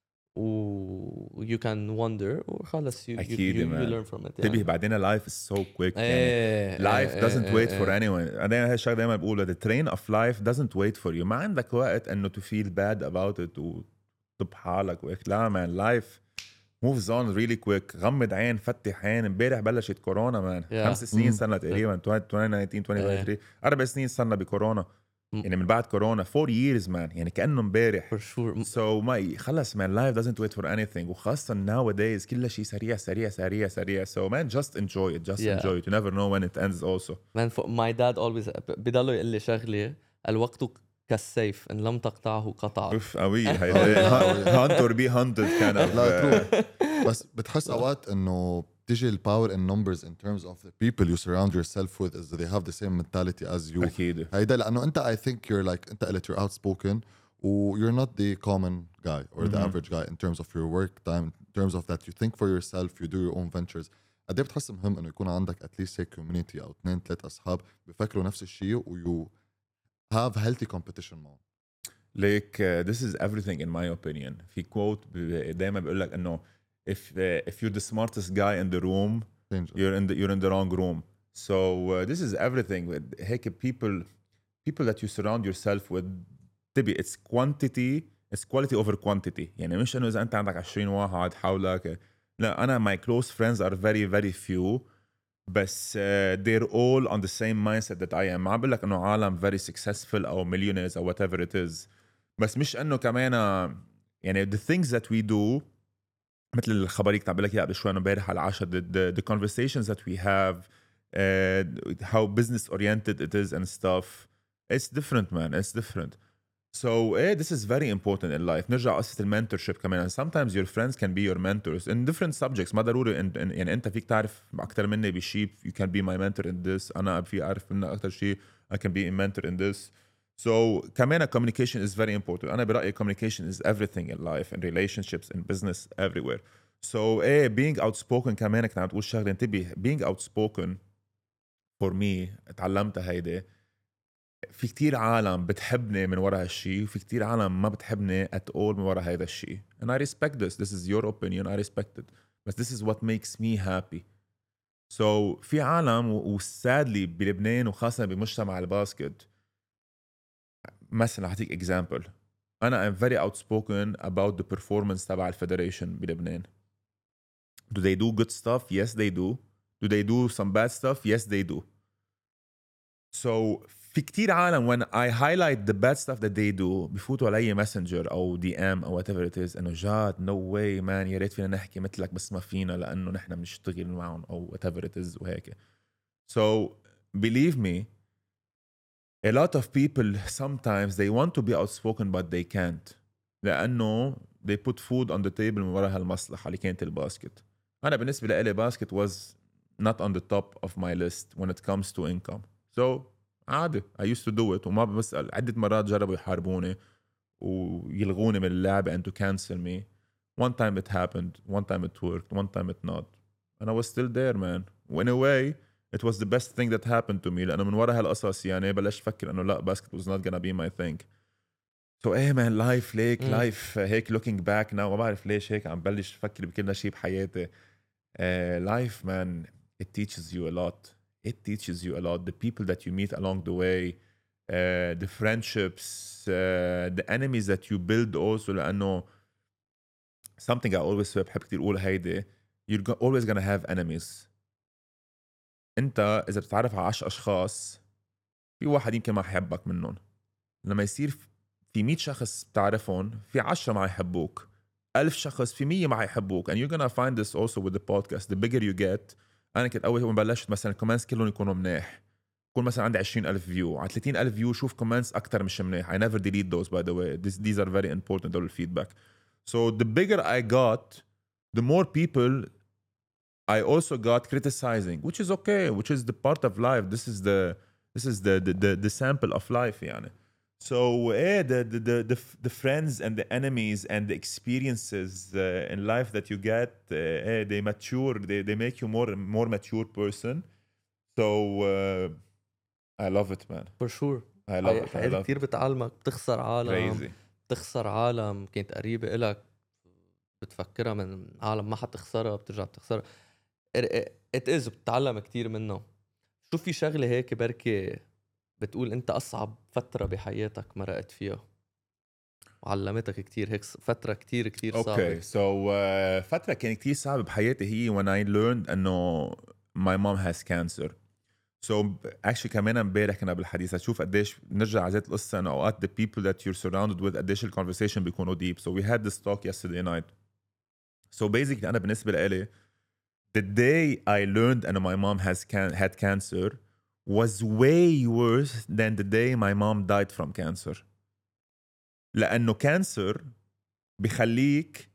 و you can wonder وخلص you, you, you, you learn from it. تبيه يعني. بعدين life is so quick يعني life doesn't wait for anyone. أنا هالشيء دايما بقوله the train of life doesn't wait for you. ما عندك وقت انه to feel bad about it و طب حالك وهيك. لا مان لايف موفز اون ريلي كويك. غمض عين فتح عين. امبارح بلشت كورونا مان. yeah. خمس سنين صرنا تقريبا twenty nineteen twenty twenty-three اربع سنين صرنا بكورونا. يعني من بعد كورونا four years man يعني كأنه مبارح for sure so ما خلص man life doesn't wait for anything وخاصة nowadays كل شيء سريع سريع سريع سريع so man just enjoy it just Yeah. enjoy it you never know when it ends also man for my dad always بضلوا يقول لي شغله الوقت كالسيف ان لم تقطعه قطع اوف قوية هي هانتر بي هانتد كان لا تروح بس بتحس اوقات انه بتيجي الباور in numbers in terms of the people you surround yourself with is they have the same mentality as you أكيد هيدا لأنه أنت I think you're like أنت قلت you're outspoken و you're not the common guy or the Mhm. average guy in terms of your work time in terms of that you think for yourself you do your own ventures قد ايه بتحس مهم إنه يكون عندك at least a community أو اثنين ثلاث أصحاب بفكروا نفس الشيء و you have healthy competition معهم like uh, this is everything in my opinion في quote ب- دايما بيقول لك إنه if uh, if you're the smartest guy in the room Danger. you're in the you're in the wrong room so uh, this is everything with هيك people people that you surround yourself with تبي it's quantity it's quality over quantity يعني مش إنه إذا أنت عندك عشرين واحد حولك لا أنا my close friends are very very few بس uh, they're all on the same mindset that I am ما عم بقول لك إنه عالم very successful أو millionaires أو whatever it is بس مش إنه كمان يعني the things that we do مثل الخبريك تعب لك اياها قبل شوي امبارح على العشاء the, the, the conversations that we have uh, how business oriented it is and stuff it's different man it's different so eh, this is very important in life نرجع قصة المنتورشيب كمان and sometimes your friends can be your mentors in different subjects ما ضروري in, in, يعني انت فيك تعرف اكثر مني بشيء you can be my mentor in this انا في اعرف منك اكثر شيء I can be a mentor in this so كمان communication is very important أنا برأيي communication is everything in life in relationships in business everywhere so eh, being outspoken كمان كنت عم تقول شغلة انتبه being outspoken for me اتعلمتها هيدي في كتير عالم بتحبني من وراء هالشي وفي كتير عالم ما بتحبني at all من وراء هيدا الشي and I respect this this is your opinion I respect it but this is what makes me happy so في عالم و sadly بلبنان وخاصة بمجتمع الباسكت مثلا أعطيك example أنا I'm very outspoken about the performance تبع الفيدريشن بلبنان do they do good stuff yes they do do they do some bad stuff yes they do so في كتير عالم when I highlight the bad stuff that they do بفوتوا علي messenger أو دي إم أو whatever it is إنه جاد no way man يا ريت فينا نحكي مثلك بس ما فينا لأنه نحن بنشتغل معهم أو whatever it is وهيك so believe me a lot of people sometimes they want to be outspoken but they can't لأنه they put food on the table من وراء هالمصلحة اللي كانت الباسكت أنا بالنسبة لي باسكت was not on the top of my list when it comes to income so عادي I used to do it وما بسأل عدة مرات جربوا يحاربوني ويلغوني من اللعبة and to cancel me one time it happened one time it worked one time it not and I was still there man in a way it was the best thing that happened to me لأنه من وراء هالقصص يعني بلشت أفكر إنه لا basket was not gonna be my thing so إيه man life ليك مم. life هيك looking back now ما بعرف ليش هيك عم بلش أفكر بكل شيء بحياتي uh, life man it teaches you a lot it teaches you a lot the people that you meet along the way uh, the friendships uh, the enemies that you build also لأنه something I always بحب كتير أقول هيدي you're go- always gonna have enemies انت اذا بتتعرف على عشر اشخاص في واحد يمكن ما يحبك منهم لما يصير في مية شخص بتعرفهم في عشرة ما يحبوك ألف شخص في مية ما يحبوك and you're gonna find this also with the podcast the bigger you get انا كنت اول ما بلشت مثلا الكومنتس كلهم يكونوا منيح يكون مثلا عندي عشرين ألف فيو على ثلاثين ألف فيو شوف كومنتس اكثر مش منيح I never delete those by the way this, these are very important دول الفيدباك so the bigger I got the more people I also got criticizing, which is okay, which is the part of life. This is the this is the the the, the sample of life, يعني. So, eh, the, the the the the friends and the enemies and the experiences uh, in life that you get, uh, eh, they mature. They they make you more more mature person. So, uh, I love it, man. for sure I love it. I حياتي love كتير it. بتعلمك بتخسر عالم Crazy. بتخسر عالم كانت قريبة إلك بتفكرها من عالم ما حتخسرها بترجع بتخسرها it is بتتعلم كتير منه شو في شغلة هيك بركي بتقول انت أصعب فترة بحياتك مرقت فيها وعلمتك كتير هيك فترة كتير كتير صعبة Okay, so uh, فترة كانت كتير صعبة بحياتي هي when I learned إنه my mom has cancer. So actually كمان امبارح كنا بالحديث اشوف قديش نرجع على ذات القصه انه اوقات the people that you're surrounded with قديش الconversation بيكونوا deep. So we had this talk yesterday night. So basically انا بالنسبه لي the day I learned and my mom has can- had cancer was way worse than the day my mom died from cancer. لأنه cancer بيخليك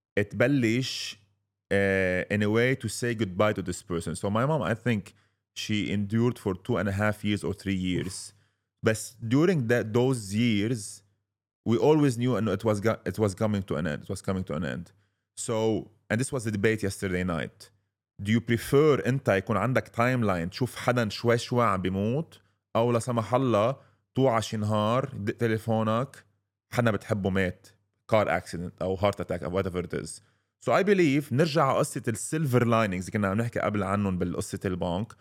تبلش uh, in a way to say goodbye to this person. So my mom, I think she endured for two and a half years or three years. But during that those years, we always knew and it was go- it was coming to an end. It was coming to an end. So, and this was the debate yesterday night. Do you prefer انت يكون عندك تايم لاين تشوف حدا شوي شوي عم بيموت او لا سمح الله توعى شي نهار دق تليفونك حدا بتحبه مات كار اكسيدنت او هارت اتاك او whatever it is. So I believe نرجع على قصة السيلفر لاينينجز كنا عم نحكي قبل عنهم بالقصة البنك.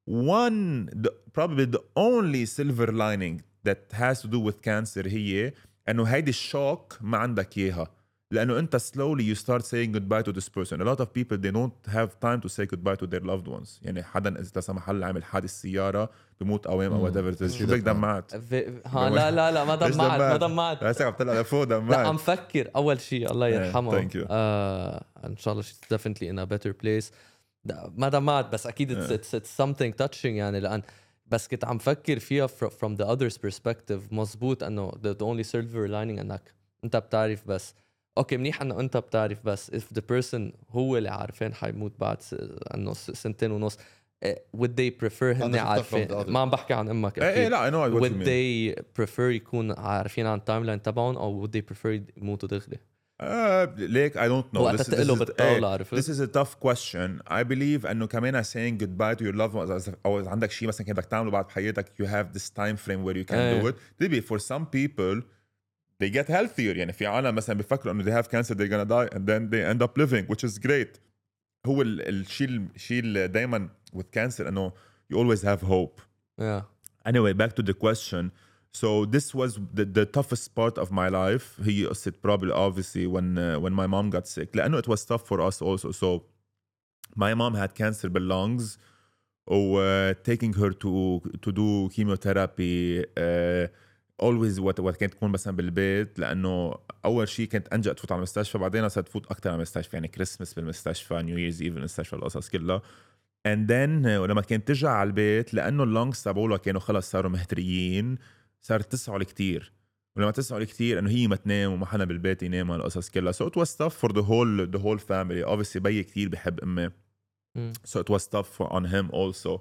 One the, probably the only silver lining that has to do with cancer هي انه هيدي الشوك ما عندك اياها. لأنه أنت slowly you start saying goodbye to this person. A lot of people they don't have time to say goodbye to their loved ones. يعني حدا إذا لا سمح الله عمل حادث سيارة بموت قوام أو whatever it is. شو بدك دمعت؟ ها لا لا لا ما دمعت ما دمعت. هسه عم طلع لفوق دمعت. لا عم فكر أول شيء الله يرحمه. Thank you. آه إن شاء الله she's definitely in a better place. ما دمعت بس أكيد it's, it's, it's something touching يعني لأن بس كنت عم فكر فيها from the other's perspective. مزبوط إنه the, the only silver lining إنك أنت بتعرف بس اوكي منيح انه انت بتعرف بس if the person هو اللي عارفين حيموت بعد انه سنتين ونص would they prefer هن عارفين ما عم بحكي عن امك ايه لا I know what would they prefer يكون عارفين عن التايم لاين تبعهم او would they prefer يموتوا دغري uh, ليك I don't know وقت تقله بالطاولة عرفت this is a tough question. I believe انه كمان saying goodbye to your loved ones او عندك شيء مثلا بدك تعمله بعد بحياتك you have this time frame where you can أيه. do it maybe for some people they get healthier. يعني في عالم مثلا بيفكروا انه they have cancer they're gonna die and then they end up living which is great. هو الشيء الشيء اللي دايما with cancer انه you always have hope. yeah. Anyway back to the question. So this was the, the toughest part of my life. هي قصة probably obviously when uh, when my mom got sick. لأنه it was tough for us also. So my mom had cancer بالlungs or uh, taking her to to do chemotherapy. Uh, always وقت وقت كانت تكون مثلا بالبيت لانه اول شيء كنت انجا تفوت على المستشفى بعدين صرت تفوت اكثر على المستشفى يعني كريسمس بالمستشفى نيو ييرز ايف بالمستشفى القصص كلها and then ولما كانت ترجع على البيت لانه اللونجز تبعولها كانوا خلص صاروا مهتريين صارت تسعل كتير ولما تسعل كتير انه هي ما تنام وما حدا بالبيت ينام القصص كلها so it was tough for the whole the whole family. Obviously بي كتير بحب امي mm. so it was tough on him also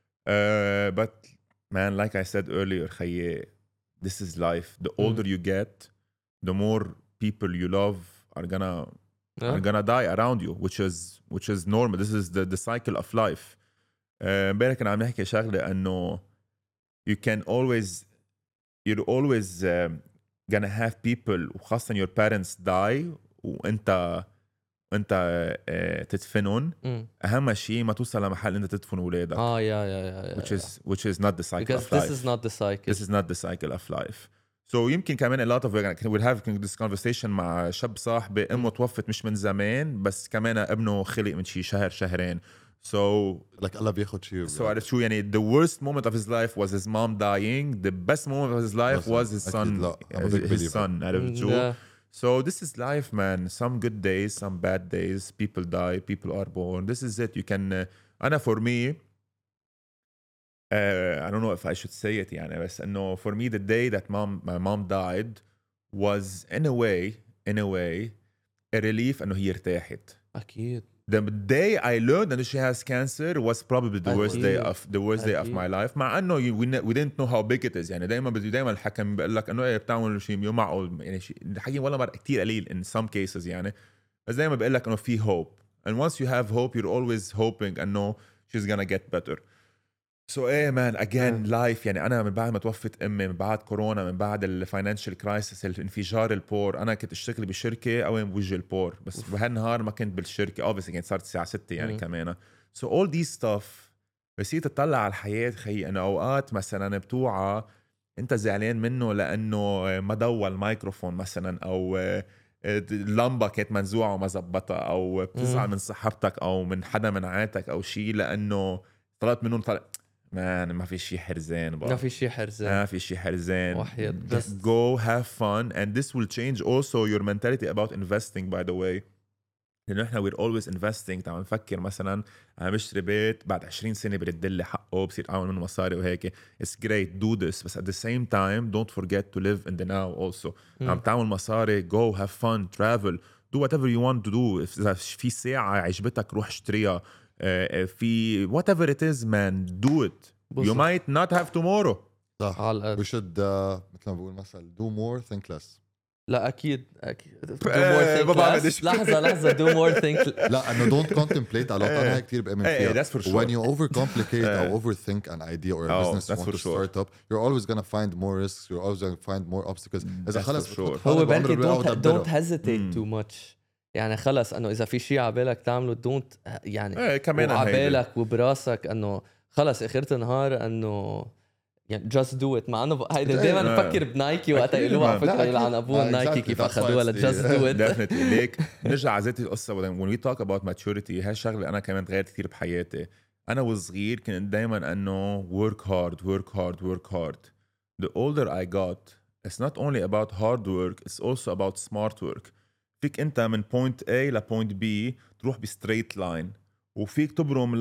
uh, but man like I said earlier خيي this is life. The older mm. you get, the more people you love are gonna yeah. are gonna die around you, which is which is normal. This is the the cycle of life. امبارح كنا عم نحكي شغلة إنه you can always you're always uh, gonna have people وخاصة your parents die وأنت أنت uh, تدفنون. mm. أهم شيء ما توصل لمحل أنت تدفن أولادك. آه يا يا يا. Which is which is not the cycle because of life. Because this is not the cycle. This is not the cycle of life. So يمكن كمان a lot of we're having this conversation مع شاب صاحبي أمه توفت مش من زمان بس كمان ابنه خلق من شي شهر شهرين. So like الله بياخد شيء. So عرفت شو يعني the worst moment of his life was his mom dying. The best moment of his life was his son. His son. عرفت شو. So this is life, man. Some good days, some bad days. People die, people are born. This is it. You can. Uh, أنا for me, uh, I don't know if I should say it. يعني بس إنه for me the day that mom, my mom died was in a way, in a way, a relief إنه هي ارتاحت. أكيد. The day I learned that she has cancer was probably the worst day of the worst day of my life. مع إنه we we didn't know how big it is. يعني دايما بدي دايما الحكم بقول لك إنه إيه بتعمل شيء مو معقول يعني شيء الحكي ولا مرة كتير قليل in some cases يعني بس دايما بقول لك إنه في hope and once you have hope you're always hoping إنه she's gonna get better. So إيه man again yeah. life يعني أنا من بعد ما توفت أمي من بعد كورونا من بعد الفاينانشال كرايسيس الانفجار البور أنا كنت أشتغل بشركة أو بوجه البور بس بهالنهار ما كنت بالشركة obviously كانت صارت الساعة ستة يعني mm. كمان so all these stuff بصير تطلع على الحياة خي أنا أوقات مثلا بتوعى أنت زعلان منه لأنه ما ضوى الميكروفون مثلا أو اللمبة كانت منزوعة وما زبطها أو بتزعل mm. من صاحبتك أو من حدا من عائلتك أو شيء لأنه طلعت منهم طلع مان ما في شيء حرزان بقى. ما في شيء حرزان ما في شيء حرزان. وحيد. Just go have fun and this will change also your mentality about investing by the way. لأنه إحنا we're always investing. تعال نفكر مثلا أنا بشتري بيت بعد عشرين سنة برد لي حقه بصير أعمل منه مصاري وهيك. It's great do this بس at the same time don't forget to live in the now also. عم تعمل مصاري go have fun travel do whatever you want to do. إذا في ساعة عجبتك روح اشتريها. في whatever it is man do it. You might not have tomorrow. صح. we should uh, مثل ما بقول مثلا do more think less. لا اكيد اكيد do more think less. لحظه لحظه do more think لا انه don't contemplate على انا هيك كثير بامن فيها. That's for sure. When you overcomplicate or overthink an idea or a oh, business you want to sure. start up you're always going to find more risks you're always going to find more obstacles. اذا خلص هو بالك don't, don't hesitate too much. يعني خلص انه اذا في شيء على بالك تعمله don't يعني ايه كمان على بالك وبراسك انه خلص اخرت النهار انه يعني just do it. مع انه هيدا دائما بفكر بنايكي وقت يقولوا على فكره يلعن ابوه نايكي كيف اخذوها ل just do it. definitely ليك نرجع على ذات القصه when we talk about maturity هاي الشغله انا كمان تغيرت كثير بحياتي. انا وصغير كنت دائما انه work hard work hard work hard. The older I got it's not only about hard work it's also about smart work. فيك انت من point A ل point B تروح ب straight line وفيك تبرم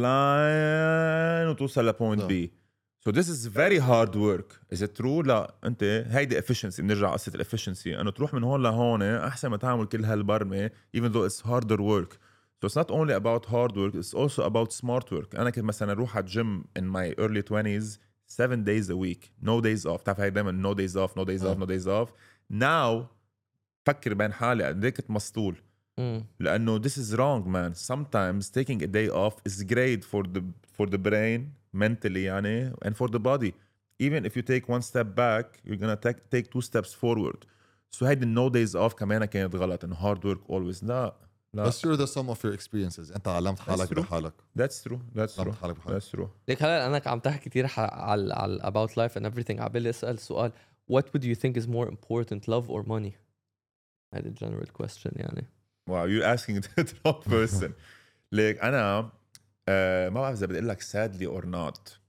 line وتوصل ل point B. So this is very hard work. Is it true? لا انت هيدي efficiency. بنرجع قصة ال efficiency انه تروح من هون لهون احسن ما تعمل كل هالبرمة even though it's harder work. So it's not only about hard work it's also about smart work. انا كنت مثلا اروح على الجيم in my early twenties seven days a week no days off. تعرف هاي دايما no days off no days off no days off. Now فكر بين حالي قد ايه كنت مسطول. لانه this is wrong man. Sometimes taking a day off is great for the for the brain mentally يعني and for the body. Even if you take one step back you're gonna take take two steps forward. So هيدي no days off كمان كانت غلط and hard work always. لا لا. But you're the sum of your experiences. أنت علمت حالك بحالك. That's true. That's true. That's true. ليك هلا أنا عم تحكي كتير على على about life and everything. عبالي أسأل سؤال what would you think is more important love or money? هذا general question يعني. Wow, you're asking the wrong person. ليك أنا uh, ما بعرف إذا بدي أقول لك sadly or not.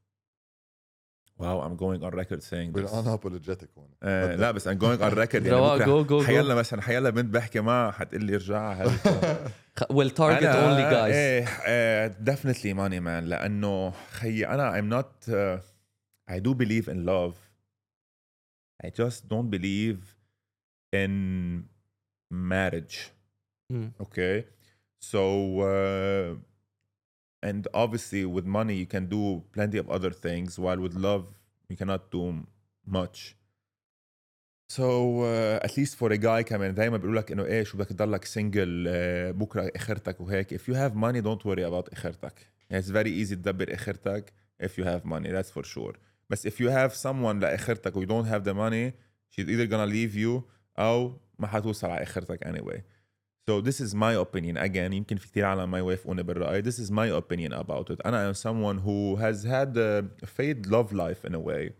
Wow, I'm going on record saying this. We're unapologetic one. Uh, لا بس I'm going on record. يعني go, go, حيلا مثلا حيلا بنت بحكي معها حتقول لي ارجع هل will target only guys. إيه uh, definitely money man. لأنه خي أنا I'm not uh, I do believe in love. I just don't believe in marriage. Mm. Okay, so uh, and obviously with money you can do plenty of other things while with love you cannot do much. So uh, at least for a guy كمان دايما بيقول لك انه ايه شو بدك تضلك single uh, بكره اخرتك وهيك. If you have money don't worry about اخرتك. It's very easy تدبر اخرتك if you have money, that's for sure. But if you have someone لاخرتك و you don't have the money she's either gonna leave you أو ما حتوصل على اخرتك anyway. So this is my opinion. Again, يمكن في كتير عالم ما يوافقوني بالرأي. This is my opinion about it. أنا am someone who has had a fade love life in a way.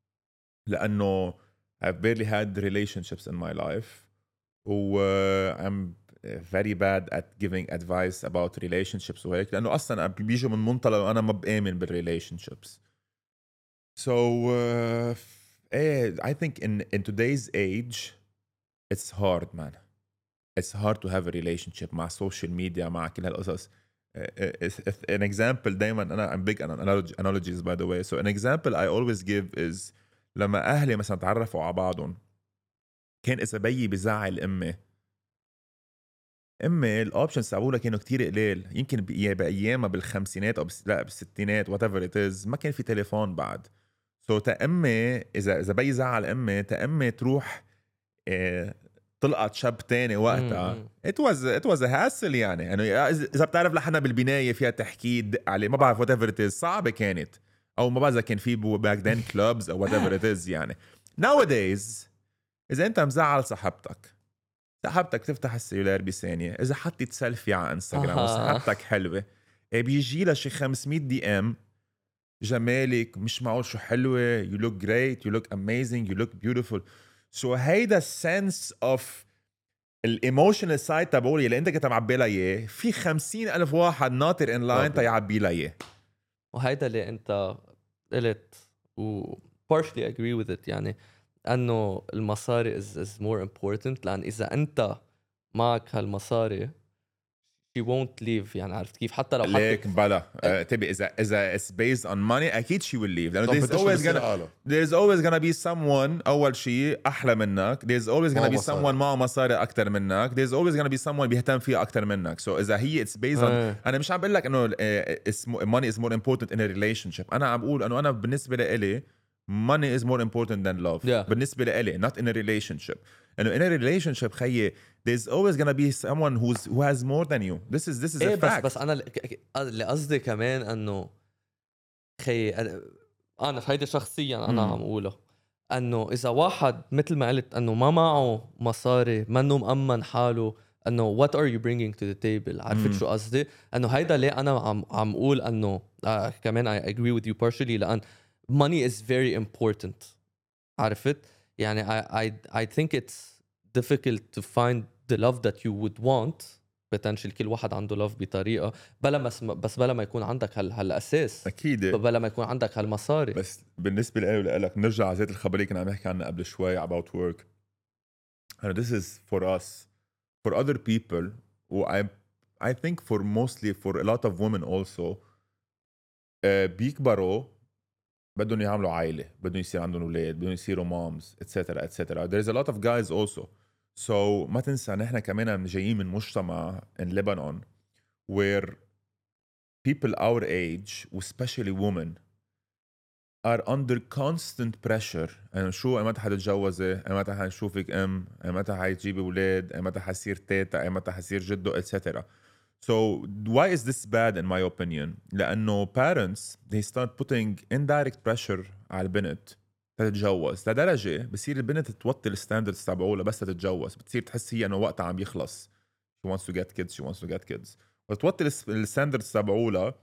لأنه I've barely had relationships in my life. و uh, I'm very bad at giving advice about relationships وهيك. لأنه أصلاً بيجي من منطلق أنا ما بآمن بالrelationships. So uh, I think in in today's age, it's hard, man. It's hard to have a relationship مع social media مع كل هالقصص. An example دايما أنا I'm big on analogies by the way. So an example I always give is لما أهلي مثلا تعرفوا على بعضهم كان إذا بيي بزعل أمي أمي الأوبشنز تبعولها كانوا كتير قليل. يمكن بأيامها بالخمسينات أو بس لا بالستينات whatever it is ما كان في تليفون بعد. So تأمي إذا إذا بيي زعل أمي تأمي تروح إيه طلقت شاب تاني وقتها. it was it was a hassle يعني. يعني إذا بتعرف لحنا بالبناية فيها تحكي دق عليه ما بعرف whatever it is صعبة كانت أو ما بعرف إذا كان في back then clubs أو whatever it is يعني. Nowadays إذا أنت مزعل صاحبتك صاحبتك تفتح السيلولار بثانية إذا حطيت سيلفي على انستغرام وصاحبتك حلوة بيجي لها شي خمسمية دي ام جمالك مش معقول شو حلوة you look great you look amazing you look beautiful. So هيدا sense of الايموشنال سايد تبعولي اللي انت كنت معبي لها اياه في خمسين ألف واحد ناطر ان لاين تيعبي لها اياه. وهيدا اللي انت قلت و partially agree with it يعني انه المصاري is, is more important لان اذا انت معك هالمصاري she won't leave يعني عرفت كيف حتى لو ليك بلا uh, تبي اذا اذا it's based on money اكيد she will leave لانه there's always gonna there's always gonna be someone اول شيء احلى منك there's always gonna be someone معه مصاري اكثر منك there's always gonna be someone بيهتم فيها اكثر منك so اذا هي it's based on انا مش عم بقول لك انه money is more important in a relationship انا عم بقول انه انا بالنسبه لي money is more important than love yeah. بالنسبه لي not in a relationship انه in a relationship خيي there's always gonna be someone who's who has more than you this is this is إيه a بس fact بس انا اللي قصدي كمان انه خي انا في هيدي شخصيا انا عم اقوله انه اذا واحد مثل ما قلت انه ما معه مصاري منه مأمن حاله انه what are you bringing to the table عرفت شو قصدي انه هيدا ليه انا عم عم اقول انه آه كمان I agree with you partially لان money is very important عرفت يعني I I I think it's difficult to find the love that you would want potentially كل واحد عنده love بطريقة بلا ما بس بلا ما يكون عندك هال هالأساس أكيد بلا ما يكون عندك هالمصاري بس بالنسبة لي ولك نرجع على زيت الخبرية كنا عم نحكي عنها قبل شوي about work and this is for us for other people و I I think for mostly for a lot of women also uh, بيكبروا بدهم يعملوا عائلة بدهم يصير عندهم أولاد بدهم يصيروا moms etc etc there's a lot of guys also so ما تنسى نحن كمان جايين من مجتمع in Lebanon where people our age especially women are under constant pressure يعني شو أي متى حتتجوزي أي متى حنشوفك أم أي متى حتجيبي أولاد أي متى حصير تيتا أي متى حصير جدو etc So why is this bad in my opinion? لأنه parents they start putting indirect pressure على البنت تتجوز لدرجة بصير البنت توطي الستاندردز تبعولها بس تتجوز بتصير تحس هي إنه وقتها عم يخلص she wants to get kids she wants to get kids وتوطي الستاندردز تبعولها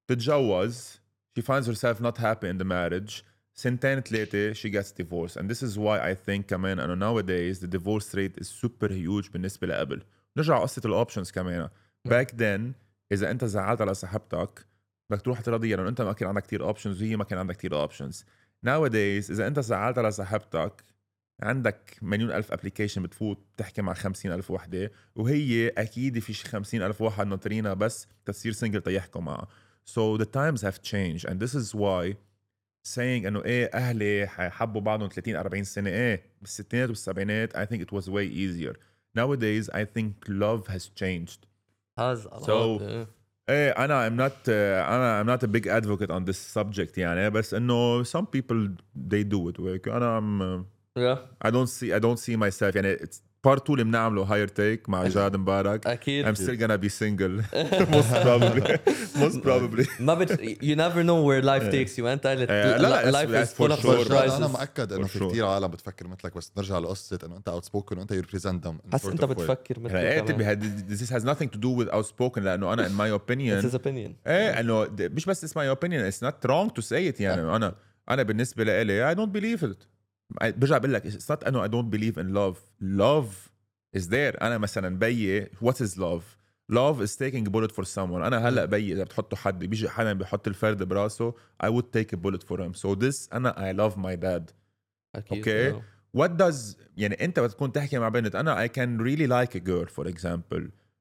تتجوز she finds herself not happy in the marriage سنتين ثلاثة she gets divorced and this is why I think كمان إنه nowadays the divorce rate is super huge بالنسبة لقبل. نرجع قصة الأوبشنز كمان back then إذا أنت زعلت على صاحبتك بدك تروح تراضيها لأنه أنت ما كان عندك كتير options وهي ما كان عندك كتير options. Nowadays إذا أنت زعلت على صاحبتك عندك مليون ألف application بتفوت بتحكي مع خمسين ألف وحدة وهي أكيد في شي خمسين ألف واحد ناطرينها بس تصير سنجل تيحكوا معها. So the times have changed and this is why saying إنه إيه أهلي حبوا بعضهم ثلاثين أربعين سنة إيه بالستينات والسبعينات I think it was way easier. Nowadays I think love has changed. has a so lot yeah. ايه انا I'm not uh, انا I'm not a big advocate on this subject يعني بس انه some people they do it work انا I'm uh, yeah. I don't see I don't see myself يعني it's part two اللي بنعمله higher take مع جاد مبارك أكيد I'm still gonna be single most probably most probably ما بت you never know where life takes you أنت قلت لا لا life is full of sure. surprises. أنا مأكد إنه في كتير عالم بتفكر مثلك بس نرجع لقصة إنه أنت outspoken وأنت you represent them حس أنت بتفكر مثل ايه تبي this has nothing to do with outspoken لأنه أنا in my opinion it's his opinion ايه إنه مش بس it's my opinion it's not wrong to say it يعني أنا أنا بالنسبة لي I don't believe it برجع بقول لك it's not إنه I don't believe in love love is there أنا مثلا بيي what is love love is taking a bullet for someone أنا هلأ بيي إذا بتحطوا حد بيجي حدا بيحط الفرد براسه I would take a bullet for him so this أنا I love my dad أكيد okay yeah. what does يعني أنت بتكون تحكي مع بنت أنا I can really like a girl for example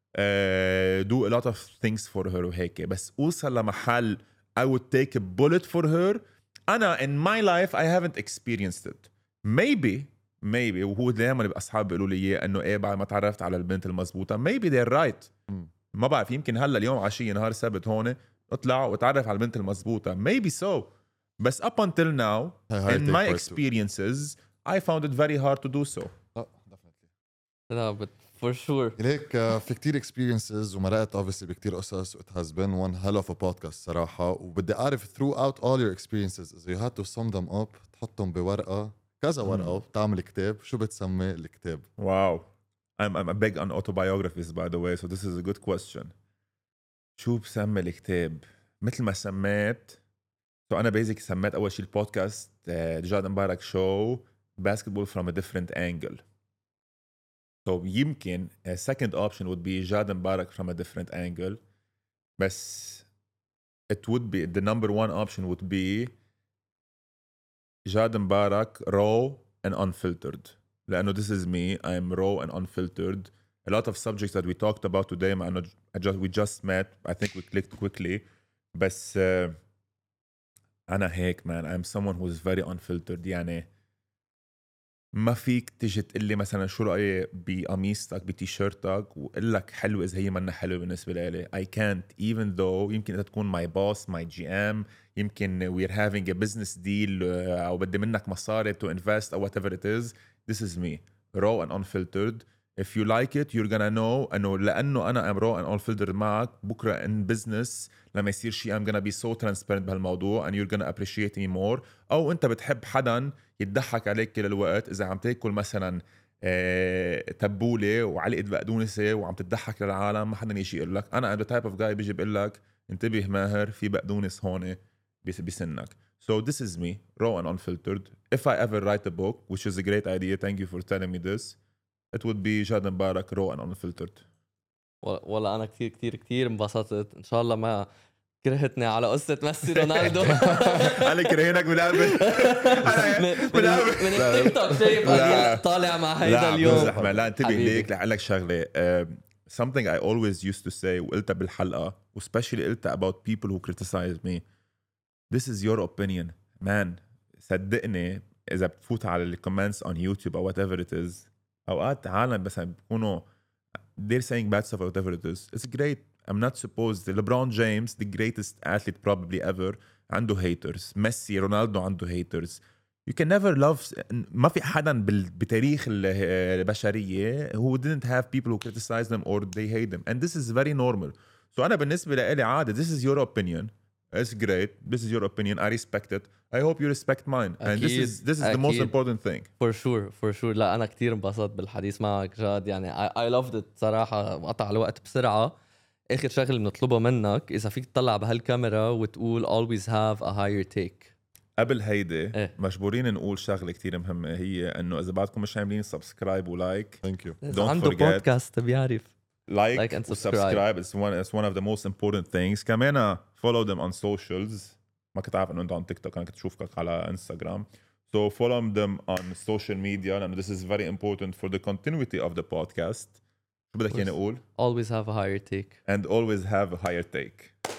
uh, do a lot of things for her وهيك بس أوصل لمحل I would take a bullet for her أنا in my life I haven't experienced it maybe maybe وهو دائما اصحابي بيقولوا لي اياه انه ايه بعد ما تعرفت على البنت المزبوطه maybe they're right ما بعرف يمكن هلا اليوم عشيه نهار سبت هون اطلع وتعرف على البنت المزبوطه maybe so بس up until now in my experiences I found it very hard to do so لا definitely لا but for sure ليك في كتير experiences ومرقت obviously بكتير قصص it has been one hell of a podcast صراحه وبدي اعرف throughout all your experiences if you had to sum them up تحطهم بورقه كذا ورقة وتعمل كتاب شو بتسمي الكتاب؟ واو I'm, I'm big on autobiographies by the way so this is a good question شو بسمي الكتاب؟ مثل ما سميت so أنا بيزيك سميت أول شيء البودكاست جاد مبارك شو basketball from a different angle so يمكن a second option would be جاد مبارك from a different angle بس it would be the number one option would be جاد مبارك raw and unfiltered لأنه this is me I'm raw and unfiltered a lot of subjects that we talked about today مع أنه I just, we just met I think we clicked quickly بس uh, أنا هيك man I'm someone who's very unfiltered يعني ما فيك تيجي تقول لي مثلا شو رأيي بقميصتك بتيشيرتك وقل لك حلو إذا هي منا حلوة بالنسبة لي I can't even though يمكن أنت تكون my boss my جي إم يمكن we're having a business deal أو بدي منك مصاري to invest أو whatever it is this is me raw and unfiltered if you like it you're gonna know أنه لأنه أنا I'm raw and unfiltered معك بكرة in business لما يصير شيء I'm gonna be so transparent بهالموضوع and you're gonna appreciate me more أو أنت بتحب حدا يتضحك عليك كل الوقت إذا عم تاكل مثلا اه تبولة وعلقة بقدونسة وعم تضحك للعالم ما حدا يجي يقول لك أنا I'm the type of guy بيجي بيقول لك انتبه ماهر في بقدونس هون بسنك so this is me raw and unfiltered if I ever write a book which is a great idea thank you for telling me this it would be جاد مبارك raw and unfiltered والله أنا كتير كتير كتير انبسطت إن شاء الله ما كرهتني على قصة ميسي رونالدو أنا كرهينك من قبل من التيك توك شايف طالع مع هيدا اليوم لا انتبه ليك لعلك شغلة uh, something I always used to say وقلتها بالحلقة especially قلتها about people who criticize me this is your opinion man صدقني إذا بتفوت على الكومنتس on YouTube أو whatever it is أوقات عالم بس بيكونوا they're saying bad stuff or whatever it is it's great I'm not supposed LeBron James the greatest athlete probably ever عنده haters ميسي رونالدو عنده haters you can never love ما في حدا بتاريخ البشرية who didn't have people who criticize them or they hate them and this is very normal so أنا بالنسبة لي عادي this is your opinion it's great this is your opinion I respect it I hope you respect mine and this is this is أكيد. the most important thing for sure for sure لا أنا كتير انبسطت بالحديث معك جاد يعني I, I loved it صراحة وقطع الوقت بسرعة آخر شغل بنطلبه منك إذا فيك تطلع بهالكاميرا وتقول always have a higher take قبل هيدي إيه؟ مجبورين نقول شغلة كتير مهمة هي إنه إذا بعدكم مش عاملين سبسكرايب ولايك thank you don't عنده forget بودكاست بيعرف like, like and subscribe it's one, it's one of the most important things كمان follow them on socials ما كنت عارف إنه أنت on TikTok أنا كنت أشوفك على إنستغرام so follow them on social media and this is very important for the continuity of the podcast شو بدك يعني أقول always have a higher take and always have a higher take